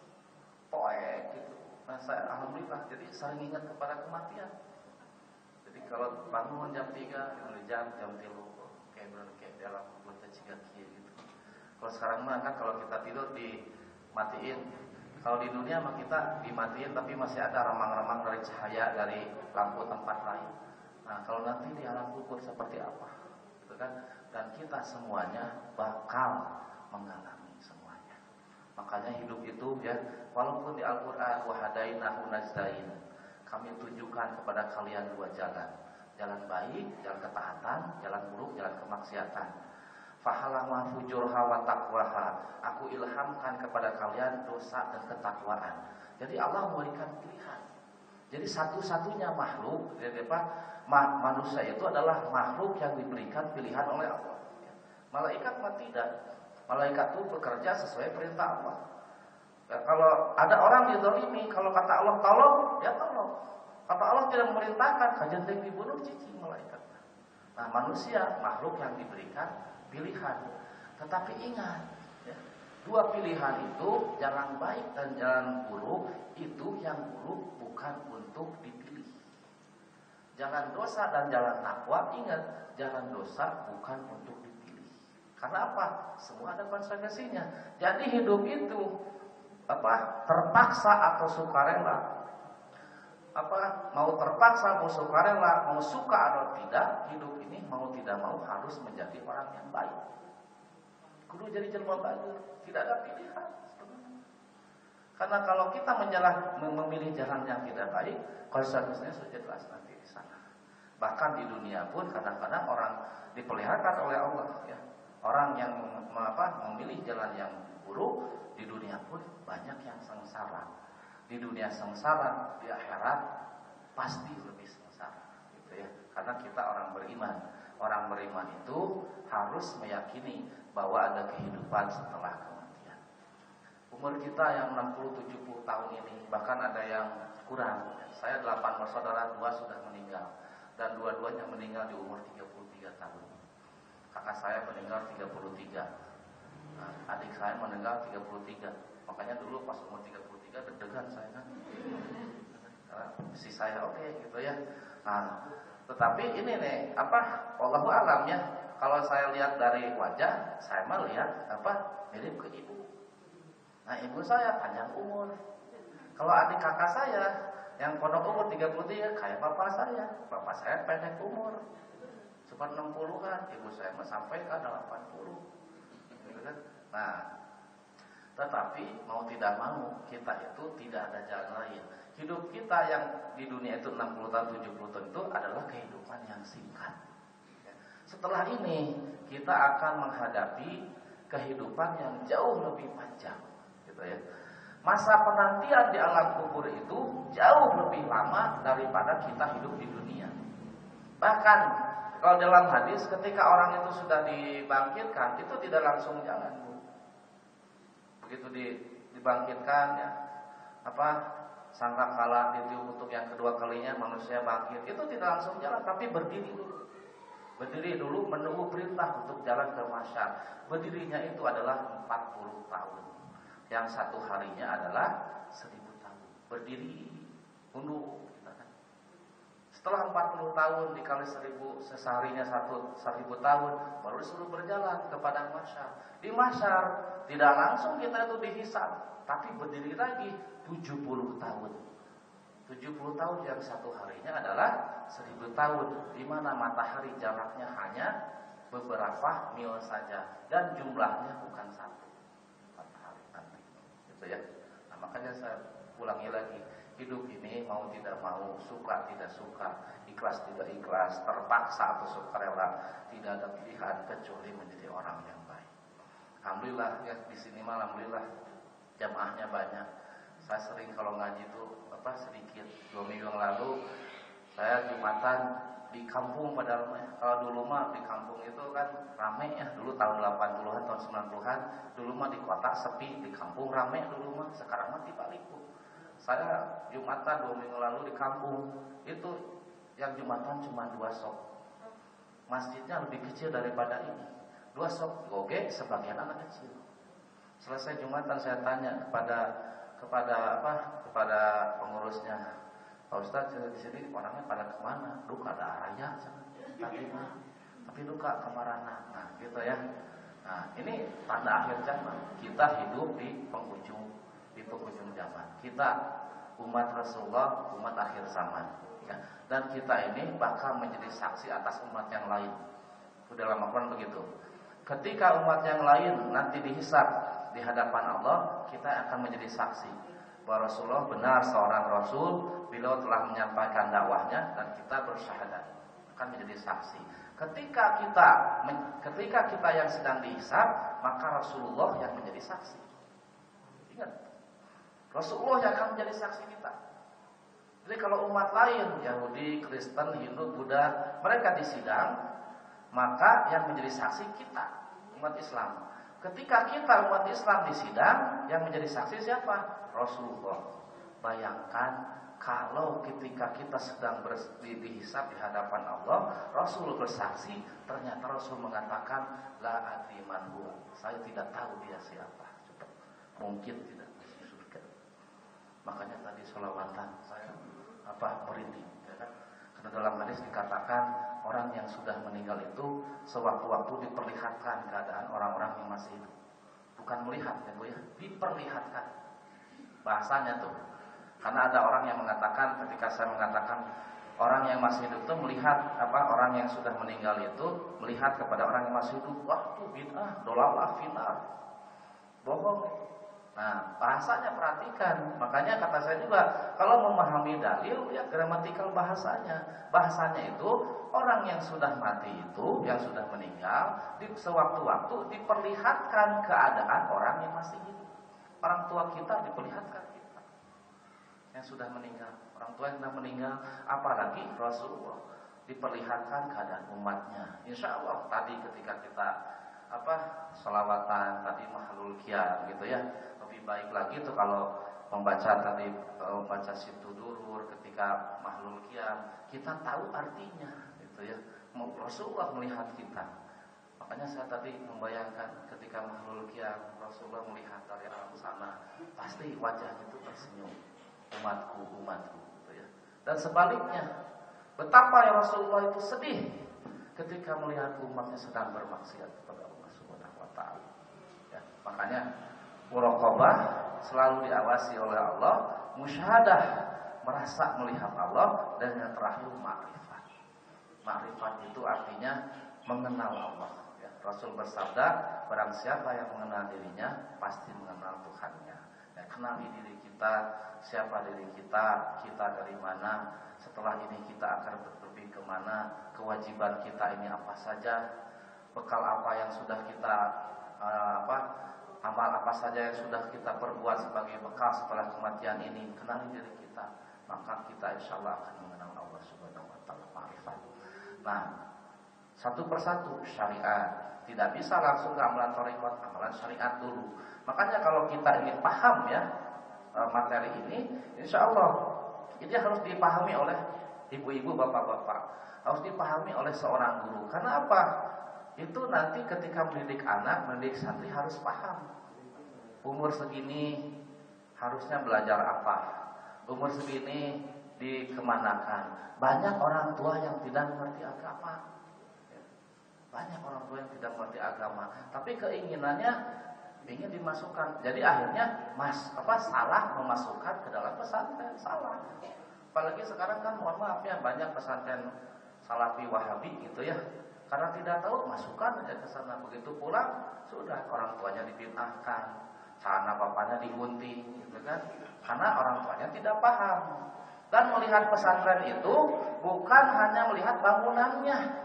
poek gitu. Nah, saya alhamdulillah jadi sering ingat kepada kematian. Jadi kalau bangun jam tiga, jam jam tiga kayak benar kayak dalam kubur ciga kieu gitu. Kalau sekarang mah kan kalau kita tidur dimatiin. Kalau di dunia mah kita dimatiin tapi masih ada remang-remang dari cahaya dari lampu tempat lain. Nah, kalau nanti di alam kubur seperti apa? Gitu kan? Dan kita semuanya bakal mengalami semuanya. Makanya hidup itu ya, walaupun di Al-Qur'an wa hadainahu najdain, kami tunjukkan kepada kalian dua jalan. Jalan baik, jalan ketaatan, jalan buruk, jalan kemaksiatan. Fahalama fujurha wa taqwaha. Aku ilhamkan kepada kalian dosa dan ketakwaan. Jadi Allah memberikan pilihan. Jadi satu-satunya makhluk, jadi apa? Manusia itu adalah makhluk yang diberikan pilihan oleh Allah. Malaikat mah tidak. Malaikat itu bekerja sesuai perintah Allah. Ya, kalau ada orang dizalimi, kalau kata Allah tolong, ya tolong. Kata Allah tidak memerintahkan, kajian yang dibunuh cici malaikat. Nah, manusia makhluk yang diberikan pilihan. Tetapi ingat, ya, dua pilihan itu jalan baik dan jalan buruk itu yang buruk bukan untuk dipilih. Jalan dosa dan jalan takwa, ingat, jalan dosa bukan untuk dipilih. Karena apa? Semua ada konsekuensinya. Jadi hidup itu apa? Terpaksa atau sukarela. Apa? Mau terpaksa, mau sukarela, mau suka atau tidak, hidup ini mau tidak mau harus menjadi orang yang baik. Kudu jadi jelma baik, tidak ada pilihan. Karena kalau kita menjalan, memilih jalan yang tidak baik, konsekuensinya sudah jelas nanti di sana. Bahkan di dunia pun kadang-kadang orang dipeliharakan oleh Allah, ya. Orang yang apa, memilih jalan yang buruk di dunia pun banyak yang sengsara. Di dunia sengsara, di akhirat pasti lebih sengsara, gitu ya. Karena kita orang beriman. Orang beriman itu harus meyakini bahwa ada kehidupan setelah kematian. Umur kita yang enam puluh tujuh puluh tahun ini, bahkan ada yang kurang. Saya delapan bersaudara, dua sudah meninggal. Dan dua-duanya meninggal di umur tiga puluh tiga tahun. Kakak saya meninggal tiga puluh tiga. Nah, adik saya meninggal tiga puluh tiga. Makanya dulu pas umur tiga puluh tiga deg-degan saya kan. Karena si saya oke okay, gitu ya. Nah, tetapi ini nih, apa? Wallahu a'lam ya. Kalau saya lihat dari wajah, saya mah lihat apa? Mirip ke ibu. Nah, ibu saya panjang umur. Kalau adik kakak saya yang pondok umur tiga puluh tiga kayak bapak saya. Bapak saya pendek umur. Cuma enam puluhan, ibu saya mah sampai ke delapan puluh. Gitu kan? Nah, Tetapi mau tidak mau kita itu tidak ada jalan lain. Hidup kita yang di dunia itu enam puluh tahun, tujuh puluh tahun itu adalah kehidupan yang singkat. Setelah ini kita akan menghadapi kehidupan yang jauh lebih panjang, gitu ya. Masa penantian di alam kubur itu jauh lebih lama daripada kita hidup di dunia. Bahkan kalau dalam hadis ketika orang itu sudah dibangkitkan itu tidak langsung jalan, Bu. Begitu dibangkitkan ya, apa sangkakala ditiup untuk yang kedua kalinya manusia bangkit, itu tidak langsung jalan tapi berdiri dulu. Berdiri dulu menunggu perintah untuk jalan ke mahsyar. Berdirinya itu adalah empat puluh tahun. Yang satu harinya adalah seribu tahun. Berdiri tunduk. Setelah empat puluh tahun dikali seribu, seharinya satu seribu tahun, baru disuruh berjalan ke padang mahsyar. Di mahsyar tidak langsung kita itu dihisab, tapi berdiri lagi tujuh puluh tahun. tujuh puluh tahun yang satu harinya adalah seribu tahun, di mana matahari jaraknya hanya beberapa mil saja dan jumlahnya bukan satu matahari nanti, gitu ya. Nah, makanya saya ulangi lagi, hidup ini mau tidak mau, suka tidak suka, ikhlas tidak ikhlas, terpaksa atau sukarela, tidak ada pilihan kecuali menjadi orang yang baik. Alhamdulillah ya, di sini malam alhamdulillah jamaahnya banyak. Saya sering kalau ngaji itu apa sedikit. Dua minggu yang lalu saya Jumatan di kampung, padahal kalau dulu mah di kampung itu kan rame ya, dulu tahun delapan puluhan, tahun sembilan puluhan, dulu mah di kota sepi, di kampung rame dulu mah. Sekarang mah dibaliku. Saya Jumatan dua minggu lalu di kampung itu yang Jumatan cuma dua sok. Masjidnya lebih kecil daripada ini. Dua sok goge, sebagian anak kecil. Selesai Jumatan saya tanya kepada kepada apa kepada pengurusnya, Pak Ustadz di sini orangnya pada kemana? Duka ada raya tadi mah, tapi duka kemarana. Nah gitu ya. Nah ini tanda akhir zaman. Kita hidup di penghujung di penghujung zaman. Kita umat Rasulullah, umat akhir zaman. Ya. Dan kita ini bakal menjadi saksi atas umat yang lain. Dalam Al-Quran begitu. Ketika umat yang lain nanti dihisab di hadapan Allah, kita akan menjadi saksi bahwa Rasulullah benar seorang Rasul, beliau telah menyampaikan dakwahnya dan kita bersyahadat, akan menjadi saksi. Ketika kita ketika kita yang sedang dihisab, maka Rasulullah yang menjadi saksi. Ingat, Rasulullah yang akan menjadi saksi kita. Jadi kalau umat lain, Yahudi, Kristen, Hindu, Buddha, mereka disidang, maka yang menjadi saksi kita, umat Islam. Ketika kita umat Islam disidang, yang menjadi saksi siapa? Rasulullah. Bayangkan kalau ketika kita sedang dihisab di hadapan Allah, Rasul bersaksi, ternyata Rasul mengatakan la adri man huwa. Saya tidak tahu dia siapa. Coba. Mungkin tidak masuk surga. Makanya tadi sholawatan saya apa merinding, ya kan? Karena dalam hadis dikatakan orang yang sudah meninggal itu sewaktu-waktu diperlihatkan keadaan orang-orang yang masih hidup. Bukan melihat ya Bu ya, diperlihatkan. Bahasanya tuh. Karena ada orang yang mengatakan, ketika saya mengatakan orang yang masih hidup itu melihat apa orang yang sudah meninggal itu melihat kepada orang yang masih hidup. Wah, itu bid'ah, dolalah finar. Bohong. Nah, bahasanya perhatikan. Makanya kata saya juga, kalau memahami dalil, lihat gramatikal bahasanya. Bahasanya itu orang yang sudah mati itu, yang sudah meninggal, di sewaktu-waktu diperlihatkan keadaan orang yang masih hidup. Orang tua kita diperlihatkan kita yang sudah meninggal. Orang tua yang sudah meninggal, apalagi Rasulullah diperlihatkan keadaan umatnya. Insya Allah tadi ketika kita apa sholawatan tadi mahlul qiyam gitu ya. Lebih baik lagi itu kalau membaca tadi kalau membaca situ durur ketika mahlul qiyam kita tahu artinya gitu ya. Rasulullah melihat kita. Makanya saya tadi membayangkan ketika mahlul qiyam Rasulullah melihat dari alam sana, pasti wajahnya itu tersenyum. Umatku, umatku gitu ya. Dan sebaliknya, betapa ya Rasulullah itu sedih ketika melihat umatnya sedang bermaksiat kepada Allah Subhanahu wa taala. Ya, makanya muraqabah selalu diawasi oleh Allah, musyahadah merasa melihat Allah, dan yang terakhir ma'rifat. Ma'rifat itu artinya mengenal Allah, ya. Rasul bersabda, barang siapa yang mengenal dirinya pasti mengenal Tuhannya. Ya, kenali diri kita, siapa diri kita, kita dari mana, setelah ini kita akan pergi kemana, kewajiban kita ini apa saja, bekal apa yang sudah kita uh, apa amal apa saja yang sudah kita perbuat sebagai bekal setelah kematian ini. Kenali diri kita, maka kita insya Allah akan mengenal Allah Subhanahu wa taala, ma'rifat. Nah, satu persatu syariat. Tidak bisa langsung ke amalan thariqat, amalan syariat dulu. Makanya kalau kita ingin paham ya materi ini, insya Allah ini harus dipahami oleh ibu-ibu, bapak-bapak, harus dipahami oleh seorang guru. Karena apa? Itu nanti ketika mendidik anak, mendidik santri harus paham. Umur segini harusnya belajar apa? Umur segini dikemanakan? Banyak orang tua yang tidak mengerti agama. Banyak orang tua yang tidak mengerti agama, tapi keinginannya ingin dimasukkan. Jadi akhirnya mas apa salah memasukkan ke dalam pesantren, salah. Apalagi sekarang kan mohon maaf ya, banyak pesantren Salafi Wahabi gitu ya. Karena tidak tahu, masukkan aja ke sana. Begitu pulang sudah orang tuanya dibid'ahkan, celana bapaknya digunting gitu kan. Karena orang tuanya tidak paham. Dan melihat pesantren itu bukan hanya melihat bangunannya.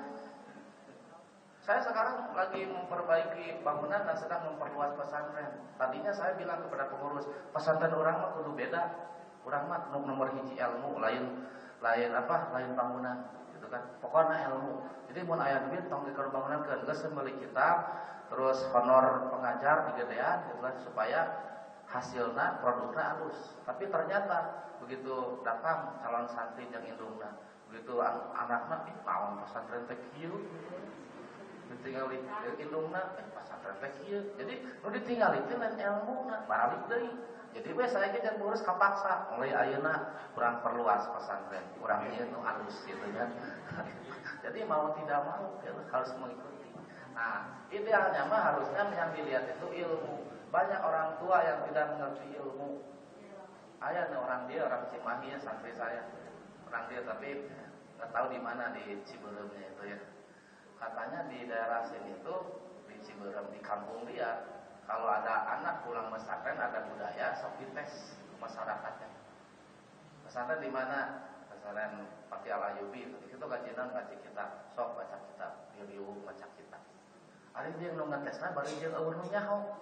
Saya sekarang lagi memperbaiki bangunan dan sedang memperluas pesantren. Tadinya saya bilang kepada pengurus, pesantren orang mah kudu beda. Orang mah nomor hiji ilmu, lain lain apa? Lain bangunan, gitu kan. Pokoknya ilmu. Jadi mun aya duit tong dikeun bangunan keun geus meuli kitab, terus honor pengajar digedean gitu kan, supaya hasilna produknya halus. Tapi ternyata begitu datang calon santri jeung indungna, begitu anakna ih naon pesantren teh kieu. Ditinggali indungna eh pesantren teh kieu. Jadi nu ditinggali teh lain ilmuna, balik deui. Jadi we saya ge jeung ngurus kapaksa, mulai ayeuna kurang perluas pesantren. Urang ieu nu alus gitu kan. Jadi mau tidak mau ya, harus mengikuti. Nah, idealnya mah harusnya yang dilihat itu ilmu. Banyak orang tua yang tidak mengerti ilmu. Aya nih orang dia orang Cimahi ya, santri saya. Orang dia tapi enggak tahu di mana di Ciberemnya itu ya. Katanya di daerah sini itu di Ciberem, di kampung dia, kalau ada anak pulang pesantren ada budaya sok dites masyarakatnya. Pesantren di mana? Pesantren Pati Al Ayubi. Itu kajian ngaji kita, sok baca kitab, review baca kitab. Ari dia nu ngetesna bari jeung eueuh nu nyaho.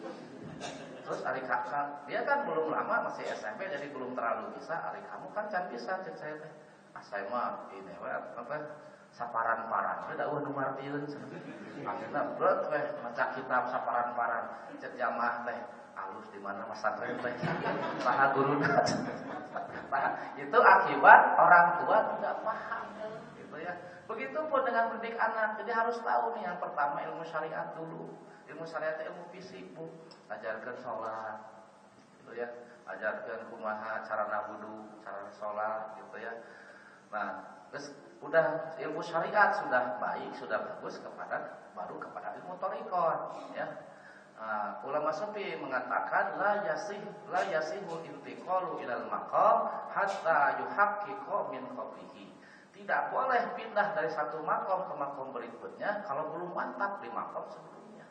Terus ari kakak, dia kan belum lama masih S M P jadi belum terlalu bisa. Ari kamu kan can bisa cek saya teh. Ah saya mah ini we apa? Saparan-paran, ada uang nomor piun. Akhirnya berat weh maca kitab saparan-paran. Cek jamaah teh alus di mana pesantren teh. Saha guruna. Nah, itu akibat orang tua tidak paham, gitu ya. Begitupun dengan mendidik anak. Jadi harus tahu nih yang pertama ilmu syariat dulu. Ilmu syariat itu ilmu fisik, Bu. Ajarkan sholat, gitu ya. Ajarkan kumaha cara wudu, cara sholat, gitu ya. Nah, terus udah ilmu syariat sudah baik, sudah bagus kepada baru kepada ilmu thariqat ya. Nah, ulama sufi mengatakan la yasih la yasihul intiqalu ilal maqam hatta yuhaqqiqa min qablihi. Tidak boleh pindah dari satu makom ke makom berikutnya kalau belum mantap di makom sebelumnya.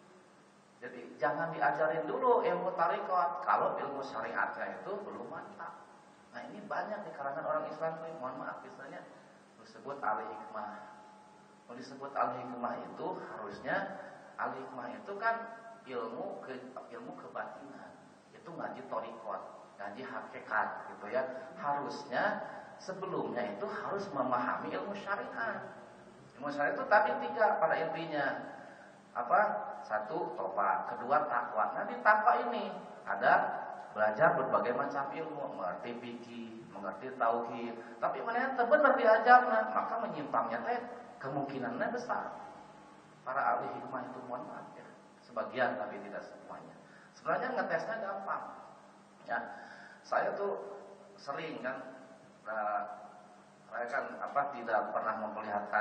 Jadi jangan diajarin dulu ilmu thariqat kalau ilmu syariatnya itu belum mantap. Nah, ini banyak di kalangan orang Islam nih, mohon maaf misalnya disebut al-hikmah. Kalau disebut al-hikmah itu harusnya al-hikmah itu kan ilmu ke ilmu kebatinan. Itu ngaji thariqat, ngaji hakikat gitu ya. Harusnya sebelumnya itu harus memahami ilmu syariat. Ilmu syariat itu tadi tiga pada intinya. Apa? Satu, tobat, kedua takwa. Nah, di takwa ini ada belajar berbagai macam ilmu, mengerti fikih, mengerti tauhid, tapi mana yang benar diajarna, maka menyimpangnya teh kemungkinannya besar. Para ahli hikmah itu mohon maaf ya, sebagian tapi tidak semuanya. Sebenarnya ngetesnya gampang. Ya, saya tuh sering kan, uh, saya kan apa tidak pernah memperlihatkan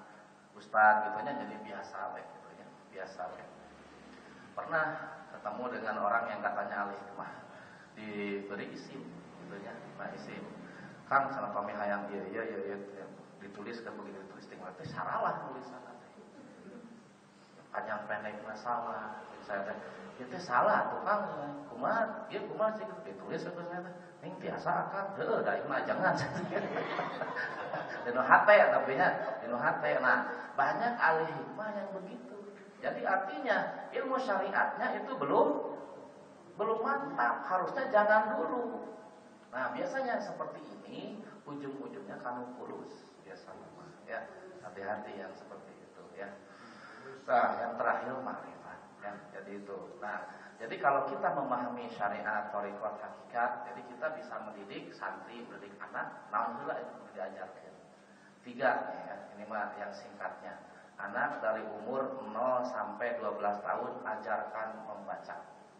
ustadz gitunya, jadi biasa we gitu ya, biasa we. Pernah ketemu dengan orang yang katanya ahli hikmah, diberi isim gitu ya, nah isim Kang salah pami hayang ieu ieu ieu ditulis ke begitu ditulis tinggal teh saralah tulisan teh. panjang pendek masalah. Saya teh itu salah tukang kumaha ieu kumaha sih ditulis itu saya teh ning biasa akang heueuh da ieu mah jangan. Dinu hate tapi nya dinu hate. Nah, banyak ahli hikmah yang begitu. Jadi artinya ilmu syariatnya itu belum belum mantap, harusnya jangan dulu. Nah, biasanya seperti ini ujung-ujungnya kanu kurus biasanya ya. Hati-hati yang seperti itu ya. Nah, yang terakhir makrifat ya. Jadi itu. Nah, jadi kalau kita memahami syariat, thariqat, hakikat, jadi kita bisa mendidik santri, mendidik anak, naon heula itu diajarkan. Tiga ya, ini mah yang singkatnya. Anak dari umur nol sampai dua belas tahun ajarkan membaca.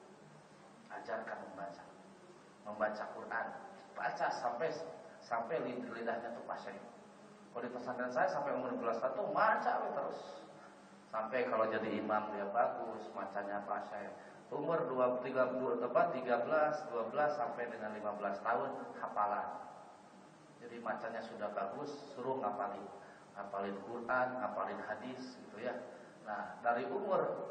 Ajarkan membaca. Membaca Quran. Baca sampai sampai lidahnya tuh pasang. Kalau di pesantren saya sampai umur dua belas tahun tuh baca terus. Sampai kalau jadi imam dia bagus, bacanya pasang. Umur dua tiga dua tepat tiga belas, dua belas sampai dengan lima belas tahun hafalan. Jadi bacanya sudah bagus, suruh ngapalin. Ngapalin Quran, ngapalin hadis gitu ya. Nah, dari umur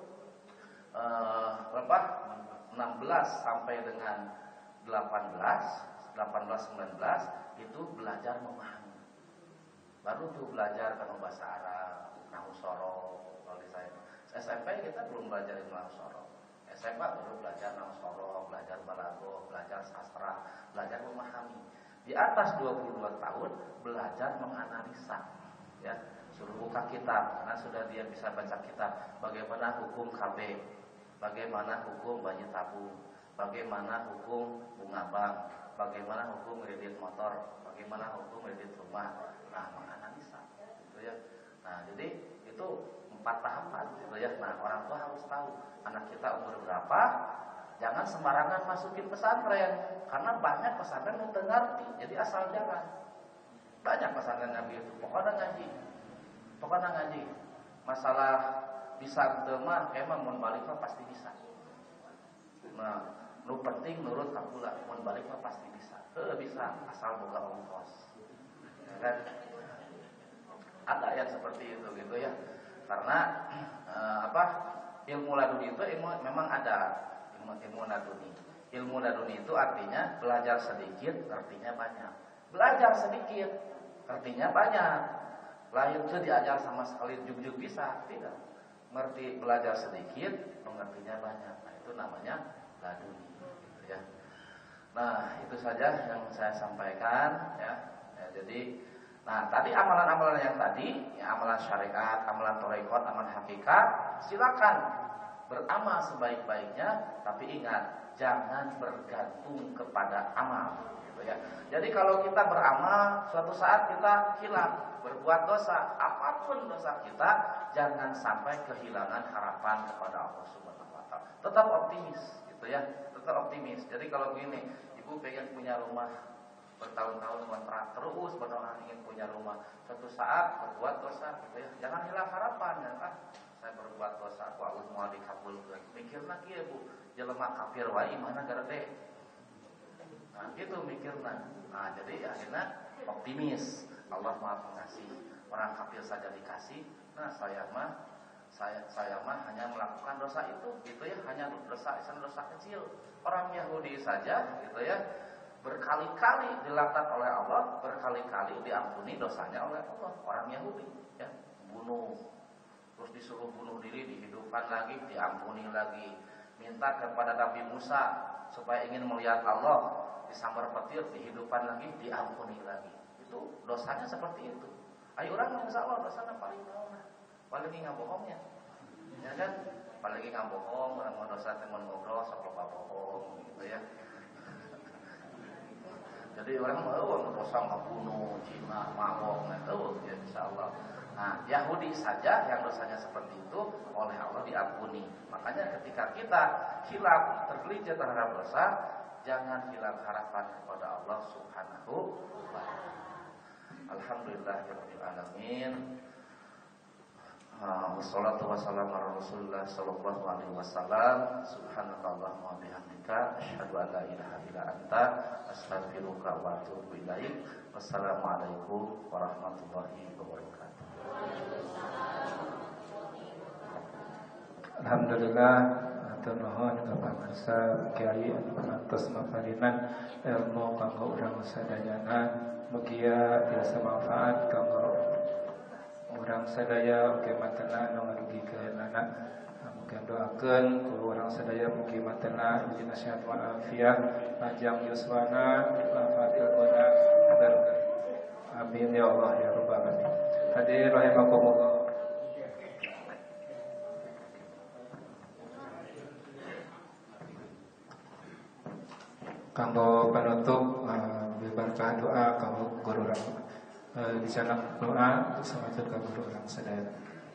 eh, berapa? enam belas sampai dengan delapan belas, delapan belas sembilan belas itu belajar memahami. Baru tuh belajar kan bahasa Arab, nahwu sorof. Kalau di saya S M P kita belum belajar nahwu sorof. S M A baru belajar nahwu sorof, belajar balaghah, belajar sastra, belajar memahami. Di atas dua puluh dua tahun belajar menganalisa. Ya, suruh buka kitab, karena sudah dia bisa baca kitab. Bagaimana hukum K B, bagaimana hukum bayi tabung, bagaimana hukum bunga bank, bagaimana hukum kredit motor, bagaimana hukum kredit rumah. Nah, menganalisa, gitu ya. Nah, jadi itu empat tahapan, gitu ya. Nah, orang tua harus tahu anak kita umur berapa. Jangan sembarangan masukin pesantren, karena banyak pesantren yang ngerti, jadi asal jalan. Banyak pesantren Nabi itu, pokoknya ngaji, pokoknya ngaji. Masalah bisa mah, emang mun balik mah pasti bisa. Nah, nu penting nurut kapula, mun balik mah pasti bisa. Eh bisa, asal boga ongkos. Ya kan? Ada yang seperti itu gitu ya. Karena eh, apa? Ilmu laduni itu ilmu memang ada ilmu ilmu laduni. Ilmu laduni itu artinya belajar sedikit, artinya banyak. Belajar sedikit, artinya banyak. Lain itu diajar sama sekali juk-juk bisa, tidak. Ngerti belajar sedikit, mengertinya banyak. Nah, itu namanya laduni, gitu ya. Nah, itu saja yang saya sampaikan ya. Ya jadi, nah tadi amalan-amalan yang tadi, ya, amalan syariat, amalan thariqat, amalan hakikat, silakan beramal sebaik-baiknya, tapi ingat jangan bergantung kepada amal. Ya. Jadi kalau kita beramal, suatu saat kita hilang, berbuat dosa, apapun dosa kita, jangan sampai kehilangan harapan kepada Allah Subhanahu wa taala. Tetap optimis, gitu ya. Tetap optimis. Jadi kalau begini, ibu pengen punya rumah bertahun-tahun kontrak, terus berdoa ingin punya rumah. Suatu saat berbuat dosa, gitu ya. Jangan hilang harapan, ya. Ah, saya berbuat dosa, kok Allah mau dikabulkan. Mikir lagi ya Bu, jelema kafir wae mana garede. Nah, gitu mikirnya. Nah, jadi akhirnya optimis. Allah Maha Pengasih. Orang kafir saja dikasih. Nah, saya mah saya saya mah hanya melakukan dosa itu, gitu ya, hanya dosa dosa kecil. Orang Yahudi saja, gitu ya, berkali-kali dilaknat oleh Allah, berkali-kali diampuni dosanya oleh Allah. Orang Yahudi, ya, bunuh, terus disuruh bunuh diri, dihidupkan lagi, diampuni lagi. Minta kepada Nabi Musa supaya ingin melihat Allah, disambar petir, dihidupkan lagi, diampuni lagi. Itu dosanya seperti itu. Ayo orang insya Allah dosanya paling bawah, paling ngabohongnya, ya kan? Paling ngabohong, orang mau dosa teman ngobrol, sok lupa bohong, gitu ya. Jadi orang mau dosa ngabunuh, cina, mabok, itu ya insya Allah. Nah, Yahudi saja yang dosanya seperti itu oleh Allah diampuni. Makanya ketika kita hilang, tergelincir terhadap dosa, jangan hilang harapan kepada Allah Subhanahu wa taala. Alhamdulillahirabbil alamin. Wassalatu wassalamu ala Rasulillah sallallahu alaihi wasallam. Subhanakallahumma wa bihamdika asyhadu an la ilaha illa anta astaghfiruka wa atubu ilaik. Wassalamualaikum warahmatullahi wabarakatuh. Alhamdulillah atur nuhun ka pamirsa Kiai anu pangantos maparinan ilmu kanggo urang sadayana mugia tiasa manfaat kanggo urang sadaya oge matana anu ngarugikeunana. Mugia doakeun ku urang sadaya mugi matana diberi nasihat wal afiat panjang yuswana manfaat ilmuna barokah. Amin ya Allah ya rabbal alamin. Hadirin rahimakumullah. Kanggo penutup uh, berkah doa kanggo guru urang uh, di sana doa samatur ka guru urang sadaya.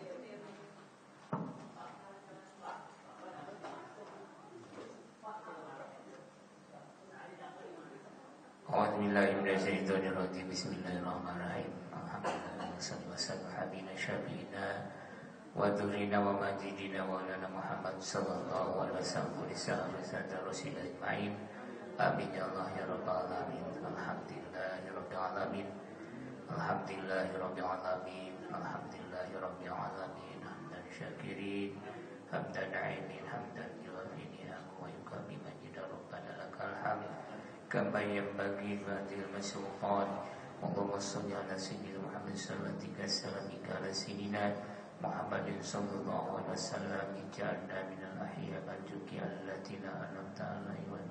A'udzubillahiminasyaitonirrajim. Bismillahirrahmanirrahim. Alhamdulillah wassalatu wassalamu ala habibina syafiina wa dzurrina wa majidina wa lana Muhammad sallallahu alaihi wasallam wa sahabati rasul ajmain. Amin ya Allah ya rabbal alamin. Alhamdulillahi rabbil alamin. Alhamdulillahi rabbil alamin. Alhamdulillahi rabbil alamin. Hamdan syakirin, hamdan na'imin, hamdan yuwafi ni'amahu wa yukafi majida rabbana lakal hamd. Kama yanbaghi ba'dil masyuqan. Allahumma shalli ala sayyidina Muhammad sallallahu alaihi wasallam ala sayyidina Muhammadin sallallahu alaihi wasallam ij'alna minal ahya al-juki allatina an'amta alaihim wa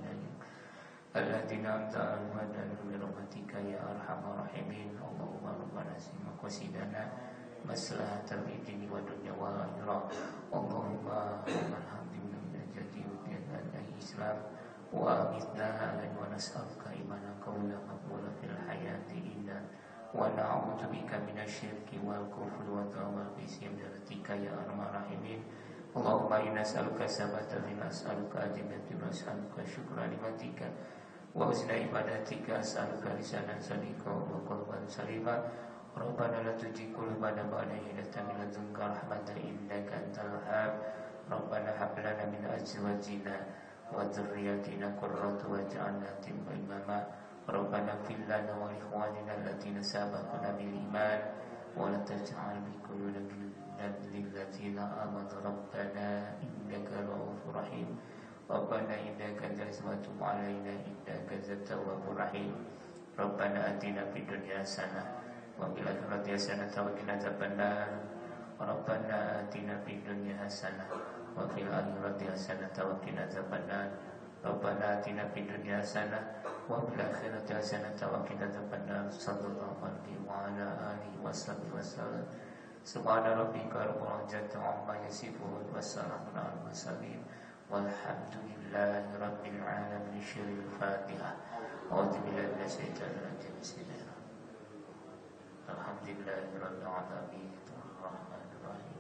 alladziina an'amta alaihim wa bi rahmatika ya arhamar rahimin. Allahumma rabbana sima qasidana maslahatal dini wa dunya wal akhirah. Allahumma alhamdulillah min jati wa islam wa amitna wa nas'aluka imanan qawlan maqbulan fil hayati inna wa na'udzubika minasyirki wal kufri wa tawal bisim daratika ya arhamar rahimin. Allahumma inna nas'aluka sabata min nas'aluka ajibati wa nas'aluka syukra limatika wa husna ibadatika as'aluka lisanan sadiqa wa qalban salima. Rabbana la tuzigh qulubana ba'da idh hadaytana wa hab lana rahmatan innaka antal wahhab. Rabbana hab lana min azwajina wa dhurriyyatina qurrata waj'alna imama. Rabbana ighfir lana wa li ikhwanina alladziina sabaquna bil iman wa la taj'al fi qulubina lil ladzina amanu rabbana innaka ra'ufur rahim. Rabbana innaka tazawwatu 'alaina innaka at-tawwabur rahim. Rabbana atina fid dunya hasanah wa fil akhirati hasanah wa qina adzabannar. Rabbana atina fid dunya hasanah wa fil akhirati hasanah wa qina adzabannar. Rabbana atina fid dunya hasanah wa fil akhirati hasanah wa qina adzabannar. Sallallahu alaihi wa ala alihi wasallam. Subhana rabbika rabbil izzati amma yasifun wa salamun alal mursalin. Walhamdulillahi rabbil alamin. Syiril Fatihah. A'udzu billahi minasyaitonir rajim. Bismillahirrahmanirrahim. Alhamdulillahi rabbil alamin. Arrahmanir rahim.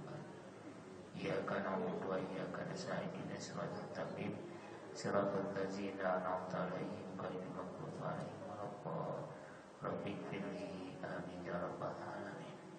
Iyyaka na'budu wa iyyaka nasta'in. Ihdinas siratal mustaqim. Siratal ladzina an'amta 'alaihim ghairil maghdubi 'alaihim waladdallin. Rabbighfirli amin ya rabbal alamin.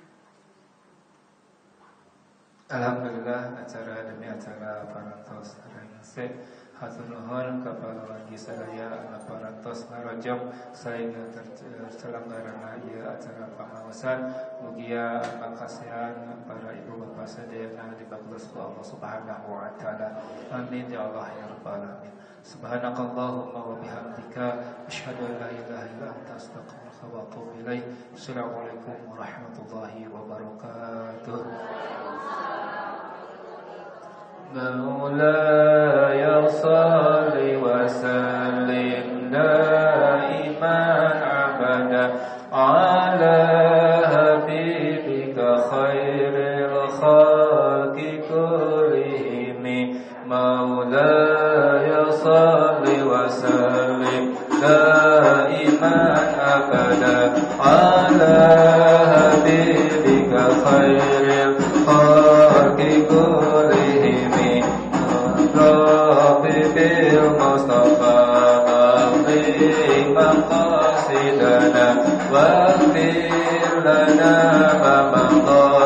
Alhamdulillah acara demi acara parantos arengse hatur nuhun ka pawargi sadaya anu parantos ngarojong saengga terselenggarana ieu acara pangaosan. Mugia makasihan para ibu bapak sadayana dibagus ku Allah Subhanahu wa taala. Amin ya Allah ya rabbal alamin. Subhanakallahumma wa bihamdika asyhadu an la ilaha illa anta astaghfiruka wa atubu ilaik. Assalamualaikum warahmatullahi wabarakatuh. مولاي صل وسلم دائما أبدا على حبيبك خير الخلق كلهم. مولاي صل وسلم دائما أبدا على حبيبك خير الخلق كلهم. بالمصطفى بلغ مقاصدنا واغفر لنا ما مضى